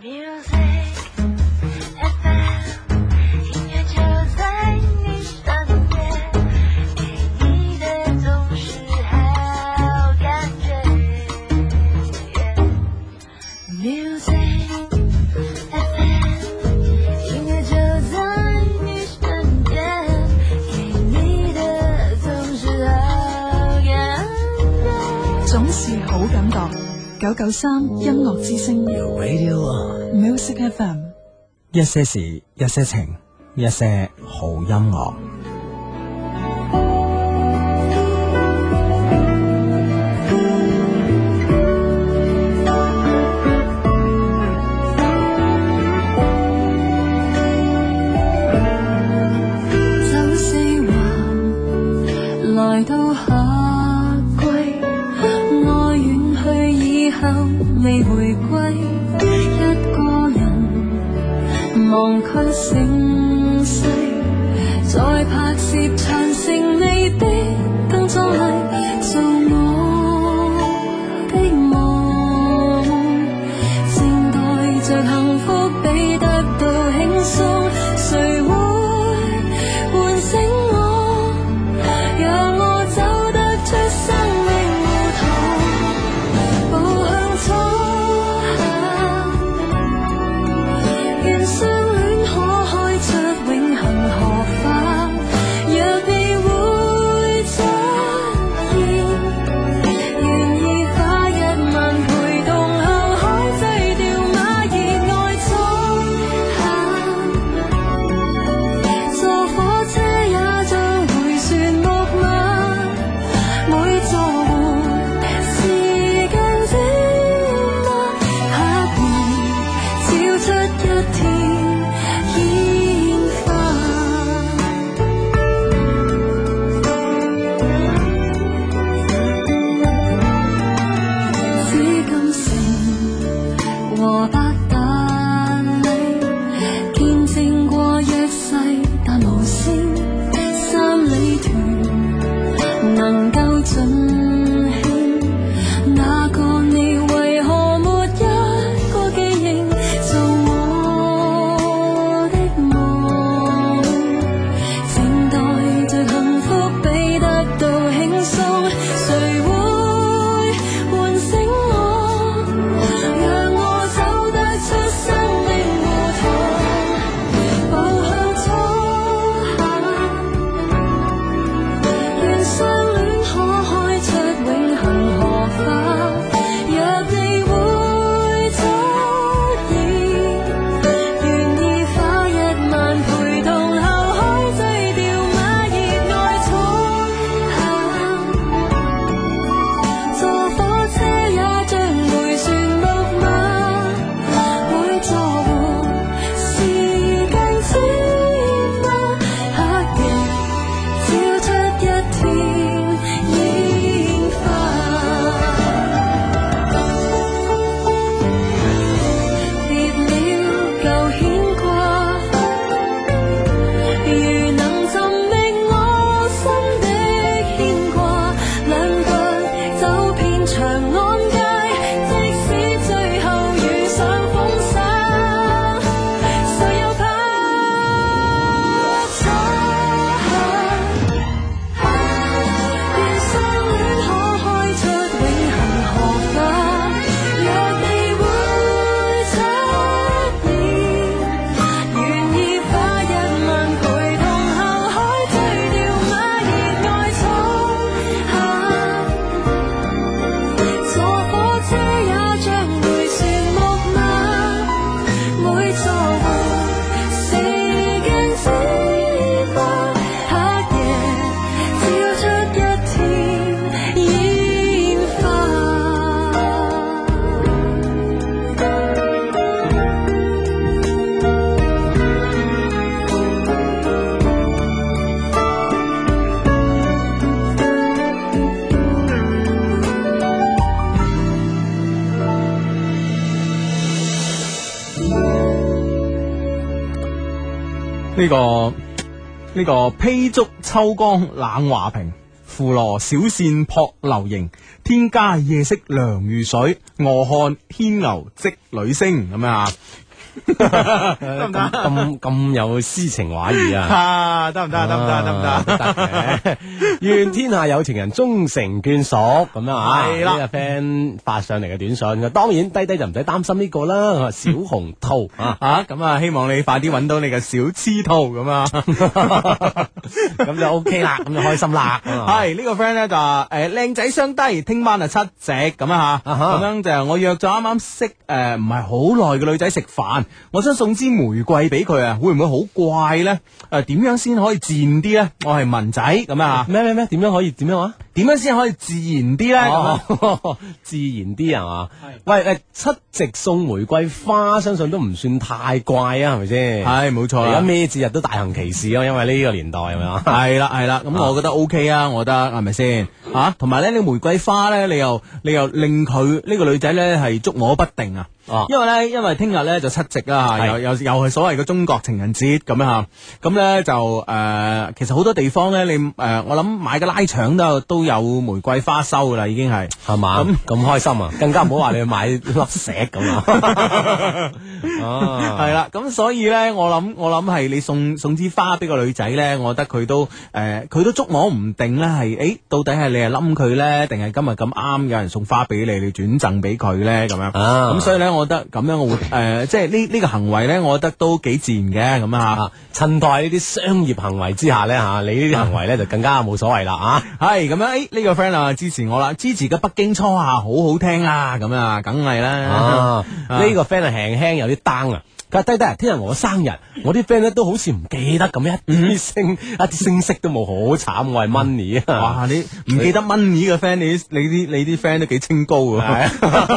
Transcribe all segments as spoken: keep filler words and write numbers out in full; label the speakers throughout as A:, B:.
A: 九九三音樂之聲 Music F M，
B: 一些事，一些情，一些好音樂。
A: 走四環來到夏季，愛遠去以後未回歸，一個人忘卻盛世，再拍攝長城未必更壯麗，做我的夢，靜待着幸福比得到輕鬆，誰會喚醒我，讓我走得出生命胡同，步向初夏，願相戀可開出永恆荷花，若你會出現，願意花一萬陪同後海醉掉馬，熱愛初夏，坐火車也像回旋木馬，每座換時間轉嗎？刻意照出一天煙花，紫禁城和八達嶺，見證過約誓但無聲，三里屯能夠盡興，那個你為何沒一個記認，做我的夢，靜待着幸福比得到輕鬆，誰會喚醒我，讓我走得出生命胡同，步向初夏，願相戀可開出永恆荷花，若你會出現，願意花一萬陪同後海醉掉馬，熱愛初夏，坐火車也像回旋木馬，每座換時間轉嗎？黑夜照出一天煙花，別了舊牽掛，如能尋覓我心的牽掛，兩腳走遍長安街，即使最後遇上風沙，誰又怕初夏，願相戀可開出永恆荷花，若你會出現，願意花一萬陪同後海醉掉馬，熱愛初夏，坐火車也像回旋木馬，每座換時間轉嗎？黑夜照出一天煙花。
B: 呢、個呢、個披竹秋江冷華平，
C: 扶羅小扇撲流螢，天加夜色涼如水，卧看牽牛織女星咁樣啊！
D: 得唔得？咁咁有詩情畫意啊！
C: 啊，得唔得？得唔得？得唔得？
D: 得嘅。願天下有情人終成眷屬咁樣啊！
C: 係啦
D: 呢個 friend 發上嚟嘅短信，當然低低就唔使擔心呢個啦。小紅兔啊，
C: 啊，咁啊，希望你快啲揾到你嘅小黐兔咁啊！
D: 咁就 OK 啦，咁就開心啦。
C: 係呢個 friend 咧就話誒靚仔相低，聽晚啊七夕咁啊吓，咁樣就我約咗啱啱識誒唔係好耐嘅女仔食飯。我想送支玫瑰俾佢啊，會唔會好怪咧？誒、呃，點樣先可以自然啲咧？我係文仔咁啊，
D: 咩咩咩？點樣可以點樣啊？
C: 點樣先可以自然啲咧？
D: 哦、自然啲係嘛？喂誒，七夕送玫瑰花，相信都唔算太怪啊，係咪先？
C: 係冇錯。
D: 而家咩節日都大行其事咯，因為呢個年代係咪啊？
C: 係啦係啦，咁我覺得 OK 啊，我覺得係咪先？吓，同埋咧，你玫瑰花咧，你又你又令佢呢個女仔咧係捉摸不定啊！哦，因為咧，因為聽日咧就七夕啦，又又又係所謂嘅中國情人節咁樣吓，咁咧就誒、呃，其實好多地方咧，你誒、呃，我諗買個拉腸都都有玫瑰花收噶啦，已經係
D: 係嘛，咁咁開心啊，更加唔好話你去買粒石咁啊，
C: 係啦，咁所以咧，我諗我諗係你送送支花俾個女仔咧，我覺得佢都誒，佢、呃、都捉摸唔定咧，係誒，到底係你係冧佢咧，定係今日咁啱有人送花俾你，你轉贈俾佢咧咁樣，咁、啊、所以咧。我覺得咁樣我會誒、呃，即係呢呢個行為咧，我覺得都幾自然嘅咁啊！
D: 襯托呢啲商業行為之下咧嚇，你呢啲行為咧就更加冇所謂啦啊！
C: 係咁樣，誒、欸、呢、這個 friend 啊支持我啦，支持嘅北京初夏好好聽啊！咁啊，梗係啦！
D: 啊，呢、這個 friend 係輕輕有啲 down 啊！佢話低低啊，聽日我生日，我啲 friend 咧都好似唔記得咁，一啲聲一啲聲息都冇，好慘！我係 Money 啊！
C: 哇，你唔記得 Money 嘅 friend，你你啲你啲 friend 都幾清高㗎，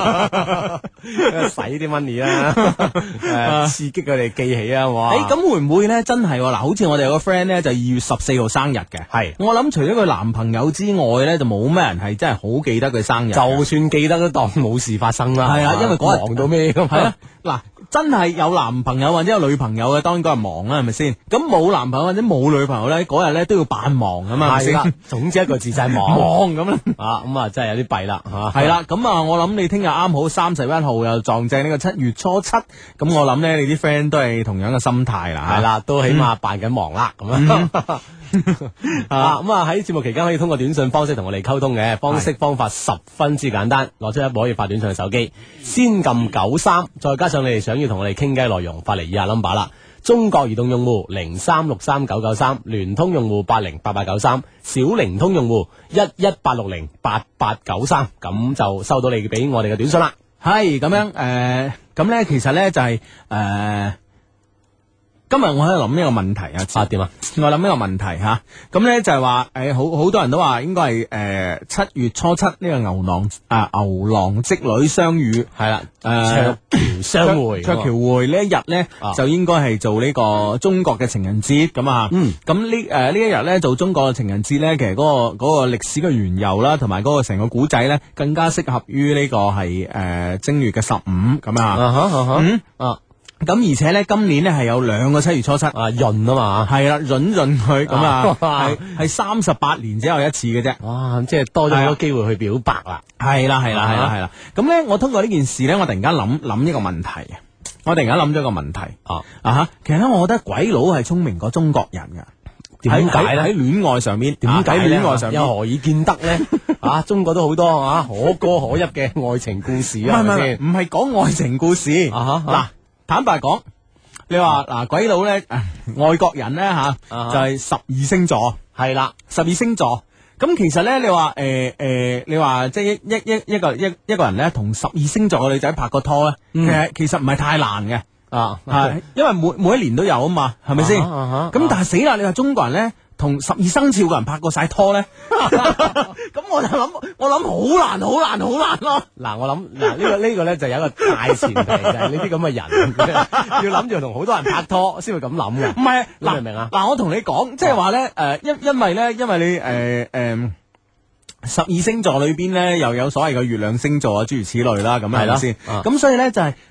D: 使啲 money 啦，誒刺激佢哋記起啊！哇！
C: 誒咁會唔會咧？真係嗱，好似我哋有個 friend 咧，就二月十四號生日嘅，係我諗除咗佢男朋友之外咧，就冇咩人係真係好記得佢生日，
D: 就算記得都當冇事發生啦。
C: 係啊，因為嗰日
D: 忙到咩咁？
C: 係啊，嗱。真係有男朋友或者有女朋友嘅，當然嗰日忙啦，係咪先？咁冇男朋友或者冇女朋友咧，嗰日咧都要扮忙咁嘛，係咪先？
D: 總之一個字就係忙，
C: 忙咁啦。
D: 啊，咁啊真係有啲弊啦嚇。
C: 係啦，咁啊，我諗你聽日啱好三十一號又撞正呢個七月初七，咁我諗咧你啲 friend 都係同樣嘅心態啦，
D: 係啦，都起碼扮緊忙啦咁樣。啊，咁啊喺節目期間可以通過短信方式同我哋溝通嘅方式方法十分之簡單，攞出一部可以發短信嘅手機，先撳九三，再加上你哋想要同我哋傾偈內容，發嚟以下 number 啦。中國移動用戶零三六三九九三，聯通用戶八零八八九三，小靈通用戶一一八六零八八九三，咁就收到你俾我哋嘅短信啦。
C: 係咁樣誒，咁、呃、咧其實咧就係、是、誒。呃今日我喺度諗呢個問題啊，啊點啊？我諗呢個問題吓，咁、啊、咧就係話誒，好好多人都話應該係誒七月初七呢個牛郎啊牛郎織女相遇係啦，誒
D: 鵲橋相會，
C: 鵲橋會呢一日咧、啊、就應該係做呢個中國嘅情人節咁啊，嗯，咁呢誒呢一日咧做中國嘅情人節咧，其實嗰、嗰個、嗰個歷史嘅緣由啦，同埋嗰個成個古仔咧，更加適合於呢個係誒、呃、正月嘅十五咁啊，啊哈啊哈嗯啊。咁而且咧，今年咧係有兩個七月初七啊，
D: 閏啊嘛，
C: 係啦，閏閏佢咁啊，係係三十八年只有一次嘅啫，
D: 哇，即係多咗好多機會去表白啦，
C: 係啦係啦係啦係啦，咁咧我通過呢件事咧，我突然間諗諗一個問題，我突然間諗咗一個問題啊啊吓，其實咧我覺得鬼佬係聰明過中國人噶，點解咧？喺戀愛上面，點解戀愛上面
D: 又何以見得咧？啊，中國都好多啊可歌可泣嘅愛情故事啊，係咪先？
C: 唔係講愛情故事啊嗱。坦白講，你話嗱、啊、鬼佬咧，外國人咧吓，啊 uh huh. 就係十二星座，係啦，十二星座。咁其實咧，你話誒誒，你話即係一一一一個一一個人咧，同十二星座嘅女仔拍個拖咧，其實其實唔係太難嘅啊，係、uh huh. 因為每每一年都有啊嘛，係咪先？咁、uh huh. uh huh. 但係死啦！你話中國人咧，同十二生肖嘅人拍過晒拖咧，咁我就諗，我諗好難，好難，好難咯。
D: 嗱，我諗嗱呢個呢個咧就有一個大前提，就係呢啲咁嘅人要諗住同好多人拍拖先會咁諗嘅。
C: 唔係，
D: 你明唔明啊？
C: 嗱，我同你講，即係話咧，誒，因因為咧，因為你誒誒。呃呃十二星座裏邊咧，又有所謂嘅月亮星座啊，諸如此類啦，咁係咪先？咁所以咧就係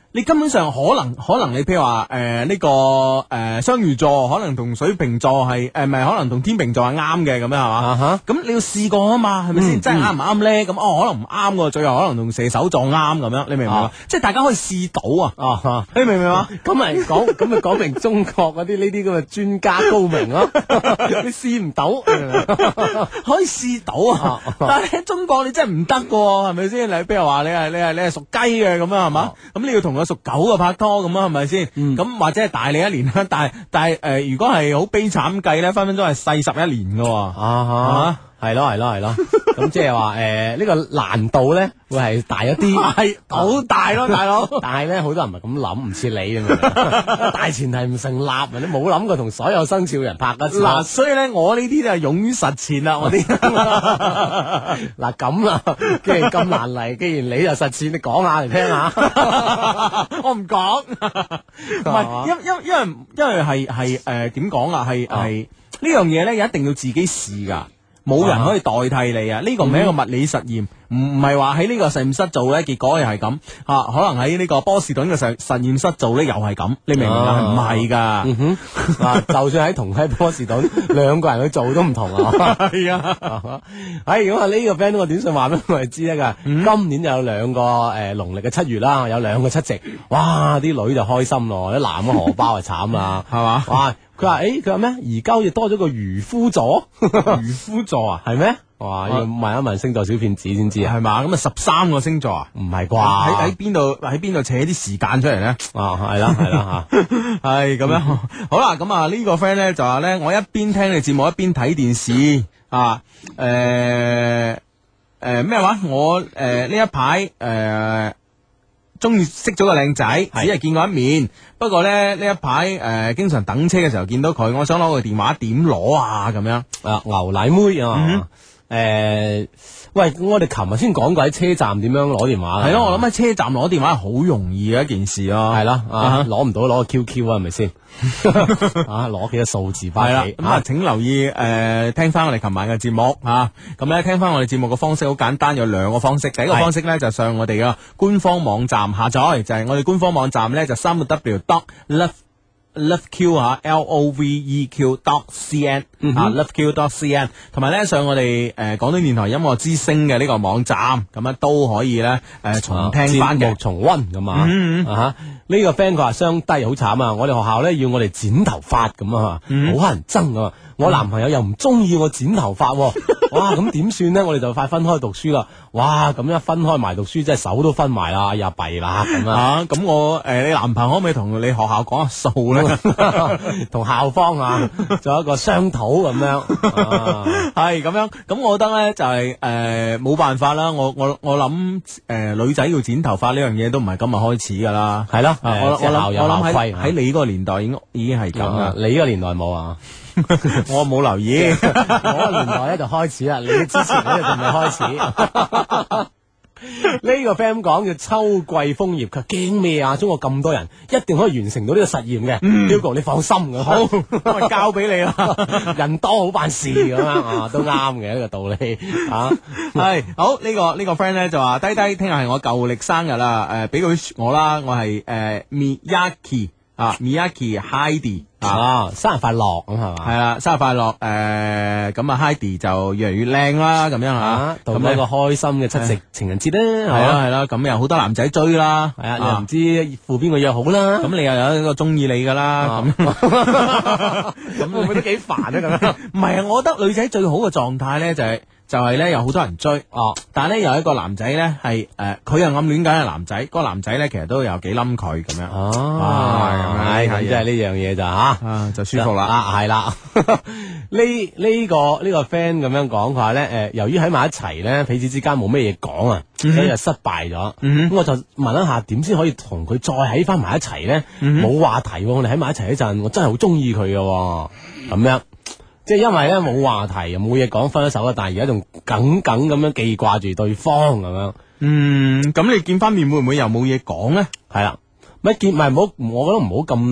C: 你根本上可能可能你譬如話誒呢個誒雙魚座可能同水瓶座係誒唔係可能同天秤座係啱嘅咁樣係嘛？咁你要試過啊嘛，係咪先？真係啱唔啱咧？咁哦可能唔啱喎，最後可能同射手座啱咁樣，你明唔明啊？即係大家可以試到啊！哦，你明唔明啊？
D: 咁咪講咁咪講明中國嗰啲呢啲咁嘅專家高明咯，你試唔到，
C: 可以試到啊！但係喺中國你真係唔得㗎，係咪先？你譬如話你係你係你係屬雞嘅咁樣係嘛？咁你要同個屬狗嘅拍拖咁啊，係咪先？咁或者係大你一年啦，但係但係誒，如果係好悲慘計咧，分分鐘係細十一年㗎。啊，
D: 係咯係咯係咯，咁即係話誒呢個難度咧會係大一啲，
C: 係好大咯，大佬。
D: 但係咧好多人唔係咁諗，唔似你咁大前提唔成立，你冇諗過同所有生肖人拍一次。
C: 嗱，所以咧我呢啲就係勇於實踐啦，我啲。
D: 嗱咁啦，既然咁難嚟，既然你就實踐，你講下嚟聽下。
C: 我唔講，唔係，因因因為因為係係誒點講啊？係係呢樣嘢咧，一定要自己試噶。冇人可以代替你啊！呢個唔係一個物理實驗，唔唔係話喺呢個實驗室做咧，結果又係咁啊！可能喺呢個波士頓嘅實實驗室做咧，又係咁，你明唔明啊？唔係噶，嗯哼，
D: 啊，就算喺同喺波士頓，兩個人去做都唔同啊！
C: 係啊，
D: 哎，咁啊呢個 friend 個短信話俾我哋知咧噶，今年就有兩個誒農曆嘅七月啦，有兩個七夕，哇！啲女就開心咯，啲男嘅荷包就慘啦，係嘛？哇！佢話誒，佢話咩？而家好似多咗個漁夫座，
C: 漁夫座啊，
D: 係咩？哇！要問一問星座小騙子先知啊，
C: 係嘛？咁啊十三個星座啊，
D: 唔係啩？
C: 喺喺邊度？喺邊度扯啲時間出嚟咧？
D: 啊，係啦，係啦吓，
C: 係咁樣。好啦，咁啊呢個 friend 咧就話咧，我一邊聽你節目一邊睇電視啊，誒誒咩話？我誒呢一排誒。中意識咗個靚仔，只係見過一面。不過咧呢一排誒、呃，經常等車嘅時候見到佢，我想攞個電話，點攞啊？咁樣
D: 啊，牛奶妹啊，誒、嗯呃，喂，我哋琴日先講過喺車站點樣攞電話。
C: 係咯，我諗喺車站攞電話係好容易嘅一件事咯。
D: 係啦，啊，攞唔到攞個 Q Q 啊，係咪先？啊，攞幾個數字翻嚟。
C: 咁啊，請留意誒、呃，聽翻我哋琴晚嘅節目啊。咁咧，聽翻我哋節目嘅方式好簡單，有兩個方式。第一個方式咧就上我哋嘅官方網站下載，就係、是、我哋官方網站咧就三個 W dot love love q 啊 L O V E Q dot C N 啊 love q dot C N， 同埋咧上我哋誒廣東電台音樂之聲嘅呢個網站，咁樣都可以咧誒、呃、重聽翻嘅、啊、
D: 重溫咁啊。嗯嗯啊呢個 friend 佢話雙低好慘啊！我哋學校咧要我哋剪頭髮咁啊，好乞人憎啊！我男朋友又唔中意我剪頭髮，哇！咁點算咧？我哋就快分開讀書啦！哇！咁一分開埋讀書，真係手都分埋啦，又弊啦咁啊！
C: 咁我誒，你男朋友可唔可以同你學校講下數咧？
D: 同校方啊，做一個商討咁樣，
C: 係咁樣。咁我覺得咧就係誒冇辦法啦。我我我諗誒女仔要剪頭髮呢樣嘢都唔係今日開始噶啦，
D: 係啦。
C: 我我諗我諗喺喺你嗰個年代已經已經係咁啦。
D: 你呢個年代冇啊？
C: 我冇留意，
D: 我個年代咧就開始啦。你之前咧就未開始。呢個 friend 講叫秋季楓葉，佢驚咩啊？中國咁多人，一定可以完成到呢個實驗嘅。Hugo，你放心咁，
C: 好，我交俾你啦。
D: 人多好辦事咁樣啊，都啱嘅呢個道理啊。
C: 係好呢個呢個 friend 咧就話低低，聽日係我舊歷生日啦。誒，俾佢我啦，我係誒 Miyaki 啊 Miyaki Heidi
D: 啊，生日快樂咁係嘛？
C: 係啦，生日快樂誒，咁啊 Heidi 就越嚟越靚啦，咁樣吓，
D: 咁一個開心嘅七夕情人節啦，
C: 係啦係啦，咁有好多男仔追啦，
D: 係啊，你又唔知赴邊個約好啦，
C: 咁你又有一個中意你噶啦，咁
D: 咁會唔會都幾煩啊？咁樣
C: 唔係啊，我覺得女仔最好嘅狀態咧就係。就係咧有好多人追，哦，但係咧有一個男仔咧係誒，佢又暗戀緊個男仔，嗰個男仔咧其實都有幾冧佢咁樣，
D: 哦，係咁即係呢樣嘢就吓，
C: 就舒服啦，
D: 啊係啦，呢呢個呢個 friend 咁樣講，佢話咧誒，由於喺埋一齊咧，彼此之間冇咩嘢講啊，所以就失敗咗，咁我就問一下點先可以同佢再喺翻埋一齊咧？冇話題，我哋喺埋一齊嗰陣，我真係好中意佢嘅，咁樣。即係因為咧冇話題又冇嘢講分咗手啦，但係而家仲耿耿咁樣記掛住對方咁樣。嗯，
C: 咁你見翻面會唔會又冇嘢講咧？
D: 係啦，咪見咪唔好，我覺得唔好咁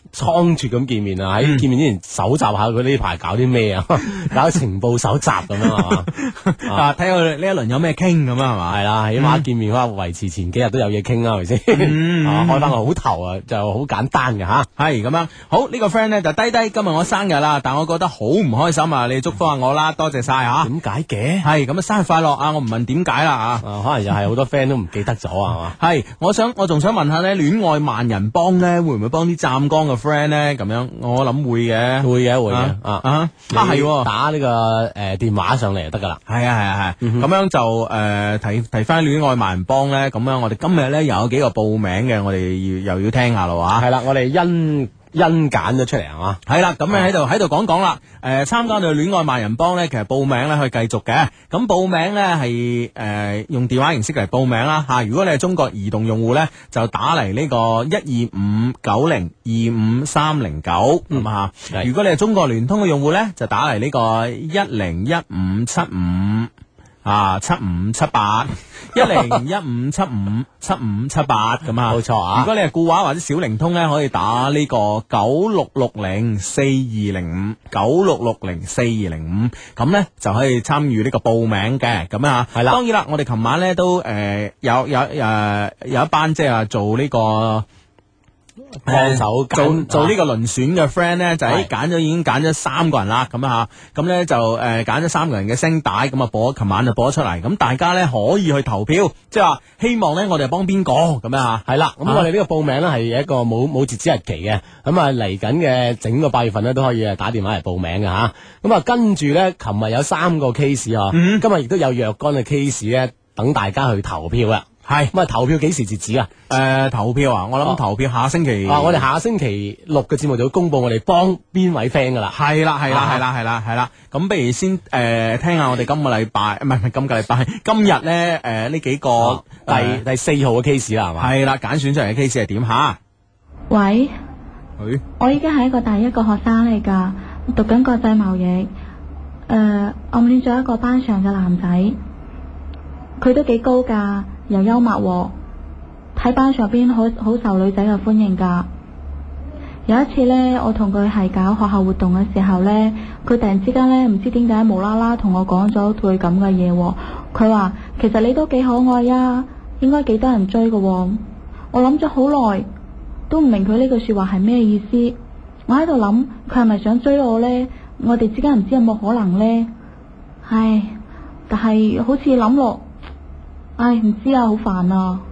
D: 倉促咁見面啊，喺見面之前搜集下佢呢排搞啲咩啊，搞情報搜集咁樣係嘛，
C: 啊睇下呢一輪有咩傾咁啊係嘛，
D: 係啦，起碼見面可能維持前幾日都有嘢傾啦，係咪先？啊，開翻個好頭啊，就好簡單嘅吓，
C: 係咁樣。好呢個 friend 咧就低低，今日我生日啦，但我覺得好唔開心啊，你祝福下我啦，多謝晒吓。
D: 點解嘅？
C: 係咁啊，生日快樂啊！我唔問點解啦啊，
D: 可能又係好多 friend 都唔記得咗啊嘛。
C: 係，我想我仲想問下咧，戀愛萬人幫咧會唔會幫啲湛江嘅 friend 咧？咁樣我諗會嘅，
D: 會嘅會嘅
C: 啊
D: 啊
C: 啊係
D: 打呢個誒電話上嚟就得噶啦。
C: 係啊係啊係，咁樣就誒提提翻戀愛萬人幫咧，咁樣我哋今日咧又有幾個報名嘅，我哋要又要聽下咯吓。
D: 係啦，我哋因因揀咗出嚟係嘛？
C: 係啦，咁你喺度喺度講講啦。誒，參加到戀愛萬人幫咧，其實報名咧可以繼續嘅。咁報名咧係誒用電話形式嚟報名啦吓。如果你係中國移動用戶咧，就打嚟呢個一二五九零二五三零九咁啊。如果你係中國聯通嘅用戶咧，就打嚟呢個一零一五七五。啊，七五七八一零一五七五七五七八咁啊，
D: 冇錯啊！
C: 如果你係固話或者小靈通咧，可以打呢個九六六零四二零五九六六零四二零五，咁咧就可以參與呢個報名嘅，咁啊，係啦。當然啦，我哋琴晚咧都誒、呃、有有誒、呃、有一班即係話做呢、這個。
D: 幫手
C: 做做呢個輪選嘅 friend 咧，就喺揀咗已經揀咗三個人啦，咁啊吓，咁咧就誒揀咗三個人嘅聲帶，咁啊播，琴晚就播咗出嚟，咁大家咧可以去投票，即係話希望咧我哋幫邊個咁樣吓，
D: 係啦，咁我哋呢個報名咧係一個冇冇截止日期嘅，咁啊嚟緊嘅整個八月份咧都可以誒打電話嚟報名嘅吓，咁啊跟住咧，琴日有三個 case 啊，嗯、今日亦都有若干嘅 case 咧，等大家去投票啊。係咁啊！投票幾時截止啊？
C: 誒、呃，投票啊！我諗投票下星期
D: 啊！我哋下星期六嘅節目就會公布我哋幫邊位 friend 噶啦。
C: 係啦，係啦，係啦，係啦，係啦。咁不如先誒、呃、聽下我哋今個禮拜，唔係唔係今個禮拜，今日咧誒呢幾個、啊、第、呃、第四號嘅 case 啦，係嘛？係啦，揀選出嚟嘅 case 係點吓？
E: 喂，
C: 喂，
E: 我依家係一個大一個學生嚟噶，讀緊國際貿易。誒、呃，暗戀咗一個班上嘅男仔，佢都幾高噶。又幽默，喺班上邊好好受女仔嘅歡迎噶。有一次呢，我同佢係搞學校活動嘅時候呢，佢突然之間呢，唔知點解無啦啦同我講咗句咁嘅嘢。佢話其實你都幾可愛呀，應該幾多人追嘅。我諗咗好耐，都唔明佢呢句說話係咩意思。我喺度諗，佢係咪想追我呢？我哋之間唔知有冇可能呢？唉，但係好似諗落。唉，唔知啊，好煩啊！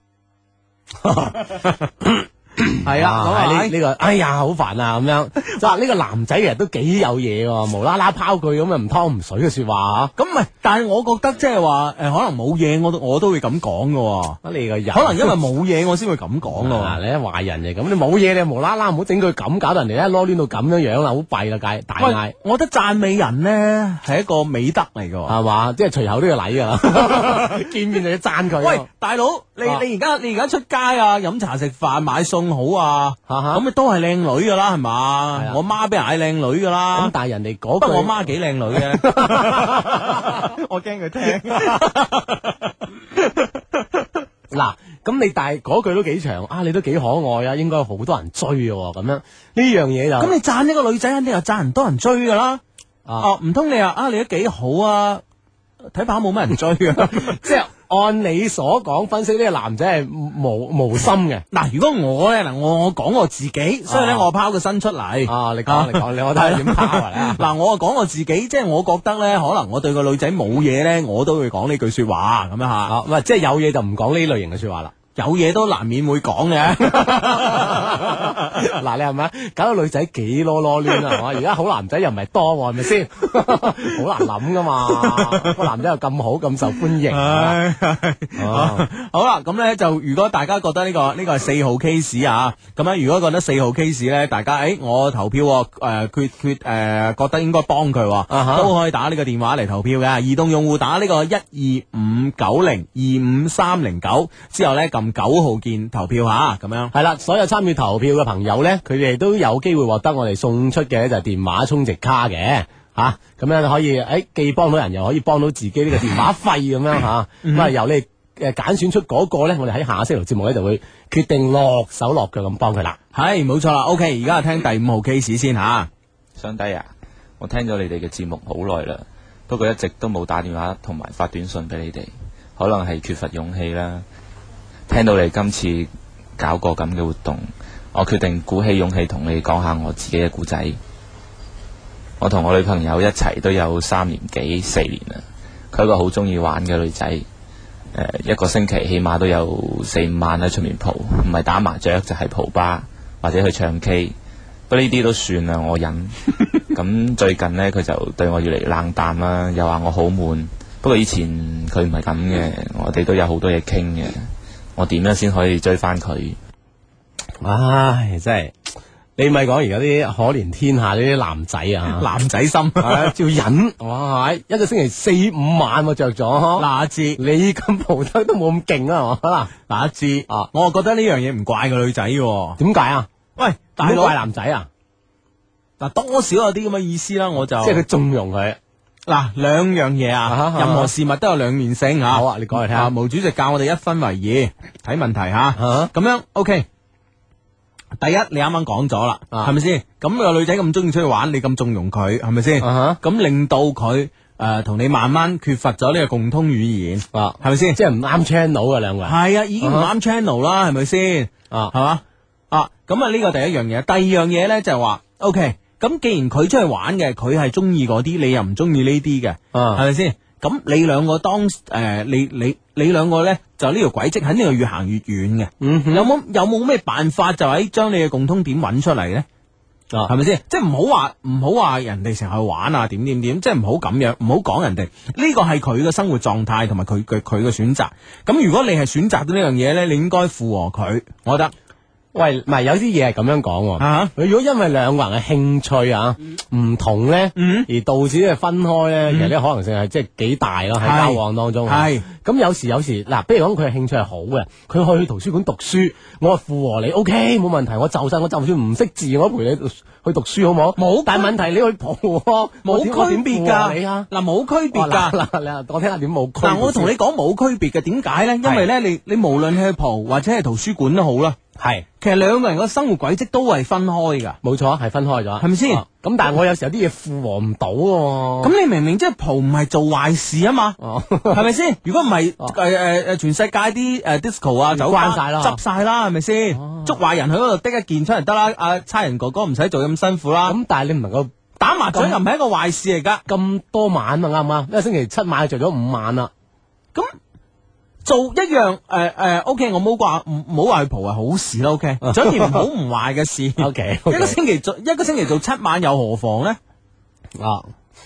C: 係啊，
D: 咁呢呢個，哎呀，好煩啊！咁樣，就話呢個男仔其實都幾有嘢喎，無啦啦拋句咁啊唔湯唔水嘅說話吓。咁唔係，
C: 但係我覺得即係話誒，可能冇嘢，我都我都會咁講嘅。
D: 你個人，
C: 可能因為冇嘢，我先會咁講嘅。
D: 嗱，你係壞人嚟，咁你冇嘢，你無啦啦唔好整句咁，搞到人哋一攞攣到咁樣樣啦，好弊啦，介大嗌。
C: 我覺得讚美人咧係一個美德嚟嘅，
D: 係嘛？即係隨口都要禮噶，見面就要讚佢。
C: 喂，大佬，你你而家你而家出街啊，飲茶食飯買餸好啊，咁咪都係靚女噶啦，係嘛？我媽俾人嗌靚女噶啦。
D: 咁但係人哋嗰句，
C: 不過我媽幾靚女嘅，我驚佢聽。
D: 嗱，咁你但係嗰句都幾長啊，你都幾可愛啊，應該有好多人追嘅咁樣。呢樣嘢就
C: 咁你讚一個女仔，肯定又讚人多人追噶啦。哦，唔通你話啊，你都幾好啊？睇怕冇乜人追啊，
D: 即係。按你所講分析，呢個男仔係無無心嘅。
C: 嗱，如果我咧，嗱我我講我自己，所以咧我拋個身出嚟。
D: 啊，你講你講，你我睇下點拋啊？
C: 嗱，我啊講我自己，即係我覺得咧，可能我對個女仔冇嘢咧，我都會講呢句說話咁樣吓。
D: 唔係，即係有嘢就唔講呢類型嘅說話啦。
C: 有嘢都難免會講嘅。
D: 嗱，你係咪搞到女仔幾囉囉攣啊？係嘛？而家好男仔又唔係多，係咪先？好難諗噶嘛，個男仔又咁好，咁受歡迎。好啦，
C: 咁咧就如果大家覺得呢、這個呢、這個係四號 case 啊，咁咧如果覺得四號 case 咧，大家誒、欸、我投票誒決決誒覺得應該幫佢，uh-huh. 都可以打呢個電話嚟投票嘅。移動用戶打呢個一二五九零二五三零九之後咧撳九號鍵投票吓，咁樣
D: 係啦。所有參與投票嘅朋友咧，佢哋都有機會獲得我哋送出嘅就係電話充值卡嘅吓，咁樣可以誒既幫到人，又可以幫到自己呢個電話費咁樣吓。咁啊由你誒揀選出嗰個咧，我哋喺下星期節目咧就會決定落手落腳咁幫佢啦。
C: 係冇錯啦。OK，而家聽第五號 case 先吓。
F: 相低啊，我聽咗你哋嘅節目好耐啦，不過一直都冇打電話同埋發短信俾你哋，可能係缺乏勇氣啦。聽到你今次搞個咁嘅活動，我決定鼓起勇氣同你講下我自己嘅故仔。我同我女朋友一齊都有三年幾四年啦，佢係一個好中意玩嘅女仔，誒、呃、一個星期起碼都有四五晚喺出面蒲，唔係打麻雀就係蒲吧或者去唱 K， 不過呢啲都算啦，我忍。咁最近呢，佢就對我越嚟越冷淡啦，又話我好悶。不過以前佢唔係咁嘅，我哋都有好多嘢傾嘅。我點樣先可以追翻佢？
D: 唉，真係你咪講而家啲可憐天下呢啲男仔啊，
C: 男仔心
D: 要忍。哇，一個星期四五晚我着咗，嗱
C: 阿志，
D: 你咁蒲得都冇咁勁啊，係嘛？
C: 嗱阿志，啊，我覺得呢樣嘢唔怪個女仔嘅，
D: 點解啊？喂，
C: 大佬
D: 怪男仔啊？
C: 嗱，多少有啲咁嘅意思啦，我就
D: 即係佢縱容佢。
C: 嗱，兩樣嘢啊，
D: 啊
C: 任何事物都有兩面性吓。
D: 好啊，你講嚟聽下。
C: 毛主席教我哋一分為二睇問題吓，
D: 啊
C: 咁樣 OK。第一，你啱啱講咗啦，係咪先？咁個女仔咁中意出去玩，你咁縱容佢，係咪先？咁令到佢誒同你慢慢缺乏咗呢個共通語言，
D: 啊，
C: 係咪先？
D: 即係唔啱 channel 啊，兩個人。
C: 係啊，已經唔啱 channel 啦，係咪先？
D: 啊，
C: 係嘛？啊，咁啊呢個第一樣嘢，第二樣嘢咧就係話 OK。咁既然佢出去玩嘅，佢係中意嗰啲，你又唔中意呢啲嘅，係咪先？咁你兩個當誒、呃，你你你兩個咧，就呢條軌跡肯定係越行越遠嘅。嗯、哼有冇有冇咩辦法就喺將你嘅共通點揾出嚟咧？啊，係咪先？即係唔好話唔好話人哋成日去玩啊，點點點，即係唔好咁樣，唔好講人哋呢個係佢嘅生活狀態同埋佢嘅佢嘅選擇。咁如果你係選擇到呢樣嘢咧，你應該附和佢，我覺得。
D: 喂，唔係有啲嘢係咁樣講喎。啊，如果因為兩個人嘅興趣啊唔同咧，而導致呢個分開咧，其實呢可能性係即係幾大咯，喺交往當中。係咁有時有時嗱，比如講佢嘅興趣係好嘅，佢去圖書館讀書，我話附和你 OK 冇問題，我就晒我就算唔識字，我陪你去讀書好冇？冇。但係問題你去蒲，冇區別㗎。你啊，嗱冇區別㗎。嗱嗱，我聽下點冇區別。嗱我同你講冇區別嘅，點解咧？因為咧，你你無論去蒲或者係圖書館都好啦。係，其實兩個人嘅生活軌跡都係分開噶，冇錯，係分開咗，係咪先？咁、啊、但係我有時有啲嘢附和唔到喎。咁你明明即係蒲唔係做壞事啊嘛，係咪先？如果唔係誒誒誒，全世界啲誒 disco 啊，走關晒啦，執晒啦，係咪先？捉壞人去嗰度的一件出嚟得啦，阿差人哥哥唔使做咁辛苦啦。咁但係你唔能夠打麻雀又唔係一個壞事嚟噶，咁多晚啊啱唔啱？一個星期七晚做咗五晚啦，咁。做一樣誒誒、呃呃、，OK，我冇話唔唔好話去蒲係好事啦，OK，做一件唔好唔壞嘅事，OK，, okay. 一個星期做一個星期做七晚又何妨咧？啊，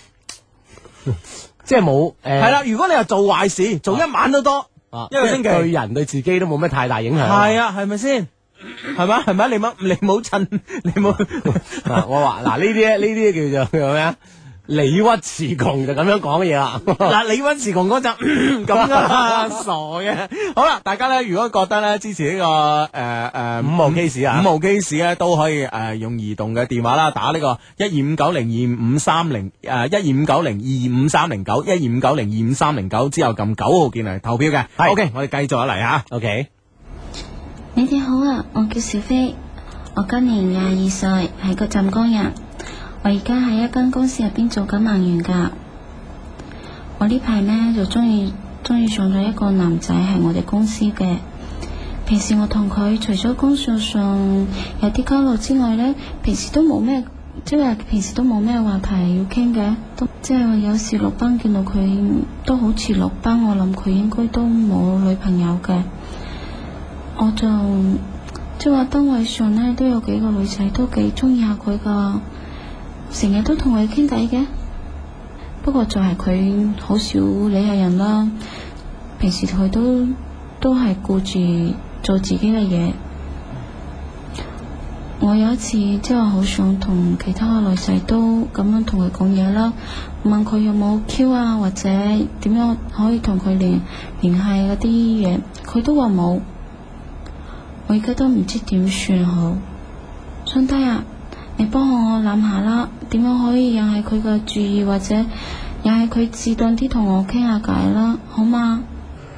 D: 即係冇誒，係啦，如果你係做壞事，做一晚都多，啊，一個星期對人對自己都冇咩太大影響，係啊，係咪先？係咪？係咪？你冇你冇趁你冇，我話嗱呢啲呢啲叫做叫咩啊？理屈詞窮就咁樣講嘢啦，嗱理屈詞窮嗰就咁噶，傻嘅。好啦，大家咧如果覺得咧支持呢、這個誒誒、呃、五號 case 啊，五號 case 咧都可以誒、呃、用移動嘅電話啦，打呢個一二五九零二五三零誒一二五九零二五三零九一二五九零二五三零九之後撳九號鍵嚟投票嘅。係 OK， 我哋繼續一嚟吓。OK，
G: 你哋好啊，我叫小飛，我今年廿二歲，係個浸工人。我而家喺一間公司入邊做緊文員噶，我呢排呢就中意中意上咗一個男仔，係我哋公司嘅。平時我同佢除咗工作上有啲交流之外呢，平時都冇咩，即係平時都冇咩話題要傾嘅。都即係話有時落班見到佢都好遲落班，我諗佢應該都冇女朋友嘅。我就即係話單位上呢都有幾個女仔都幾中意下佢噶。成日都同佢傾偈嘅，不過就係佢好少理下人啦。平時佢都都係顧住做自己嘅嘢。我有一次即係好想同其他女仔都咁樣同佢講嘢啦，問佢有冇 Q 啊，或者點樣可以同佢聯聯繫嗰啲嘢，佢都話冇。我而家都唔知點算好。兄弟啊，你幫我諗下啦，點樣可以引起佢嘅注意，或者引起佢自動啲同我傾下偈啦，好嗎？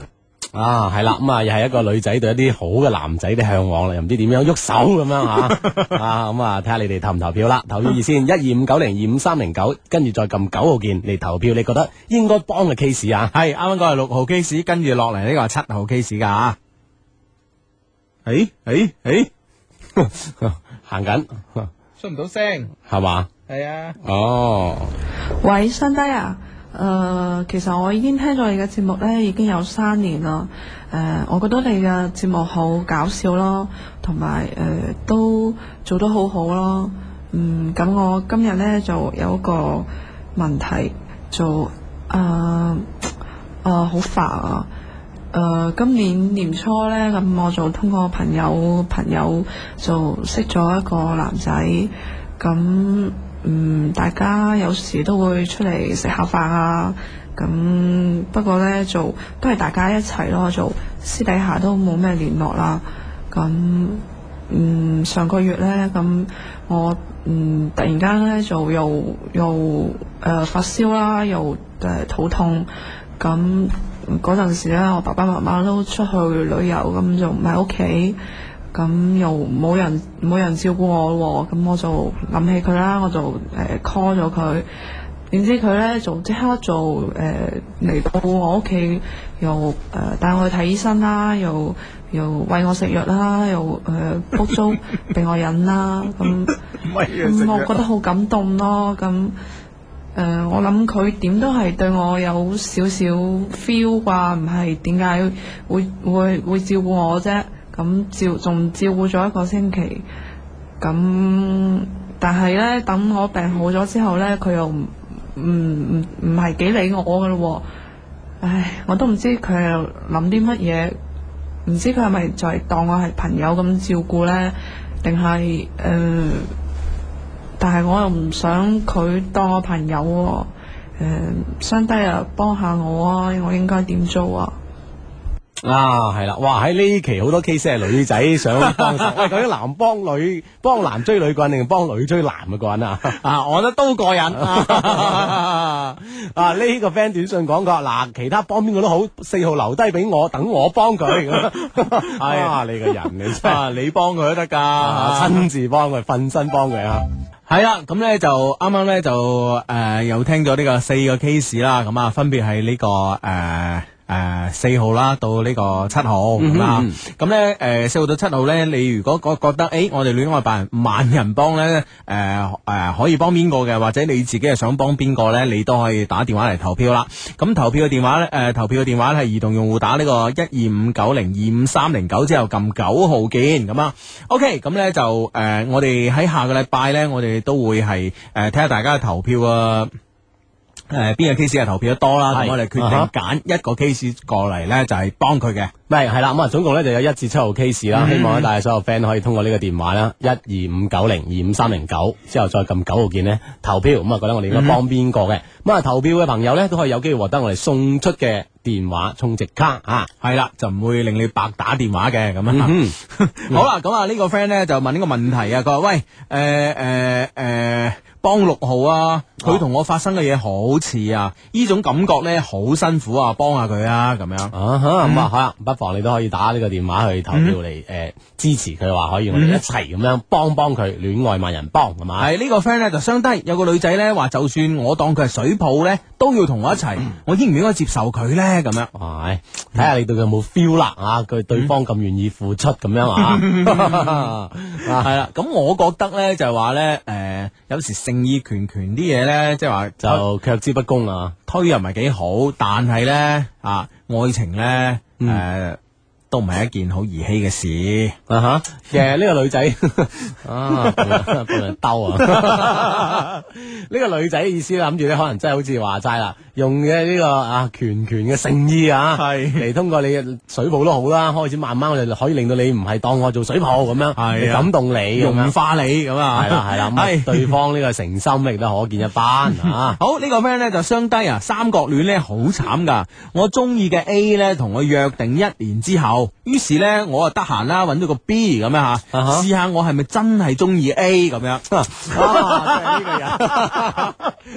D: 啊，係啦，咁啊，又係一個女仔對一啲好嘅男仔嘅向往啦，又唔知點樣喐手咁樣吓，啊，咁啊，睇下你哋投唔投票啦？投票熱線一二五九零二五三零九，跟住再撳九號鍵嚟投票，你覺得應該幫嘅 case 啊？
C: 係啱啱講係六號 case，跟住落嚟呢個係七號 case 噶吓。誒誒誒，
D: 行緊，
C: 出唔到聲
D: 係嘛？
C: 係啊。
D: 哦，
H: 喂，新低啊！誒、呃，其實我已經聽咗你嘅節目咧，已經有三年啦。誒、呃，我覺得你嘅節目好搞笑咯，同埋誒都做得好好咯。嗯，咁我今日咧就有一個問題，就誒誒好煩啊！誒、呃，今年年初咧，咁我就通過朋友朋友就識咗一個男仔，咁。嗯，大家有時都會出嚟食下飯啊，咁不過呢，就都係大家一齊咯，就私底下都冇咩聯絡啦。咁嗯上個月呢，咁我嗯突然間呢，就又又誒、呃、發燒啦，又誒、呃、肚痛。咁嗰陣時呢，我爸爸媽媽都出去旅遊，咁就唔喺屋企。咁又冇人冇人照顧我喎，咁我就諗起佢啦，我就誒 call 咗佢，點知佢咧就即刻就誒嚟到我屋企，又誒帶我去睇醫生啦，又又餵我食藥啦，又誒煲粥俾我飲啦，咁咁我覺得好感動咯，咁誒、呃、我諗佢點都係對我有少少 feel 啩，唔係點解會會會照顧我啫？咁照仲照顧咗一個星期，咁但係咧等我病好咗之後咧，佢又唔唔唔唔係幾理我噶咯喎，唉，我都唔知佢係諗啲乜嘢，唔知佢係咪就係當我係朋友咁照顧咧，定係誒？但係我又唔想佢當我朋友喎，誒，相低啊，幫下我啊，我應該點做啊？
D: 啊，係啦，哇！喺呢期好多 case 係女仔想幫手，喂，究竟男幫女，幫男追女個人定幫女追男嘅個人啊？
C: 啊，我覺得都過癮。
D: 啊，呢、這個 friend 短信講過，嗱，其他幫邊個都好，四號留低俾我，等我幫佢。係啊，你個人你真係，
C: 你幫佢都得噶，
D: 親自幫佢，瞓身幫佢啊！
C: 係啦，咁咧就啱啱咧就誒、呃、又聽咗呢個四個 case 啦，咁啊分別係呢個誒。呃誒，四、呃、號啦，到呢個七號咁啦，咁咧誒，四號到七號咧，你如果覺覺得誒、欸，我哋戀愛辦萬人幫咧，誒、呃、誒、呃，可以幫邊個嘅，或者你自己係想幫邊個咧，你都可以打電話嚟投票啦。咁投票嘅電話咧，誒、呃，投票嘅電話係移動用戶打呢個一二五九零二五三零九之後撳九號鍵咁啊。OK，咁咧就誒、呃，我哋喺下個禮拜咧，我哋都會係誒睇下大家投票啊。誒，邊、呃、個 case 係投票得多啦？咁是我哋決定揀一個 case 過嚟咧，就係幫佢嘅。
D: 係係啦，咁啊，總共咧就有一至七號 case 啦。嗯、希望咧，大家所有 friend 可以通過呢個電話啦，一二五九零二五三零九之後再撳九號鍵咧投票。咁啊，覺得我哋應該幫邊個嘅？咁啊、嗯，投票嘅朋友咧都可以有機會獲得我哋送出嘅電話充值卡啊。係啦，就唔會令你白打電話嘅咁樣。嗯、好啦，咁啊呢個 friend 咧就問呢個問題啊，佢話喂，誒誒誒。呃呃呃幫六號啊，佢同我發生嘅嘢好似啊，呢種感覺咧好辛苦啊，幫下佢啊，咁樣啊哈，咁啊好啦，不妨你都可以打呢個電話去投票嚟誒支持佢，話可以我哋一齊咁樣幫幫佢，戀愛萬人幫係嘛？係呢個 friend 咧就相低，有個女仔咧話，就算我當佢係水泡咧，都要同我一齊，我應唔應該接受佢咧？咁樣，係睇下你對佢有冇 feel 啦啊，佢對方咁願意付出咁樣啊，係啦，咁我覺得咧就係話咧誒，有時性。意拳拳啲嘢咧，即係話就卻之不恭啊，推又唔係幾好，但係咧啊，愛情咧誒。嗯呃都唔係一件好兒戲嘅事啊！吓，其實呢個女仔啊，幫人兜啊！呢個女仔意思諗住咧，可能真係好似話齋啦，用嘅呢個啊拳拳嘅誠意啊，係嚟通過你嘅水泡都好啦，開始慢慢我哋可以令到你唔係當我做水泡咁樣，係感動你，融化你咁啊，係啦係啦，係對方呢個誠心亦都可見一斑啊！好呢個 friend 咧就相低啊，三角戀咧好慘噶，我中意嘅 A 咧同我約定一年之後。於是咧，我啊得閒啦，揾到個 B 咁樣吓，試下我係咪真係中意 A 咁樣？啊，真係呢個人，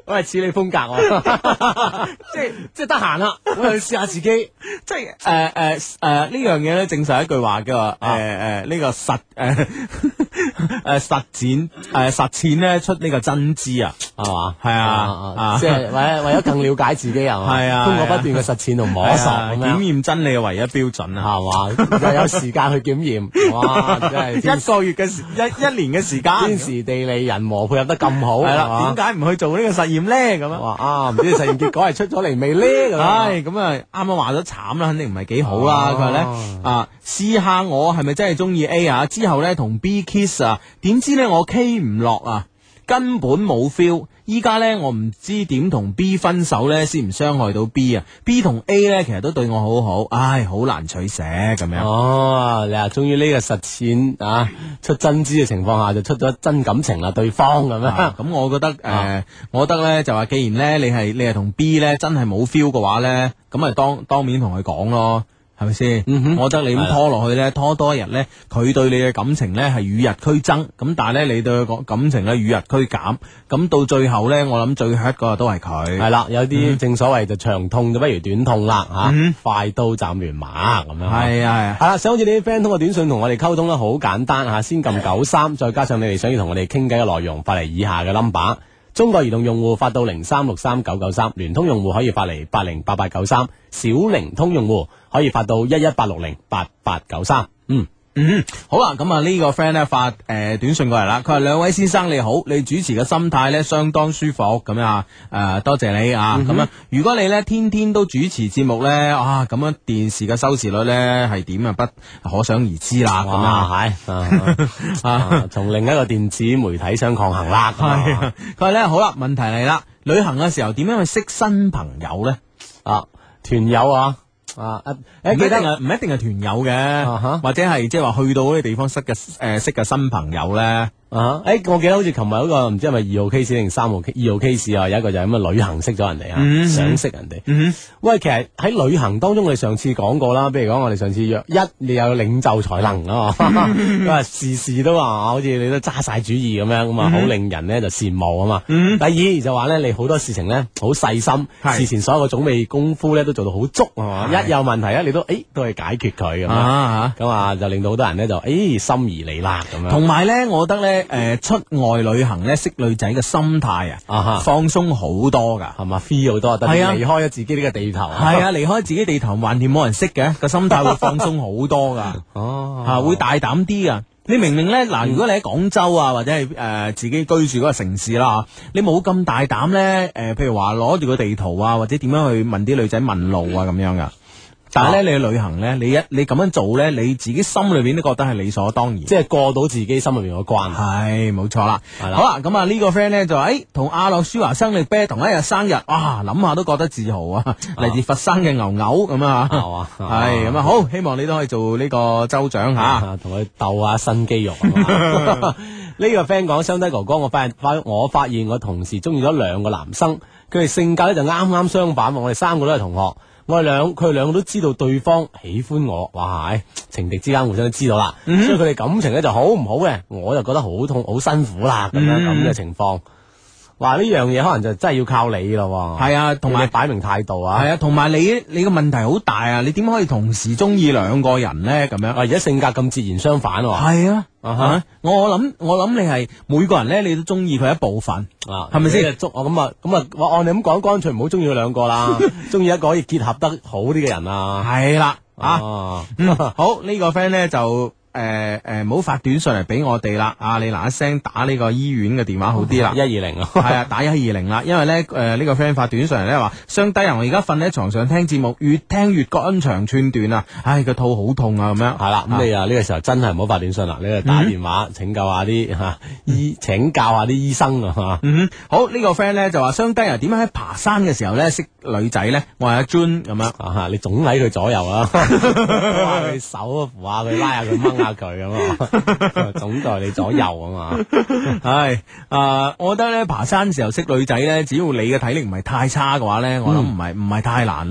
D: 喂，似你風格喎，即係即係得閒啦，我又試下自己，
C: 即係誒誒誒呢樣嘢咧，證實一句話嘅話，誒誒呢個實誒誒實踐誒實踐咧出呢個真知啊，
D: 係嘛？
C: 係啊，
D: 即係為為咗更了解自己係嘛？
C: 係啊，
D: 通過不斷嘅實踐同摸索咁樣
C: 檢驗真理嘅唯一標準啊，
D: 係嘛？又有時間去檢驗，哇！真係
C: 一個月嘅時一一年嘅時間，
D: 天時地利人和配合得咁好，
C: 係啦，點解唔去做呢個實驗咧？咁樣
D: 啊，唔知實驗結果係出咗嚟未咧？
C: 唉，咁啊，啱啱話咗慘啦，肯定唔係幾好啦。佢話咧啊，試下我係咪真係中意 A 啊？之後咧同 B kiss 啊，點知咧我 K 唔落啊，根本冇 feel。依家咧我唔知點同 B 分手咧，先唔傷害到 B 啊。B 同 A 咧其實都對我好好，唉，好難取捨咁樣。
D: 哦，你話終於呢個實踐啊，出真知嘅情況下就出咗真感情啦，對方咁樣。咁、
C: 啊、我覺得誒、呃，我覺得咧就話，既然咧你係你係同 B 咧真係冇 feel 嘅話咧，咁咪當當面同佢講咯。係咪先？嗯、哼我覺得你咁拖落去咧，拖多一日咧，佢對你嘅感情咧係與日俱增，咁但係咧你對佢感情咧與日俱減，咁到最後咧，我諗最 hurt 嗰個都係佢。
D: 係啦，有啲正所謂就長痛就不如短痛啦，吓、嗯，快刀斬亂麻咁樣。係啊，係啦，想好似你啲 friend 通過短信同我哋溝通咧，好簡單吓，先撳九三，再加上你哋想要同我哋傾偈嘅內容，發嚟以下嘅 number。中國移動用戶發到零三六三九九三，聯通用戶可以發嚟八零八八九三，小靈通用戶可以發到一一八六零八八九三。嗯
C: 嗯，好啦，咁啊呢個 friend 咧發誒、呃、短信過嚟啦，佢話兩位先生你好，你主持嘅心態咧相當舒服咁啊，誒、呃、多謝你啊，咁、嗯、哼樣如果你咧天天都主持節目咧，啊咁樣電視嘅收視率咧係點啊，不可想而知啦，咁啊
D: 係啊，從另一個電子媒體相抗衡啦。
C: 係，佢話咧好啦，問題嚟啦，旅行嘅時候點樣去識新朋友咧？
D: 啊，團友啊。啊！誒，記得
C: 唔一定係團友嘅，啊、哈或者係即係話去到嗰啲地方識嘅誒、呃、識嘅新朋友咧。
D: 啊！誒，我記得好似琴日嗰個唔知係咪二號 case 定三號二號 case 啊，有一個就係咁嘅旅行識咗人哋啊，嗯、想識人哋。嗯、喂，其實喺旅行當中，我哋上次講過啦，比如講我哋上次約一，你有領袖才能啊，咁啊事事都話好似你都揸晒主意咁樣，咁啊好令人咧就羨慕啊嘛。嗯、第二就話咧，你好多事情咧好細心，是事前所有嘅準備功夫咧都做到好足係嘛，是一有問題咧你都誒都係解決佢咁樣，咁啊就令到好多人咧就誒心儀你啦咁樣。
C: 同埋咧，我覺得咧。誒、呃，出外旅行咧，識女仔嘅心態啊，啊哈放鬆好多噶，
D: 係嘛 free 好多，特別離開咗自己呢個地頭，
C: 係啊，離開自己地頭，橫掂冇人識嘅，個心態會放鬆好多噶，哦，吓、啊、會大膽啲噶。你明明咧，嗱，如果你喺廣州啊，或者係誒、呃、自己居住嗰個城市啦，你冇咁大膽咧，誒、呃，譬如話攞住個地圖啊，或者點樣去問啲女仔問路啊，咁樣噶。但係咧，你去旅行咧，你一你咁樣做咧，你自己心裏邊都覺得係理所當然，
D: 即係過到自己心裏邊個關。
C: 係，冇錯啦。係啦，好啦，咁啊呢個 friend 咧就話，誒，同阿諾舒華生力啤同一日生日，哇，諗下都覺得自豪啊！嚟自佛山嘅牛牛咁啊，係咁啊，好，希望你都可以做呢個州長吓，
D: 同佢鬥下新肌肉。呢個 friend 講，雙低哥哥，我發現發我發現我同時中意咗兩個男生，佢哋性格咧就啱啱相反，我哋三個都係同學。我哋兩佢哋兩個都知道對方喜歡我，哇！情敵之間互相都知道啦，嗯、所以佢哋感情咧就好唔好嘅，我就覺得好痛好辛苦啦，咁樣咁嘅情況。話呢樣嘢可能就真係要靠你咯，
C: 係啊，同埋
D: 擺明態度啊，
C: 係啊，同埋你你個問題好大啊，你點可以同時中意兩個人咧？咁樣啊，
D: 而家性格咁截然相反，
C: 係啊，啊哈，我諗我諗你係每個人咧，你都中意佢一部分啊，係咪先？
D: 捉我咁啊咁啊，我按你咁講，乾脆唔好中意佢兩個啦，中意一個可以結合得好啲嘅人啊，
C: 係啦，啊，嗯，好呢個 friend 咧就。誒誒，唔好發短信嚟俾我哋啦！啊，你嗱一聲打呢個醫院嘅電話好啲啦，
D: 一二零啊，
C: 係啊，打一二零啦。因為咧，誒呢個 friend 發短信嚟咧話，雙低人我而家瞓喺床上聽節目，越聽越肝腸寸斷啊！唉，個肚好痛啊，咁樣
D: 係啦。咁你啊呢個時候真係唔好發短信啦，你就打電話請教下啲吓醫，請教下啲醫生啊吓。
C: 嗯，好呢個 friend 咧就話，雙低人點樣喺爬山嘅時候咧識女仔咧？我係阿 Jun 咁樣
D: 啊，你總喺佢左右啊，拉佢手扶下佢，拉下佢掹下佢咁啊，總在你左右啊嘛。
C: 係啊，我覺得咧爬山時候識女仔咧，只要你嘅體力唔係太差嘅話咧，我諗唔係唔係太難咯。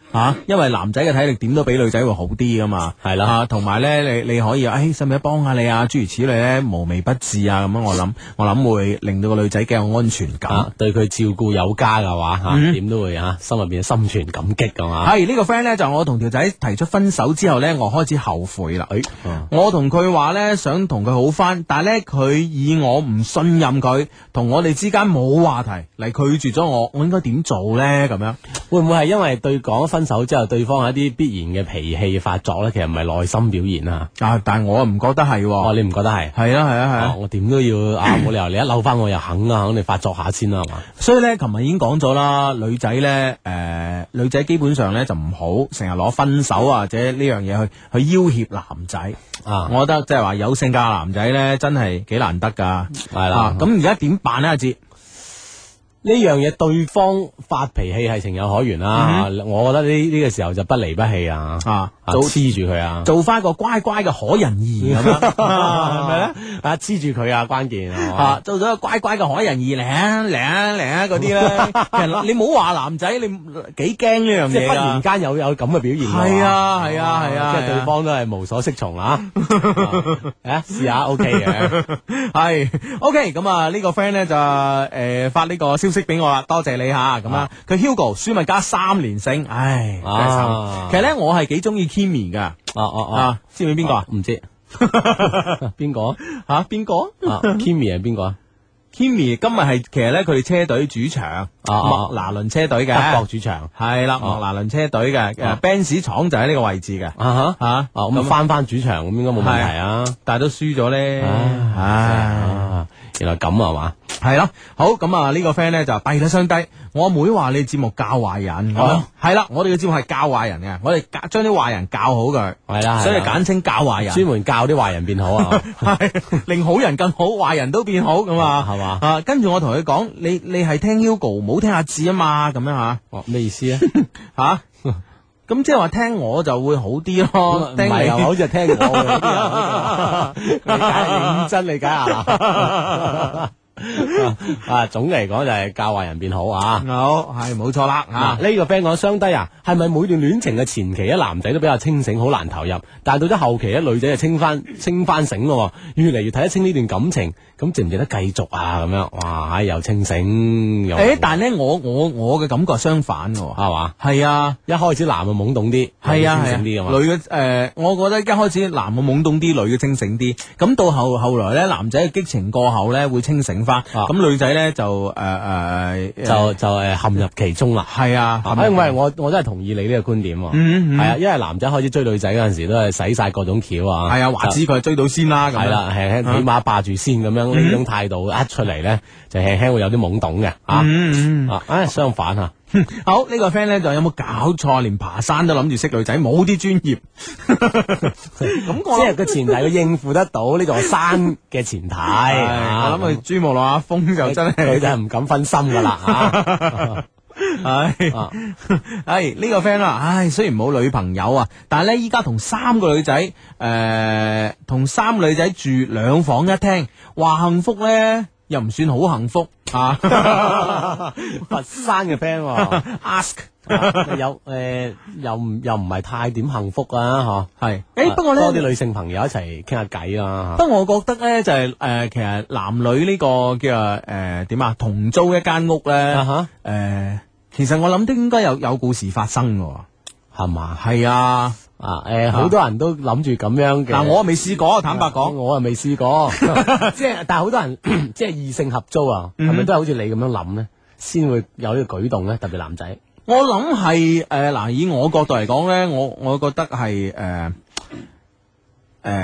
C: 啊，因為男仔嘅體力點都比女仔會好啲噶嘛，
D: 係啦，
C: 同埋咧，你你可以，誒，使唔使幫下你啊？諸如此類咧，無微不至啊，咁樣我諗，我諗會令到個女仔幾有安全感，
D: 啊、對佢照顧有加嘅話，吓、嗯，點都會吓、啊，心入邊心存感激噶嘛。
C: 係呢、這個 friend 咧，就我同條仔提出分手之後咧，我開始後悔啦。誒、
D: 啊，
C: 我同佢話咧，想同佢好翻，但係咧，佢以我唔信任佢，同我哋之間冇話題嚟拒絕咗我，我應該點做咧？咁樣
D: 會唔會係因為對講分手之後，對方係一啲必然嘅脾氣發作咧？其實唔係內心表現啊。
C: 啊，但係我唔覺得係。
D: 哦，你唔覺得係？
C: 係啊，係啊，係啊。
D: 我點都要啊，冇理由你一嬲翻我又肯啊，肯定發作下先啦，係嘛？
C: 所以咧，琴日已經講咗啦，女仔咧，誒、呃，女仔基本上咧就唔好成日攞分手或者呢樣嘢去去要挾男仔啊。我覺得即係話有性格嘅男仔咧，真係幾難得噶。係啦，咁而家點辦咧？阿志？
D: 呢樣嘢對方發脾氣係情有可原啦，嗯、我覺得呢呢個時候就不離不棄啊，啊，黐住佢啊，
C: 做翻個乖乖嘅可人兒咁樣，係咪咧？
D: 啊，黐住佢啊，關鍵
C: 啊，做咗個乖乖嘅可人兒嚟啊嚟啊嚟啊嗰啲咧，其實你唔好話男仔，你幾驚呢樣嘢，
D: 即係忽然間有有咁嘅表現，
C: 係啊係啊係啊，
D: 即係對方都係無所適從啊，誒試下 OK 嘅，
C: 係 OK 咁啊呢個 friend 咧就誒發呢個消息俾我啦，多謝你吓，咁啊佢 Hugo 舒米加三連勝，唉，真係慘。其實咧我係幾中意 Kimi 噶，
D: 哦哦哦，
C: 知唔知邊個啊？
D: 唔知邊個
C: 吓邊個
D: ？Kimi 係邊個啊
C: ？Kimi 今日係其實咧佢哋車隊主場，麥拿倫車隊嘅
D: 德國主場，
C: 係啦，麥拿倫車隊嘅誒 Benz 廠就喺呢個位置嘅，
D: 啊吓吓，咁翻翻主場咁應該冇問題啊，
C: 但係都輸咗咧，唉，
D: 原來咁啊嘛。
C: 係咯，好咁啊！呢個 friend 咧就低得相低。我阿妹話你節目教壞人，係啦，我哋嘅節目係教壞人嘅，我哋教將啲壞人教好佢，
D: 係啦，
C: 所以簡稱教壞人，
D: 專門教啲壞人變好啊，
C: 係令好人更好，壞人都變好咁啊，係嘛啊？跟住我同佢講，你你係聽 Hugo，唔好聽阿志啊嘛，咁樣吓，
D: 哦咩意思啊？
C: 吓？咁即係話聽我就會好啲咯，
D: 唔係又好似係聽我嘅，理解認真理解下啦。啊，總嚟講就係教壞人變好啊！
C: 好係冇錯啦啊！
D: 呢個 friend 講雙低啊，係咪每段戀情嘅前期咧男仔都比較清醒，好難投入，但係到咗後期咧女仔就清翻清翻醒咯，越嚟越睇得清呢段感情，咁值唔值得繼續啊？咁樣哇，又清醒又誒，
C: 但係咧我我我嘅感覺係相反嘅，係嘛？係啊，
D: 一開始男嘅懵懂啲，
C: 係啊，
D: 清醒啲
C: 女嘅誒，我覺得一開始男嘅懵懂啲，女嘅清醒啲，咁到後後來咧男仔嘅激情過後咧會清醒。咁女仔咧就誒誒
D: 就就誒陷入其中啦，
C: 係啊，
D: 因為我我真係同意你呢個觀點，係啊，因為男仔開始追女仔嗰陣時都係使晒各種橋啊，
C: 係啊，話知佢追到先啦，
D: 係啦，輕輕起碼霸住先咁樣呢種態度一出嚟咧，就輕輕會有啲懵懂嘅啊，啊，誒相反啊。
C: 好呢、呢個 friend 咧就有冇搞錯？連爬山都諗住識女仔，冇啲專業。咁我
D: 即係個前提，佢應付得到呢座山嘅前提。
C: 我諗佢珠穆朗瑪峰就真係
D: 佢就係唔敢分心噶啦。
C: 唉，唉呢個 friend 啦，唉雖然冇女朋友啊，但係咧依家同三個女仔，誒同三個女仔住兩房一廳，話幸福咧。又唔算好幸福啊！
D: 佛山嘅 friend，ask 有誒，又唔又唔係太點幸福啊？嗬，係誒，不過咧多啲女性朋友一齊傾下偈啦。
C: 不過我覺得咧就係誒，其實男女呢個叫誒點啊，同租一間屋咧，誒，其實我諗都應該有有故事發生嘅，係嘛？係啊。
D: 啊，誒，好多人都諗住咁樣嘅，
C: 嗱，我未試過，坦白講，
D: 我又未試過，即係，但係好多人即係異性合租啊，係咪都係好似你咁樣諗咧，先會有呢個舉動咧？特別男仔，
C: 我諗係誒，嗱，以我角度嚟講咧，我我覺得係誒。誒，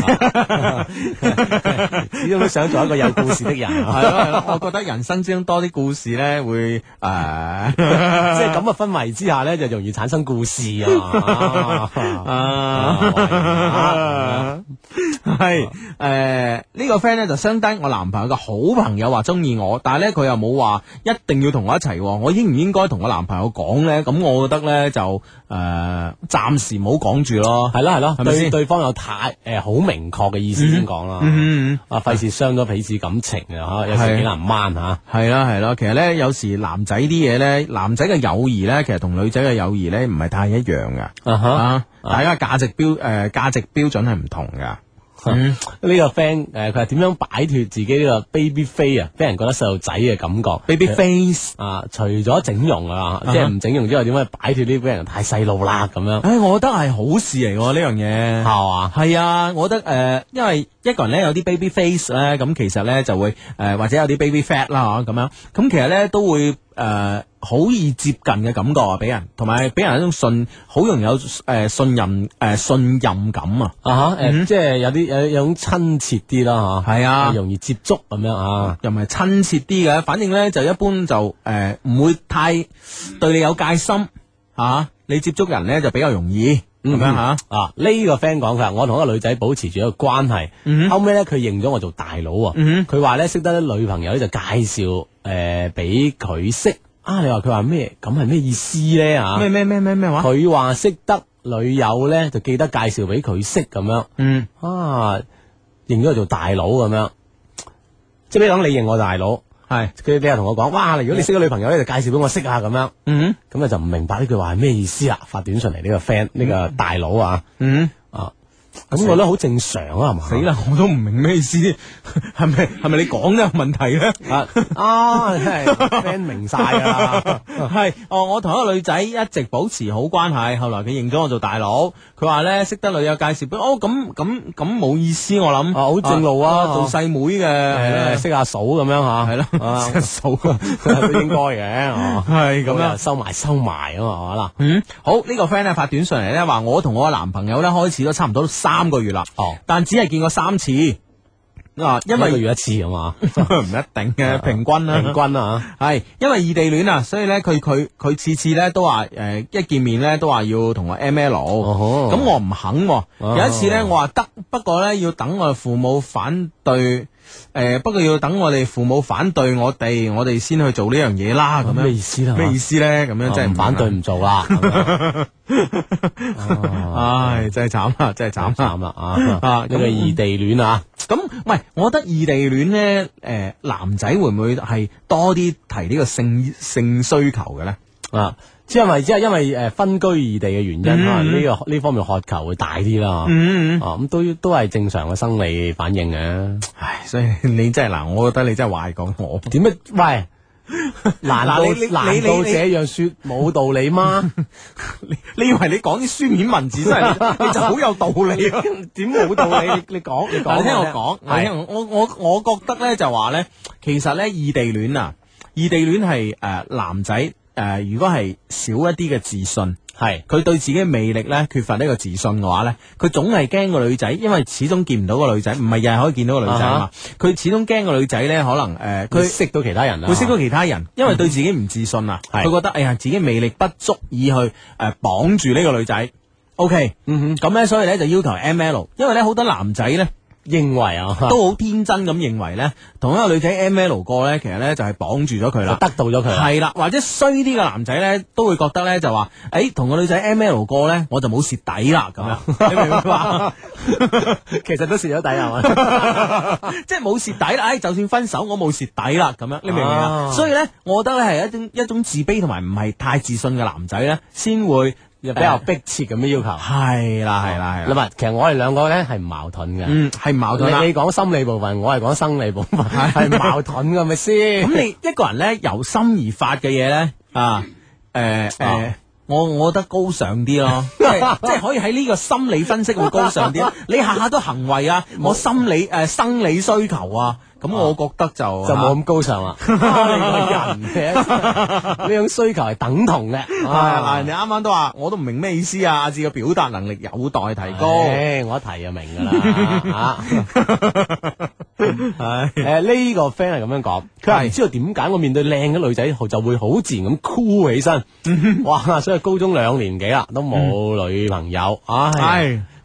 D: 始終都想做一個有故事的人，係
C: 咯係咯，我覺得人生之中多啲故事咧，會誒，即
D: 係咁嘅氛圍之下咧，就容易產生故事啊！啊，
C: 係誒呢個 friend 咧就相低我男朋友嘅好朋友話中意我，但係咧佢又冇話一定要同我一齊，我應唔應該同我男朋友講咧？咁我覺得咧就誒暫時唔好講住咯，
D: 係咯係咯，
C: 係咪先
D: 對對方有太誒好明確嘅意思先講啦，
C: 嗯
D: 啊費事傷咗彼此感情啊，有時幾難掹吓。
C: 係啦係啦，其實咧有時男仔啲嘢咧，男仔嘅友誼咧，其實同女仔嘅友誼咧唔係太一樣噶，
D: 啊哈
C: 啊大家價值標誒價值標準係唔同噶。
D: 嗯，呢個 friend 誒，佢係點樣擺脱自己呢個 baby face 啊？俾人覺得細路仔嘅感覺
C: ，baby face
D: 啊，除咗整容啊，即係唔整容之外，點樣擺脱呢？俾人太細路啦咁樣。
C: 誒，我覺得係好事嚟喎呢樣嘢，
D: 係嘛？
C: 係啊，我覺得誒、呃，因為一個人咧有啲 baby face 咧，咁其實咧就會誒、呃、或者有啲 baby fat 啦咁樣，咁其實咧都會誒好、呃、易接近嘅感覺啊，俾人，同埋俾人一種信，好容易有誒、呃、信任誒、呃、信任感啊，
D: 啊哈，誒，即係有啲有有種親切啲啦，吓，
C: 係啊，
D: 容易接觸咁樣啊，
C: 又唔係親切啲嘅，反正咧就一般就誒唔、呃、會太對你有戒心吓、啊，你接觸人咧就比較容易。咁樣吓
D: 啊！呢個 friend 講佢話，我同一個女仔保持住一個關係，
C: 嗯、
D: 後尾咧佢認咗我做大佬啊！佢話咧識得啲女朋友咧就介紹誒俾佢識啊！你話佢話咩？咁係咩意思咧？啊
C: 咩咩咩咩咩話？
D: 佢話識得女友咧就記得介紹俾佢識咁樣。
C: 嗯
D: 啊，認咗我做大佬咁樣，即係比如講你認我大佬。係佢你又同我講，哇！如果你識個女朋友咧，就介紹俾我識下咁樣。嗯，咁啊就唔明白呢句話係咩意思啦。發短信嚟呢個 friend 呢個大佬啊，嗯啊，咁我覺得好正常啊，係嘛？
C: 死啦，我都唔明咩意思，係咪係咪你講嘅問題咧？
D: 啊啊，真係 friend 明晒噶啦。
C: 係哦，我同一個女仔一直保持好關係，後來佢認咗我做大佬，佢話咧識得女友介紹俾哦，咁咁咁冇意思，我諗
D: 啊好正路啊，
C: 做細妹嘅，
D: 識下嫂咁樣吓，
C: 係咯，識嫂
D: 都應該嘅，
C: 係咁樣
D: 收埋收埋啊嘛，係嘛
C: 嗯，好呢個 friend 咧發短信嚟咧話，我同我嘅男朋友咧開始咗差唔多三個月啦，哦，但只係見過三次。啊，因為
D: 一個月一次啊嘛，
C: 唔一定嘅，平均啦，
D: 平均啊，
C: 係因為異地戀啊，所以咧佢佢佢次次咧都話誒一見面咧都話要同我 M L，咁我唔肯，有一次咧我話得，不過咧要等我父母反對，誒不過要等我哋父母反對我哋，我哋先去做呢樣嘢啦，咁樣
D: 咩意思啦？
C: 咩意思咧？咁樣真係
D: 唔反對唔做啦，
C: 唉，真係慘啦，真係慘
D: 慘啦啊！啊，呢個異地戀啊。
C: 咁，喂，我覺得異地戀咧，誒、呃，男仔會唔會係多啲提呢個性性需求嘅咧？
D: 啊，即係因為即係因為誒分居異地嘅原因，可能呢個呢方面渴求會大啲啦。嗯嗯，啊，咁都都係正常嘅生理反應嘅。
C: 唉，所以你真係嗱，我覺得你真係壞講我。
D: 點樣？喂！難道
C: 你你
D: 難道這樣說冇道理嗎？
C: 你你以為你講啲書面文字真係你就好有道理？
D: 點冇道理？你你講你講，
C: 聽我講，係我我我覺得咧就話咧，其實咧異地戀啊，異地戀係誒男仔誒、呃，如果係少一啲嘅自信。係佢對自己嘅魅力咧缺乏呢個自信嘅話咧，佢總係驚個女仔，因為始終見唔到個女仔，唔係日日可以見到個女仔啊嘛。佢、uh-huh. 始終驚個女仔咧，可能誒，佢、呃、識到其他人，會識到其他人，因為對自己唔自信啊，佢、嗯、覺得哎呀自己魅力不足以去誒綁住呢個女仔。OK，嗯哼，咁咧所以咧就要求 M L， 因為咧好多男仔咧。認為啊，都好天真咁認為咧，同一個女仔 M L 過咧，其實咧就係綁住咗佢啦，得到咗佢係啦，或者衰啲嘅男仔咧，都會覺得咧就話，誒、欸，同個女仔 M L 過咧，我就冇蝕底啦，咁樣，啊、你明唔明白？其實都蝕咗底係嘛，即係冇蝕底啦，誒、哎，就算分手我冇蝕底啦，咁樣，你明唔明啊？所以咧，我覺得咧係一種一種自卑同埋唔係太自信嘅男仔咧，先會。比較迫切咁嘅要求，係啦係啦係啦。嗱，其實我哋兩個咧係唔矛盾嘅，嗯，係唔矛盾啦。你講心理部分，我係講生理部分，係矛盾嘅，咪先？咁你一個人咧由心而發嘅嘢咧，啊，誒誒，我我覺得高尚啲咯，即係即係可以喺呢個心理分析會高尚啲。你下下都行為啊，我心理誒生理需求啊。咁我覺得就就冇咁高尚啦。你個人嘅呢種需求係等同嘅。係嗱，人哋啱啱都話，我都唔明咩意思啊。阿志嘅表達能力有待提高。我一提就明噶啦。係誒呢個 friend 係咁樣講，佢話唔知道點解我面對靚嘅女仔就會好自然咁酷起身。哇！所以高中兩年幾啦，都冇女朋友。唉。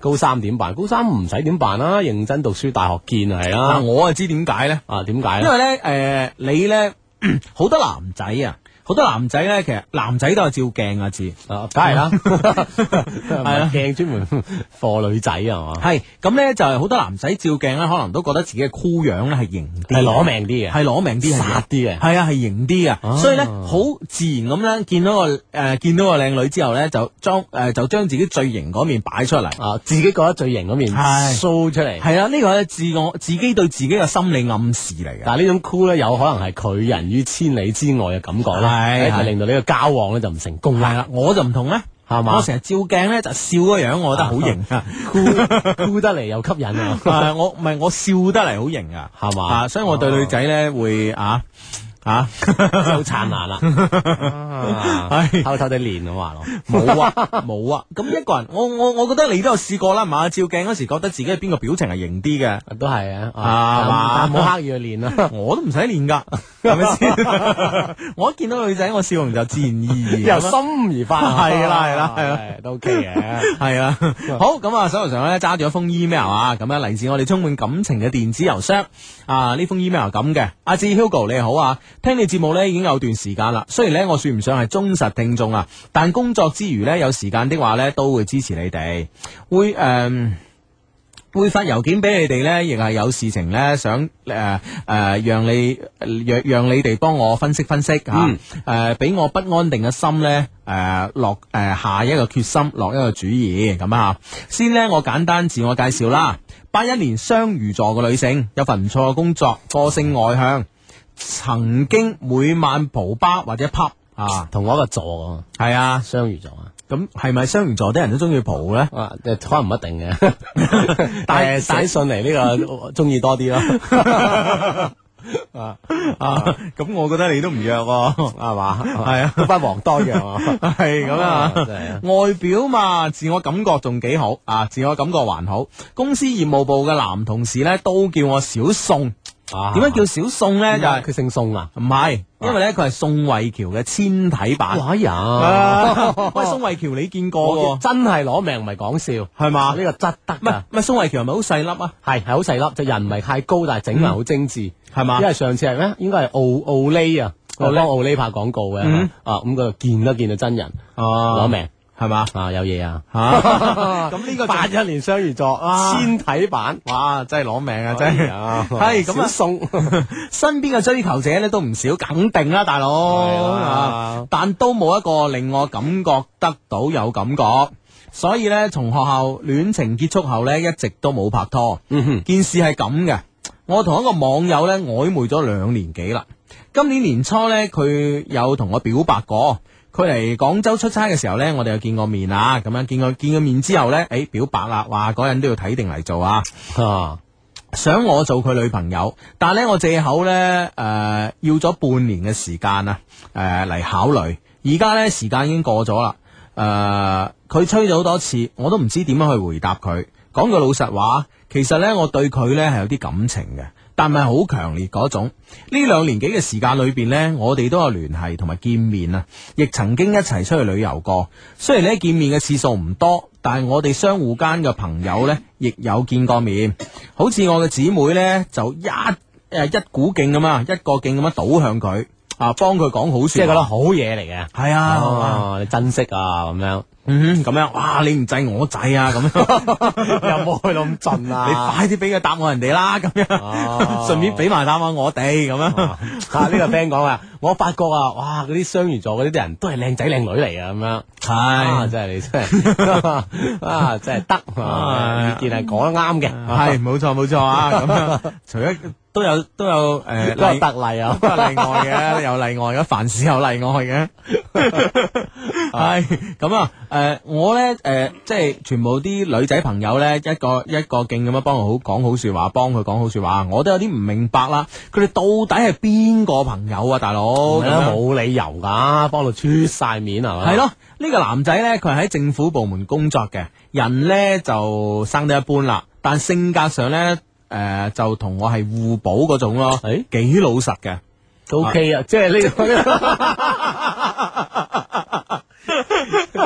D: 高三點辦？高三唔使點辦啦，認真讀書，大學見係啦。
C: 我啊知點解咧？
D: 啊，點解咧？
C: 因為咧，誒、呃，你咧好多男仔啊。好多男仔咧，其實男仔都係照鏡啊，字
D: 啊，梗係啦，係啦，鏡專門貨女仔係嘛，
C: 係咁咧就係好多男仔照鏡咧，可能都覺得自己嘅箍樣咧係型啲，
D: 係攞命啲嘅，
C: 係攞命啲，
D: 殺啲嘅，
C: 係啊係型啲嘅，所以咧好自然咁咧見到個誒、呃、見到個靚女之後咧，就將誒、呃、就將自己最型嗰面擺出嚟，
D: 啊，自己覺得最型嗰面 show 出嚟，
C: 係啊，呢個係自我自己對自己嘅心理暗示嚟嘅。
D: 但係呢種箍咧，有可能係拒人於千里之外嘅感覺啦。係係令到你個交往咧就唔成功啦。
C: 係啦，我就唔同咧，係嘛？我成日照鏡咧就笑個樣，我覺得好型啊，
D: 酷酷得嚟又吸引啊！
C: 啊我唔係我笑得嚟好型啊，係嘛？啊，所以我對女仔咧會啊。啊，
D: 好燦爛啦！係偷偷地練咁話咯，
C: 冇啊冇啊！咁一個人，我我我覺得你都有試過啦，係嘛？照鏡嗰時覺得自己係邊個表情係型啲嘅，
D: 都係啊，
C: 啊
D: 但冇刻意去練啦，
C: 我都唔使練噶，係咪先？我一見到女仔，我笑容就自然而然，
D: 由心而發，
C: 係啦係啦係啦，
D: 都 OK 嘅，
C: 係啊。好咁啊，手頭上咧揸住一封 email 啊，咁樣嚟自我哋充滿感情嘅電子郵箱啊，呢封 email 係咁嘅，阿志 Hugo 你好啊。聽你節目咧已經有段時間啦，雖然咧我算唔上係忠實聽眾啊，但工作之餘咧有時間的話咧都會支持你哋，會誒、呃、會發郵件俾你哋咧，亦係有事情咧想誒誒、呃呃、讓你讓讓你哋幫我分析分析吓，誒俾我不安定嘅心咧誒落誒下一個決心，落一個主意咁啊。先咧我簡單自我介紹啦，八一年雙魚座嘅女性，有份唔錯嘅工作，個性外向。曾經每晚蒲吧或者 pub 啊，
D: 同我一個座
C: 係啊，
D: 雙魚座啊，
C: 咁係咪雙魚座啲人都中意蒲咧？
D: 啊，可能唔一定嘅，但係寫信嚟呢個中意多啲咯。啊啊，
C: 咁我覺得你都唔弱喎，
D: 係嘛？
C: 係啊，
D: 不遑多讓啊，
C: 係咁啊。外表嘛，自我感覺仲幾好啊，自我感覺還好。公司業務部嘅男同事咧都叫我小宋。點解叫小宋咧？就係
D: 佢姓宋啊？
C: 唔係，因為咧佢係宋慧喬嘅纖體版。
D: 哎呀！
C: 喂，宋慧喬你見過？
D: 真係攞命，唔係講笑，
C: 係嘛？
D: 呢個質得。唔係
C: 唔係，宋慧喬係咪好細粒啊？
D: 係係好細粒，就人唔係太高，但係整埋好精緻，
C: 係嘛？
D: 因為上次係咩？應該係奧奧利啊，我幫奧利拍廣告嘅，啊咁佢見都見到真人，攞命。
C: 係嘛？
D: 啊有嘢啊！
C: 咁呢個
D: 八一年雙魚座纖體版，
C: 哇！真係攞命啊！真係係咁啊！送身邊嘅追求者咧都唔少，肯定啦，大佬。但都冇一個令我感覺得到有感覺，所以咧從學校戀情結束後咧一直都冇拍拖。嗯哼，件事係咁嘅，我同一個網友咧曖昧咗兩年幾啦。今年年初咧佢有同我表白過。佢嚟廣州出差嘅時候呢，我哋又見過面啊，咁樣見過見過面之後呢，誒、欸、表白啦，話嗰人都要睇定嚟做啊，啊想我做佢女朋友，但係呢，我借口呢，誒、呃、要咗半年嘅時間啊，誒、呃、嚟考慮，而家呢，時間已經過咗啦，誒、呃、佢催咗好多次，我都唔知點樣去回答佢。講句老實話，其實呢，我對佢呢係有啲感情嘅。但係好強烈嗰種，呢兩年幾嘅時間裏邊呢，我哋都有聯繫同埋見面啊，亦曾經一齊出去旅遊過。雖然呢見面嘅次數唔多，但係我哋相互間嘅朋友呢，亦有見過面。好似我嘅姊妹呢，就一誒一股勁咁啊，一個勁咁樣倒向佢啊，幫佢講好說話，
D: 即係覺得好嘢嚟嘅。係
C: 啊，
D: 哦、你珍惜啊咁樣。
C: 嗯，咁樣，哇！你唔制我制啊，咁樣
D: 又冇去到咁盡啊！
C: 你快啲俾個答案人哋啦，咁樣，順便俾埋答案我哋咁樣。
D: 啊，呢個 friend 講啊，我發覺啊，哇！嗰啲雙魚座嗰啲啲人都係靚仔靚女嚟啊，咁樣。係，真係你真係啊，真係得，意見係講得啱嘅。
C: 係，冇錯冇錯啊，咁樣。除咗都有都有誒，
D: 都有特例啊，
C: 都有例外嘅，有例外嘅，凡事有例外嘅。係咁啊，誒、呃，我咧誒、呃，即係全部啲女仔朋友咧，一個一個勁咁樣幫佢好講好說話，幫佢講好說話，我都有啲唔明白啦。佢哋到底係邊個朋友啊，大佬？
D: 冇理由噶，幫到出晒面係嘛？
C: 係咯，呢、這個男仔咧，佢係喺政府部門工作嘅，人咧就生得一般啦，但性格上咧誒、呃、就同我係互補嗰種咯，誒幾、欸、老實嘅。
D: O K 啊，即係呢個，